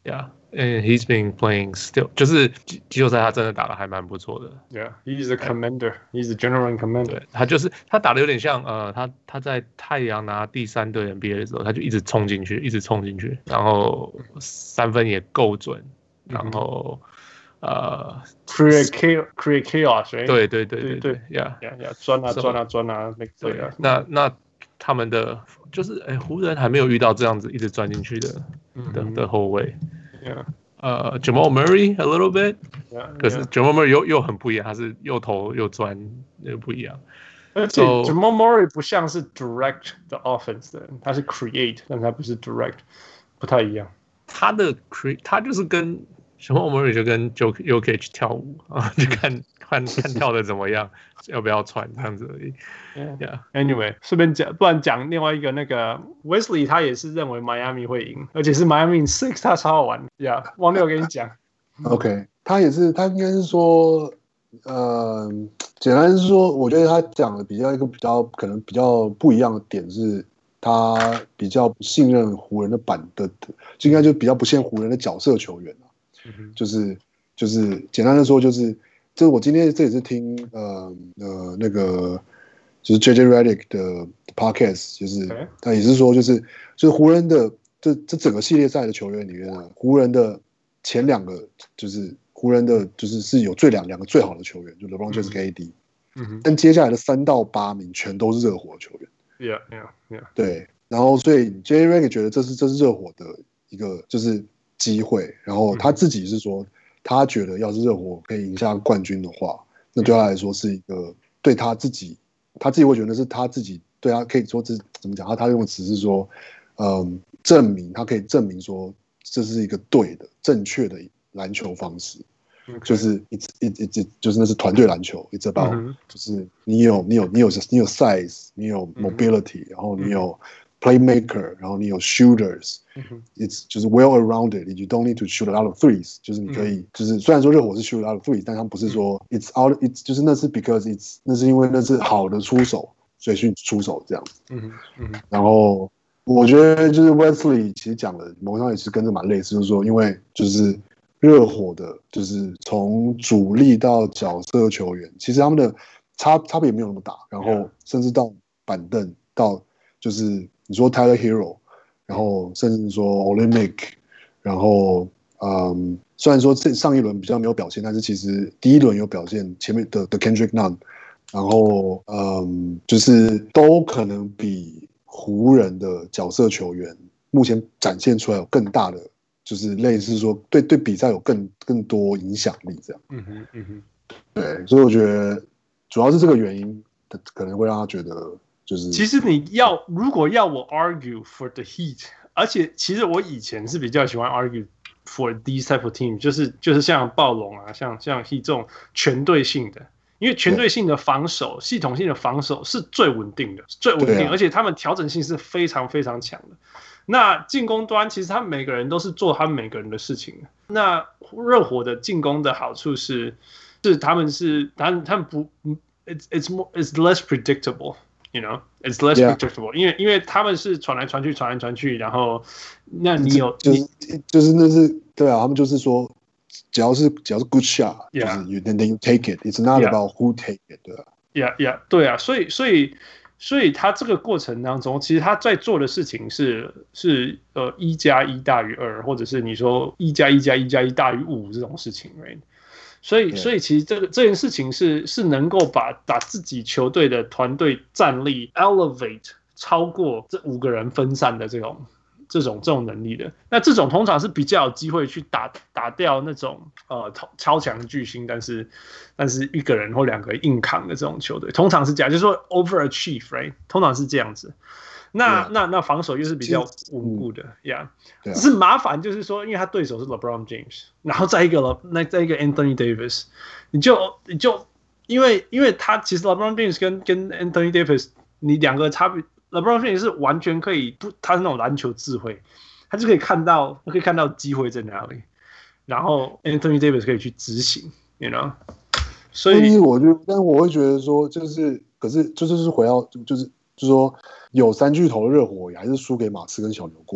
Yeah, and he's been playing still， 就是季後賽他真的打得還蠻不錯的。 Yeah, he's a commander. He's a general commander. 對，他就是他打得有點像呃，他他在太陽拿第三隊 N B A 的時候，他就一直衝進去，一直衝進去，然後三分也夠準，然後、嗯、呃 create chaos, create chaos，right? 對對對對對 ，Yeah Yeah Yeah， 鑽啊鑽啊鑽啊，對啊。 那那他們的就是哎，湖人還沒有遇到這樣子一直鑽進去的、嗯、的的後衛。 Yeah. 呃、uh, ，Jamal Murray a little bit， yeah, 可是 Jamal Murray 又又很不一樣，他是又投又鑽，又不一樣。 而且 Jamal Murray 不像是 direct the offense 的人，他是 create， 但他不是 direct， 不太一樣。 他的 create， 他就是跟 Jamal Murray 就跟 Jokic 跳舞啊，就看看看跳的怎麼樣，要不要傳這樣子而已。 Yeah. Yeah. Anyway， 順便講，不然講另外一個那個 Wesley， 他也是認為 Miami 會贏，而且是 Miami Six， 他超好玩。Yeah， 王六跟你講。 OK， 他也是，他應該是說，呃，簡單是說，我覺得他講的比較一個比較可能比較不一樣的點是，他比較不信任湖人的板的，就應該就比較不信任湖人的角色球員、嗯、就是就是簡單的說，就是這我今天這也是聽呃呃那個。就是 J J Redick 的 podcast， 就是他也是說，就是就是湖人的這這整個系列賽的球員裡面呢，湖人的前兩個就是湖人的就是是有最兩兩個最好的球員，就 LeBron James 跟 A D， 嗯哼，但接下來的三到八名全都是熱火的球員 ，Yeah Yeah Yeah， 對，然後所以 J J Redick 覺得這是這是熱火的一個就是機會，然後他自己是說，他覺得要是熱火可以贏下冠軍的話，那對他來說是一個對他自己。他自己會覺得是他自己對他可以說這怎麼講？他他用的詞是說，嗯，證明他可以證明說這是一個對的、正確的籃球方式， okay. 就是 it's it it it 就是那是團隊籃球 ，it's about、嗯、就是你有你有你有你有 size， 你有 mobility，、嗯、然後你有 playmaker， 然後你有 shooters，it's、嗯、就是 well arounded，you don't need to shoot a lot of threes， 就是你可以、嗯、就是雖然說熱火是 shoot a lot of threes， 但他們不是說 it's out it's 就是那是 because it's 那是因為那是好的出手，所以去出手這樣子。嗯嗯、然後我覺得就是 Wesley 其實講的某種上也是跟這蠻類似，就是說因為就是熱火的，就是從主力到角色球員，其實他們的差差別也沒有那麼大，然後甚至到板凳到就是。你說 Tyler Hero， 然後甚至說 Olynyk， 然後嗯，雖然說這上一輪比較沒有表現，但是其實第一輪有表現，前面的的 Kendrick Nunn， 然後嗯，就是都可能比湖人的角色球員目前展現出來有更大的，就是類似說對對比賽有更更多影響力這樣。嗯哼嗯哼，對，所以我覺得主要是這個原因，可能會讓他覺得。就是、 其實你要如果要我 argue for the Heat， 而且其實我以前是比較喜歡 argue for these type of team， 就是就是像暴龍啊，像像 Heat 這種全隊性的，因為全隊性的防守、系統性的防守是最穩定的，最穩定，啊、而且他們調整性是非常非常強的。那進攻端其實他們每個人都是做他們每個人的事情的。那熱火的進攻的好處是，是他們是他們他們不 ，it's it's more it's less predictable。You know, it's less predictable，、yeah. 因為因為他們是傳來傳去，傳來傳去，然後那你有就是你就是那是對啊，他們就是說，只要是只要是 good shot，、yeah. 就是 you then you take it，it's not about who take it， 對啊 ，yeah yeah 對啊，所以所以所以他這個過程當中，其實他在做的事情是是呃一加一大於二，或者是你說一加一加一加一大於五這種事情 ，right？所以，所以其實這個這件事情是是能夠把把自己球隊的團隊戰力 elevate 超過這五個人分散的這種這種這種能力的。那這種通常是比較有機會去打打掉那種呃超強巨星，但是但是一個人或兩個人硬扛的這種球隊，通常是這樣，就是說 overachieve，right？ 通常是這樣子。那、yeah. 那那防守又是比較穩固的呀，只、yeah. 是麻煩就是說，因為他對手是 LeBron James， 然後再一個那再一個 Anthony Davis， 你就你就因為因為他其實 LeBron James 跟跟 Anthony Davis， 你兩個差別 ，LeBron James 是完全可以不，他是那種籃球智慧，他就可以看到可以看到機會在哪裡，然後 Anthony Davis 可以去執行 ，you know， 所以我就但我會覺得說，就是可是就是回到就是就是說。有三巨頭的熱火也還是輸給馬刺跟小牛過、啊，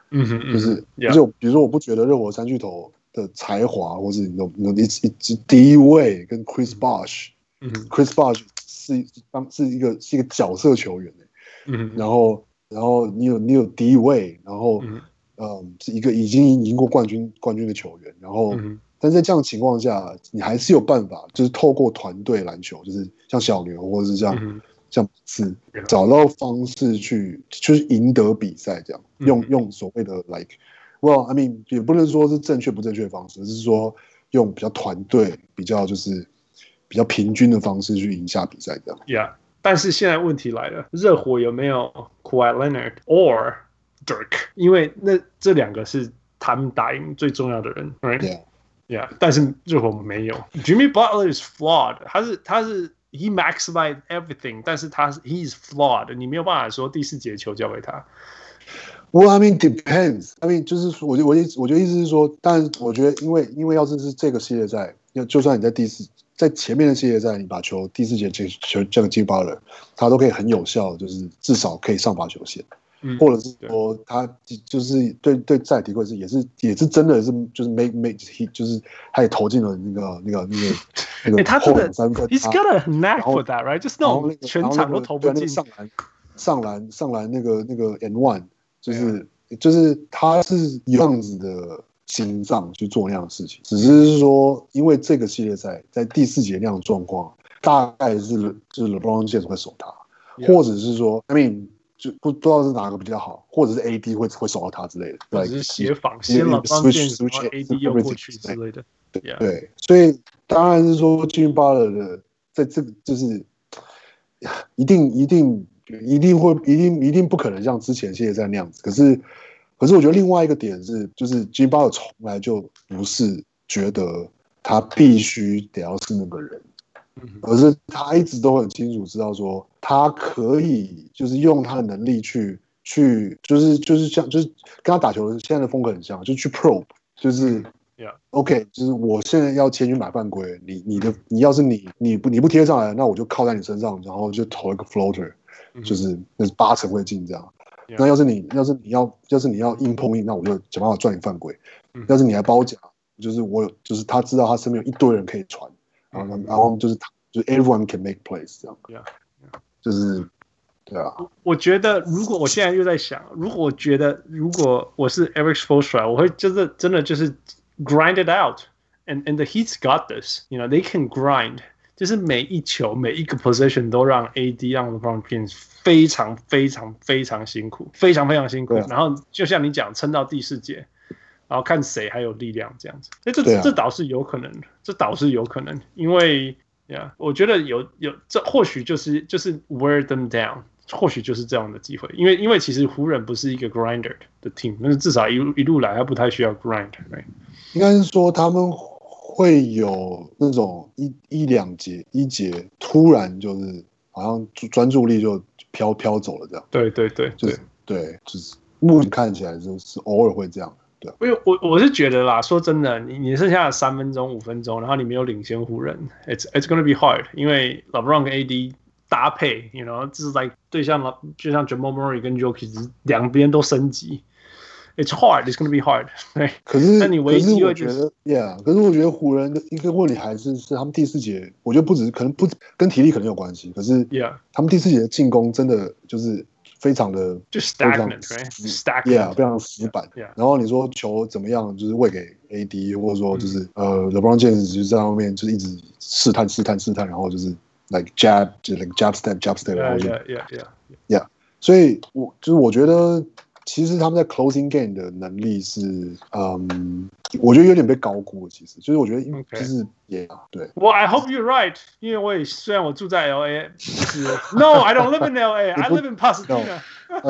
嗯哼， 就是， 嗯、 而且比如說，我不覺得热火三巨頭的才華，或是你你你一第一位跟 Chris Bosh， 嗯 ，Chris Bosh 是當是一個是一個角色球員、欸、嗯，然後然後你有你有第一位，然後嗯、呃，是一個已經贏過冠軍冠軍的球員，然後。嗯，但在這樣的情況下，你還是有辦法，就是透過團隊籃球，就是像小牛或者是像、嗯、像馬刺，找到方式去，就是贏得比賽，這樣、嗯、用用所謂的 like， well I mean 也不能說是正確不正確的方式，而是說用比較團隊、比較就是比較平均的方式去贏下比賽這樣。 Yeah， 但是現在問題來了，熱火有沒有 Kawhi Leonard or Dirk？ 因為那這兩個是他們打贏最重要的人 ，right？Yeah， 但是熱火沒有。Jimmy Butler is flawed， 他是他是 he maximized everything， 但是他是 he is flawed， 你沒有辦法說第四節球交給他。 Well, I mean depends. I mean 就是我我我覺得意思是說，但我覺得因為因為要是是這個系列賽，就算你在第四在前面的系列賽，你把球第四節球交給 Jimmy Butler， 他都可以很有效，就是至少可以上罰球線。嗯、或者是說他就是對對再提過一次也是也是真的是就是 make make he 就是他也投進了那個那個那個那個他真的三分 he's got a knack for that right 就是那種全場都投不進上籃上籃上籃那個那個 and one 就是就是他是有這樣子的心臟去做那樣的事情，只是說因為這個系列賽在第四節那樣的狀況大概是就是 LeBron James 會守他，或者是說 I mean就不知道是哪個比較好，或者是 A D 會會守到他之類的， 或者是協防，先了幫建什麼 A D 又過去之類的， 對、yeah. 對，所以當然是說 Jimmy Butler 的在這個就是一定一定一定會一定一定不可能像之前系列賽那樣子，可是可是我覺得另外一個點是，就是 Jimmy Butler 從來就不是覺得他必須得要是那個人。而是他一直都很清楚知道說，他可以就是用他的能力去去，就是就是像就是跟他打球的現在的風格很像，就去 probe， 就是 yeah. OK， 就是我現在要前去買犯規，你你的你要是你你不你不貼上來，那我就靠在你身上，然後就投一個 floater，、嗯、就是那是八成會進這樣。Yeah. 那要是你要是你要要是你要硬碰硬，那我就想辦法賺你犯規。嗯、要是你還包夾，就是我就是他知道他身邊有一堆人可以傳。然後，然後就是，就是 everyone can make plays 這樣， yeah, yeah. 就是對啊。 我覺得，如果我現在又在想，如果我覺得，如果我是 Erik Spoelstra， 我會就是真的就是 grind it out，and and the Heat's got this，you know they can grind， 就是每一球每一個 position 都讓 A D 讓 LeBron James 非常非常非常辛苦，非常非常辛苦。啊、然後就像你講，撐到第四節。然後看誰還有力量這樣子，哎，這、啊、這倒是有可能的，這倒是有可能，因為呀， yeah, 我覺得有有這或許就是就是 wear them down， 或許就是這樣的機會，因為因為其實湖人不是一個 grinder 的 team， 但是至少一路一路來他不太需要 grind，right？ 應該是說他們會有那種一一兩節一節突然就是好像專注力就飄飄走了這樣， 對對對， 就是對，就是目前看起來就是偶爾會這樣。對，因為我我是覺得啦，說真的，你你剩下的三分鐘、五分鐘，然後你沒有領先湖人 ，it's it's gonna be hard， 因為 LeBron 跟 A D 搭配 ，you know， 就是在對象就像 Jamal Murray 跟 Jokic 兩邊都升級 ，it's hard，it's gonna be hard， 對。 可是， 那你唯一機會就是， yeah， 可是我覺得湖人的一個問題還是是他們第四節，我覺得不只是可能不跟體力可能有關係，可是 ，yeah， 他們第四節的進攻真的就是。非常的就 stagnant，right？stagnant， yeah， 非常死板。 Yeah, yeah. 然後你說球怎麼樣，就是餵給 A D， 或者說就是、嗯、呃 LeBron James 就在後面就是一直試探試探試探，然後就是 like jab 就 like jab step jab step， 然後就 yeah yeah yeah yeah。所以我就是我覺得其實他們在 closing game 的能力是嗯，我覺得有點被高估了。其實就是我覺得就是 yeah 對。 Well, I hope you're right， 因為我也雖然我住在 L A， 是 No, I don't live in L A， I live in Pasadena。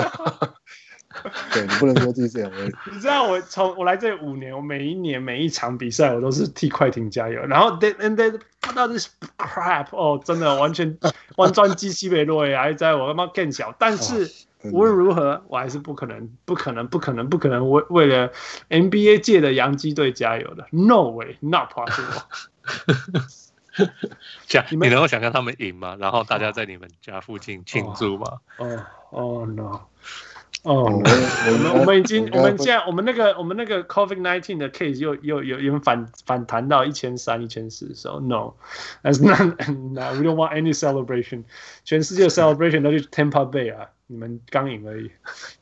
對，你不能說自己是 L A。 你知道我從我來這五年，我每一年每一場比賽我都是替快艇加油，然後 they and they put out this crap， 哦，真的完全完全機西北落還在我他媽更小，但是。無論如何，我還是不可能、不可能、不可能、不可能為為了 N B A 界的洋基隊加油的 ，No way, not possible 。 想你能夠想象他們贏嗎？然後大家在你們家附近慶祝嗎？ 哦哦 no， 哦，我們我們已經我們現在我們那個我們那個 COVID nineteen 的 case 又又有有反反彈到一千三一千四，so no, that's not, no, we don't want any celebration。全世界的 celebration 都去 Tampa Bay 啊，你們剛贏而已。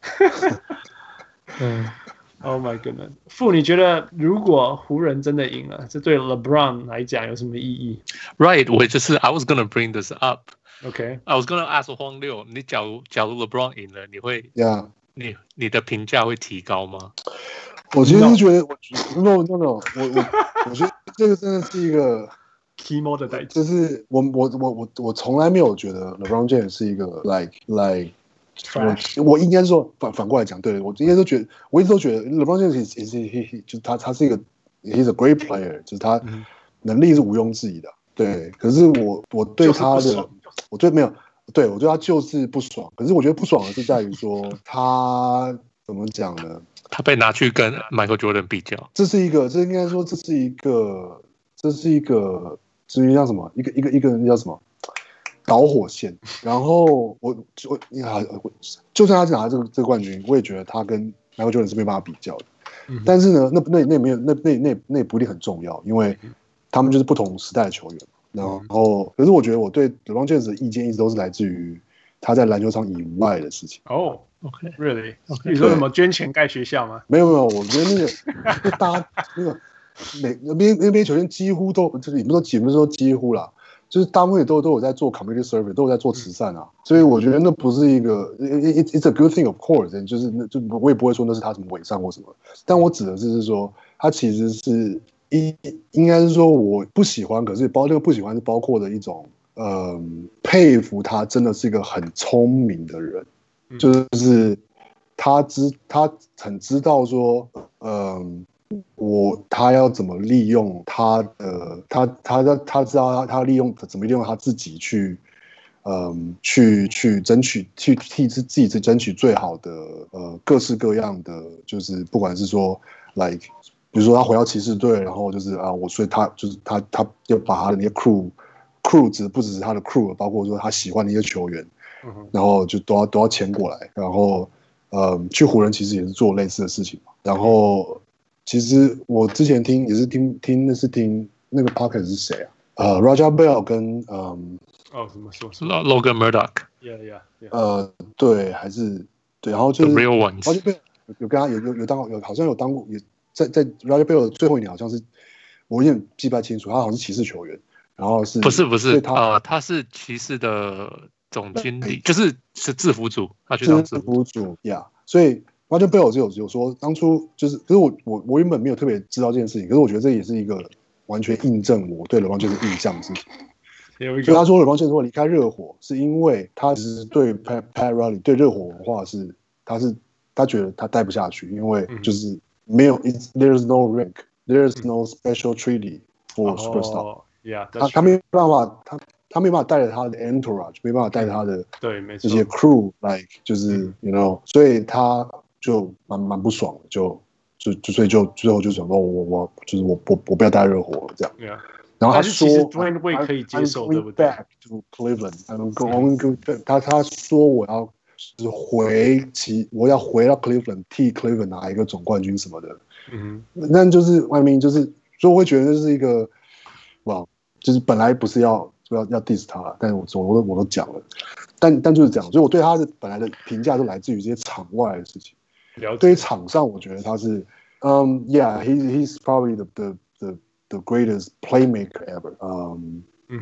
嗯 ，Oh my goodness， 傅，你覺得如果湖人真的贏了，這對 LeBron 來講有什麼意義 ？Right， 我就是 I was gonna bring this up。Okay. I was gonna ask 荒六，你假如假如 LeBron 贏了，你會 ，Yeah， 你你的評價會提高嗎？ 我其實覺得，我 no no no， 我我我覺得這個真的是一個 kimo 的代誌， 就是我我我我我從來沒有覺得 LeBron James 是一個 like like， 我我應該說反反過來講，對我應該都覺得，我一直都覺得 LeBron James is is he 就是他他是一個 he's a great player， 就是他能力是毋庸置疑的，對，可是我我對他的。我對沒有，對我對他就是不爽。可是我覺得不爽的是在於說他怎麼講呢？ 他被拿去跟 Michael Jordan 比較， 這是一個，這應該說這是一個，這是一個，至於叫什麼？一個一個一個人叫什麼？導火線。然後我我你好，就算他拿這個這個冠軍，我也覺得他跟 Michael Jordan 是沒辦法比較的。嗯、但是呢，那那那沒有，那那那那不一定很重要，因為他們就是不同時代的球員。然後，可是我覺得我對 LeBron James 的意見一直都是來自於他在籃球場以外的事情。 哦 ，OK，Really？ 你說什麼捐錢蓋學校嗎？ 沒有沒有，我覺得那個大家那個每那邊那邊球員幾乎都就是也不是說幾不是說幾乎啦，就是大部分也都都有在做 community service， 都有在做慈善啊。所以我覺得那不是一個 it, it's a good thing of course， 就是那就我也不會說那是他什麼偽善或什麼，但我指的是是說他其實是。應應該是說我不喜歡，可是包這個不喜歡是包括的一種，呃，佩服他真的是一個很聰明的人，嗯、就是他知他很知道說，嗯、呃，我他要怎麼利用他的他他他他知道他他利用怎麼利用他自己去，嗯、呃，去去爭取去替自自己去爭取最好的呃各式各樣的，就是不管是說 like。比如說他回到騎士隊，然後就是啊，我所以他就是他他要把他的那些 crew crew 只不只是他的 crew， 包括說他喜歡的一些球員，嗯、然後就都要都要簽過來，然後呃去湖人其實也是做類似的事情嘛。然後其實我之前聽也是聽聽那是聽那個 podcast 是誰啊？呃 Raja Bell 跟嗯哦什麼說什麼 Logan Murdoch，yeah yeah yeah， 呃對還是對，然後就是 The real ones， Raja Bell 有跟他有有有當有好像有當過也。在在 Raja Bell 的最後一年，好像是我有點記不太清楚，他好像是騎士球員，然後是不是不是他呃他是騎士的總經理，就是是制服組，他去當制服組呀。Yeah, 所以 Raja Bell 就有有說，當初就是，可是我我我原本沒有特別知道這件事情，可是我覺得這也是一個完全印證我對 LeBron James 的印象的事情。所以他說 LeBron James 會離開熱火，是因為他其實對 Pat Pat Riley 對熱火文化是他是他覺得他待不下去，因為就是。嗯沒有 ，there's no rank, there's no special treaty for superstar。 Oh, yeah, 他他沒辦法，他他沒辦法帶着他的 entourage， 沒辦法帶着他的對，沒錯， 這些 crew，like 就是 you know， 所以他就蠻蠻不爽的，就就就所以就最後就想說，我我就是我我我不要帶熱火了這樣。 Yeah. 然後他說 ，Dwayne Wade 可以接受，對不對 ？Back to Cleveland，I'm going， 他他說我要。就是回其我要回到 Cleveland 替 Cleveland 拿一個總冠軍什麼的，嗯，那就是外面就是，所以我會覺得這是一個，哇，就是本來不是要要要 diss 他，但是我我都我都講了，但但就是這樣，所以我對他的本來的評價都來自於這些場外的事情。對於場上，我覺得他是，嗯、um, ，Yeah，he he's probably the the the the greatest playmaker ever， 嗯、um, ，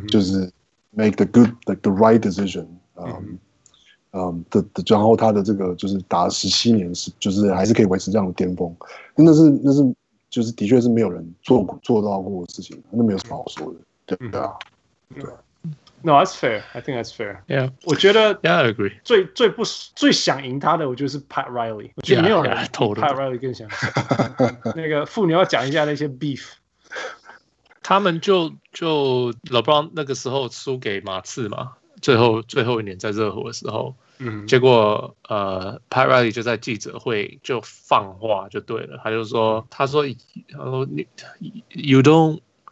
就是 make the good like the right decision， 嗯、um, 嗯。嗯的的，然後他的這個就是打了十七年，是就是還是可以維持這樣的巔峰，那是那是就是的確是沒有人做做到過的事情，那沒有什麼好說的，對對啊，對。 No, that's fair. I think that's fair. Yeah. 我覺得 Yeah, I agree. 最最不最想贏他的，我覺得是 Pat Riley。我覺得沒有人比 Pat Riley 更想贏。那個傅，你要講一下那些 beef。 他們就就 LeBron 那個時候輸給馬刺嘛，最後最後一年在熱火的時候。嗯，結果呃 Pat Riley 就在記者會就放話就對了，他就說，他說，他說你 you don't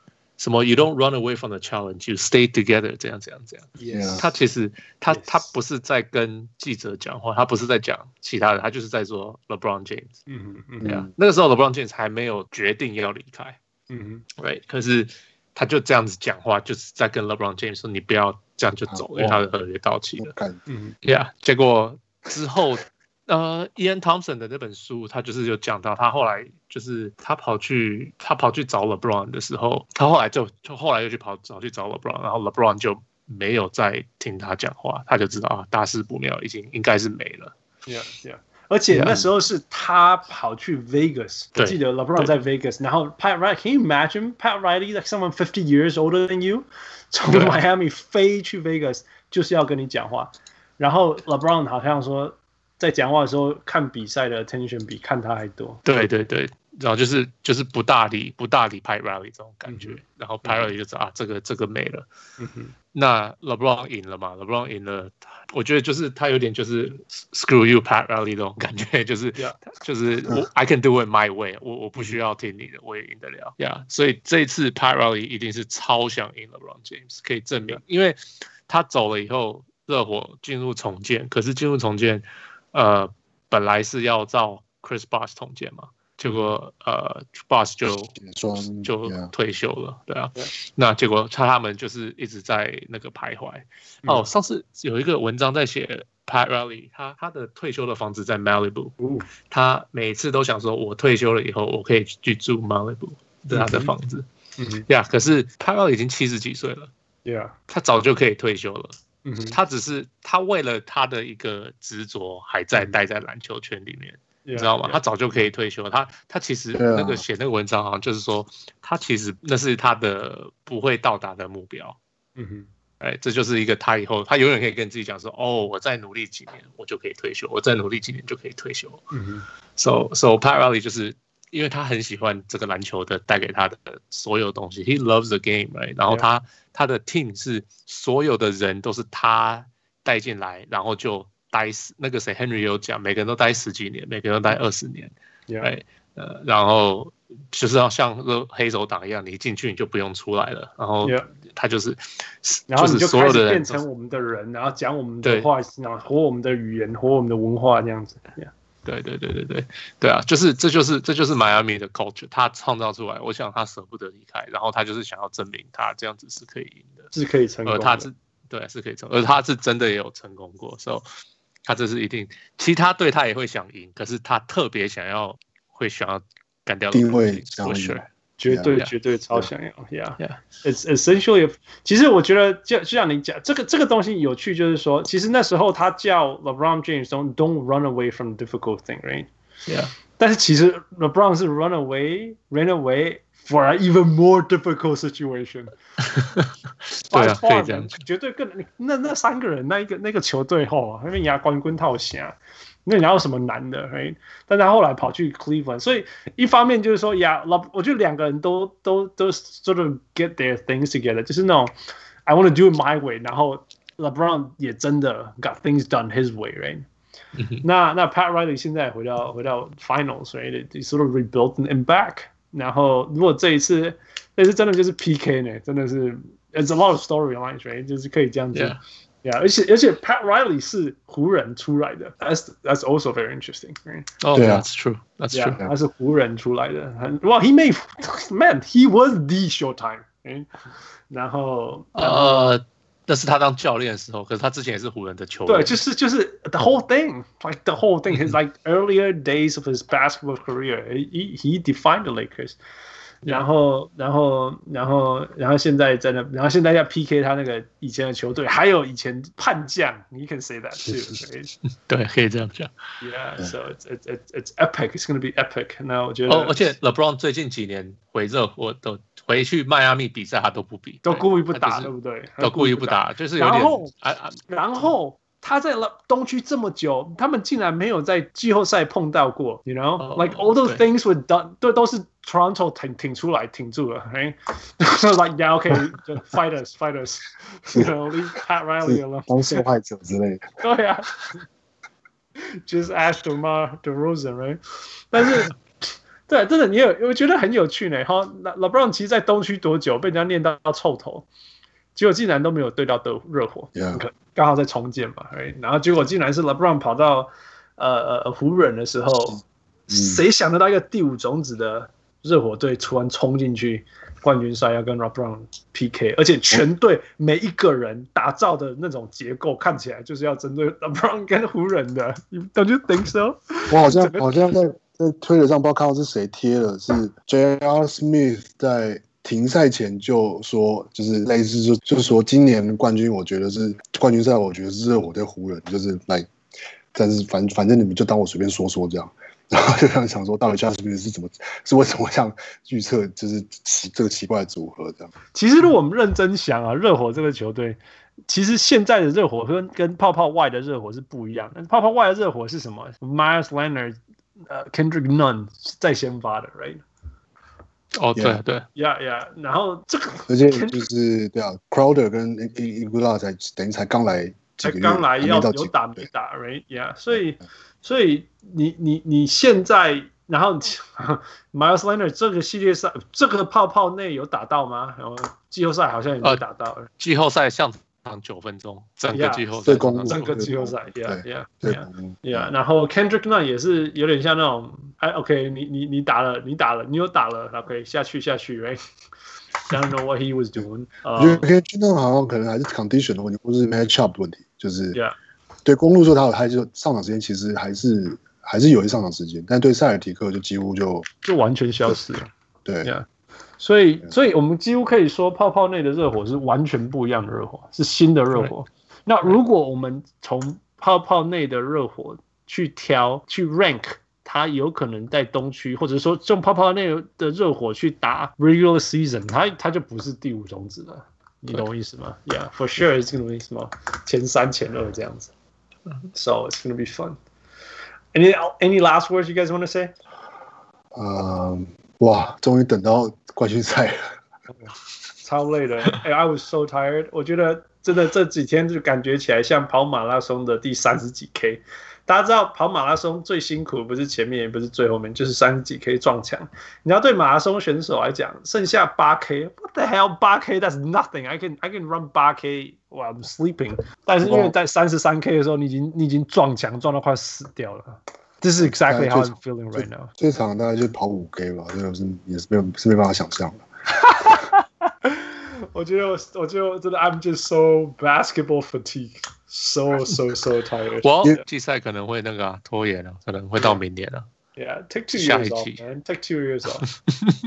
什麼 You don't run away from the challenge, you stay together 這樣這樣這樣。 Yes. 他其實他 Yes. 他不是在跟記者講話，他不是在講其他的，他就是在說 LeBron James。 嗯嗯嗯，那個時候 LeBron James 還沒有決定要離開。 嗯 ，right， 可是他就這樣子講話，就是在跟 LeBron James 說你不要這樣就走，因為他的合約到期了。 嗯 ，Yeah， 結果之後。呃 ，Ian Thompson 的那本書，他就是有講到，他後來就是他跑去他跑去找 LeBron 的時候，他後來就就後來又去跑找去找 LeBron， 然後 LeBron 就沒有再聽他講話，他就知道啊，大事不妙，已經應該是沒了。 Yeah, yeah. 而且那時候是他跑去 Vegas， 我記得 LeBron 在 Vegas， 然後 Pat Riley，Can you imagine Pat Riley like someone fifty years older than you， 從 Miami 飛去 Vegas 就是要跟你講話，然後 LeBron 好像說。在講話的時候，看比賽的 attention 比看他還多。 對對對，然後就是就是不大理不大理 Pat Riley 這種感覺，嗯、然後 Pat Riley 就知道、嗯、啊，這個這個沒了。嗯哼，那 LeBron 贏了嘛 ？LeBron 贏了，我覺得就是他有點就是 screw you Pat Riley 這種感覺，就是、yeah. 就是我 I can do it my way， 我我不需要聽你的，我也贏得了。Yeah， 所以這一次 Pat Riley 一定是超想贏 LeBron James， 可以證明，因為他走了以後，熱火進入重建，可是進入重建。呃，本來是要照 Chris Bosh 統建嘛，結果呃 Bosh 就就退休了，對啊，對，那結果他他們就是一直在那個徘徊。嗯、哦，上次有一個文章在寫 Pat Riley， 他他的退休的房子在 Malibu，、嗯、他每次都想說，我退休了以後，我可以去住 Malibu， 這是他的房子。嗯嗯，呀、yeah, 可是 Pat Riley 已經七十幾歲了 ，Yeah， 他早就可以退休了。 嗯、 他只是他為了他的一個執着還在待在籃球圈裡面，嗯、你知道嗎？ Yeah, yeah. 他早就可以退休。他他其實那個寫那個文章好像就是說，他其實那是他的不會到達的目標。嗯哼，哎，這就是一個他以後他永遠可以跟自己講說，哦，我再努力幾年我就可以退休，我再努力幾年就可以退休。嗯哼 ，so so Pat Riley 就是因為他很喜歡這個籃球的帶給他的所有東西 ，He loves the game，right？ 然後他。Yeah.他的 team 是所有的人都是他帶進來，然後就待死。那個誰 Henry 有講，每個人都待十幾年，每個人都待二十年，對、yeah. 呃，然後就是要像黑手黨一樣，你一進去你就不用出來了。然後他就是， yeah. 然後你就開始變成我們的人，然後講我們的話，然後活我們的語言，活我們的文化這樣子。Yeah. 對對對對對對啊，就是這就是這就是邁阿密的 culture， 他創造出來，我想他捨不得離開，然後他就是想要證明他這樣子是可以贏的， 是可以成功的， 而他是對是可以成功，而他是真的也有成功過，所以他這是一定，其他隊他也會想贏，可是他特別想要會想要幹掉定位， 我選。 絕對絕對超想要 ，Yeah， it's essentially。其實我覺得就就像你講，這個這個東西有趣，就是說，其實那時候他叫 LeBron James don't don't run away from difficult thing，right？Yeah。但是其實 LeBron 是 run away ran away for an even more difficult situation。 對啊，可以這樣。 絕對更那那三個人那一個那個球隊後，那邊牙冠軍套下。那哪有什麼難的 ，right？ 但他後來跑去 Cleveland， 所以一方面就是說，呀，老，我覺得兩個人都都都 sort of get their things together， 就是那種 I want to do it my way， 然後 LeBron 也真的 got things done his way，right？ 那那 Pat Riley 現在回到回到 Finals，right？They sort of rebuilt and back， 然後如果這一次這次真的就是 P K 呢，真的是 it's a lot of storylines，right？ 就是可以這樣子。Yeah. Yeah， 而且而且 Pat Riley 是湖人出來的 ，That's that's also very interesting. Right? Oh, that's true. That's yeah, true. 他是湖人出來的。Well, he made man, he was the Showtime. Right? 然後呃，那是他當教練的時候，可是他之前也是湖人的球員。 對，就是就是 the whole thing, like the whole thing. His like earlier days of his basketball career, he he defined the Lakers. 然後，然後，然後，然後現在在那，然後現在要 P K 他那個以前的球隊，還有以前叛將，你 can say that too， 對，可以這樣講。 Yeah, so it's it's it's epic. It's going to be epic. 那我覺得， 哦，而且 LeBron 最近幾年回熱火都回去邁阿密比賽，他都不比， 都故意不打，對不對？ 都故意不打，就是有點。 然後，然後。他在東區這麼久，他們竟然沒有在季後賽碰到過 ，you know，、oh, like all those things were done， 對，都是 Toronto 挺挺出來挺住了 ，right？ like yeah, okay, just fight us, fight us, you know, leave Pat Riley alone， 當受害者之類的。 對啊 ，just ask DeMar DeRozan, right？ 但是對，真的，你有我覺得很有趣呢。哈 ，LeBron 其實在東區多久被人家念到臭頭，結果竟然都沒有對到的熱火， yeah. 剛好在重建嘛，然後結果竟然是 LeBron 跑到呃呃湖人的時候，嗯、誰想得到一個第五種子的熱火隊突然衝進去冠軍賽要跟 LeBron P K， 而且全隊每一個人打造的那種結構看起來就是要針對 LeBron 跟湖人的 ，Don't you think so？ 我好像好像在在推特上不知道看到是誰貼了，是 J R Smith 在停賽前就說，就是類似就就是說今年冠軍我覺得是冠軍賽，我覺得是熱火對湖人，就是來，但是反反正你們就當我隨便說說這樣。然後就想想說，到底 J R Smith 是怎麼是為什麼像預測就是奇這個奇怪的組合這樣？ 其實如果我們認真想啊，熱火這個球隊，其實現在的熱火跟跟泡泡外的熱火是不一樣的。泡泡外的熱火是什麼 ？Myers Leonard、呃 Kendrick Nunn 在先發的 ，right？ 哦，對對 ，Yeah Yeah。然後這個， 而且就是对啊 ，Crowder 跟 Iguodala 才等于才剛來幾個月， 才剛來要有打沒打 ，right？ Yeah， 所以。所以你你你現在，然後 Myers Leonard 這個系列賽，這個泡泡內有打到嗎？然後季後賽好像也沒打到。呃、 季後賽上場九分鐘，整個季後賽， yeah, 整個季後賽 ，Yeah Yeah Yeah Yeah。然後 Kendrick Nunn 也是有點像那種，哎 ，OK， 你你你打了，你打了，你有打了 ，OK， 下去下去 ，Right？I don't know what he was doing。 我覺得 Kendrick Nunn 好像可能還是 condition 的問題，或是 matchup 的問題，就是。 Yeah。 對公鹿說他有，他就上場時間其實還是還是有一上場時間，但對塞爾提克就幾乎就就完全消失了。 對， yeah. 所以所以我們幾乎可以說，泡泡內的熱火是完全不一樣的熱火，是新的熱火。那如果我們從泡泡內的熱火去挑去 rank， 他有可能在東區，或者說用泡泡內的熱火去打 regular season， 他他就不是第五種子了。你懂我意思嗎 ？Yeah, for sure it's gonna be 什麼前三前二這樣子。So it's gonna be fun. Any any last words you guys want to say? 呃、uh, 哇，終於等到冠軍賽了， 超累的。哎 I was so tired. 我覺得真的這幾天就感覺起來像跑馬拉松的第三十幾 K。大家知道跑馬拉松最辛苦不是前面也不是最後面，就是三十幾 K 撞牆。你要對馬拉松選手來講，剩下八 K，What the hell？ 八 K that's nothing. I can I can run 八 K while I'm sleeping. 但是因為在三十三 K 的時候，你已經你已經撞牆撞到快死掉了。This is exactly how I'm feeling right now. 最長大概就跑五 K 吧，這個是也是沒有是沒辦法想象的。 我覺得我我覺得真的 I'm just so basketball fatigue. So so so tired. 我季賽可能會那個、啊、拖延了、啊，可能會到明年了、啊。 Yeah, take two years off, man. Take two years off.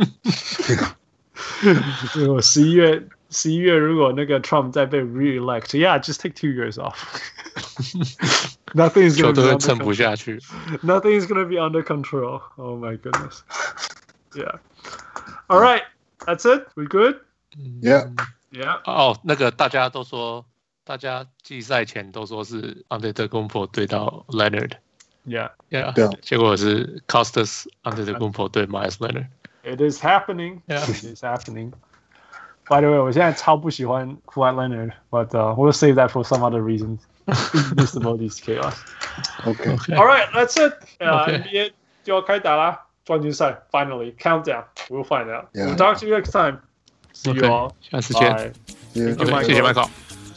如果十一月十一月如果那個 Trump 再被 re-elect, yeah, just take two years off. Nothing is going to be 撐不下去。 Nothing is going to be under control. Oh my goodness. Yeah. All right, that's it. We good? Yeah. Yeah. 哦，那個大家都說。大家季賽前都說是 Antetokounmpo 對到 Leonard，Yeah Yeah， 結果是 Costas Antetokounmpo 對 Myers Leonard。It is happening. Yeah. It is happening. By the way， 我現在超不喜歡 Kawhi Leonard，but、uh, we'll save that for some other reasons. Just about this chaos. Okay. All right, that's it. Uh, okay. N B A 就要開打啦，冠軍賽 Finally countdown. We'll find out. Yeah. We'll talk to you next time. See you all. 下次見。 謝謝 Michael。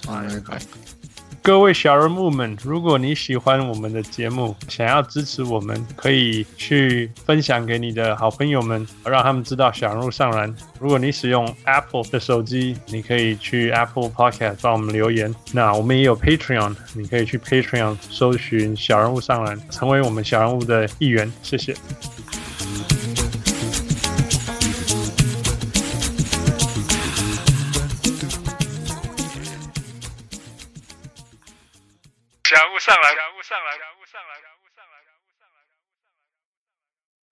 各位小人物們，如果你喜歡我們的節目，想要支持我們，可以去分享給你的好朋友們，讓他們知道小人物上籃。如果你使用 Apple 的手機，你可以去 Apple Podcast 幫我們留言。那我們也有 Patreon， 你可以去 Patreon 搜尋小人物上籃，成為我們小人物的一員。謝謝。小人物上籃，小人物上籃。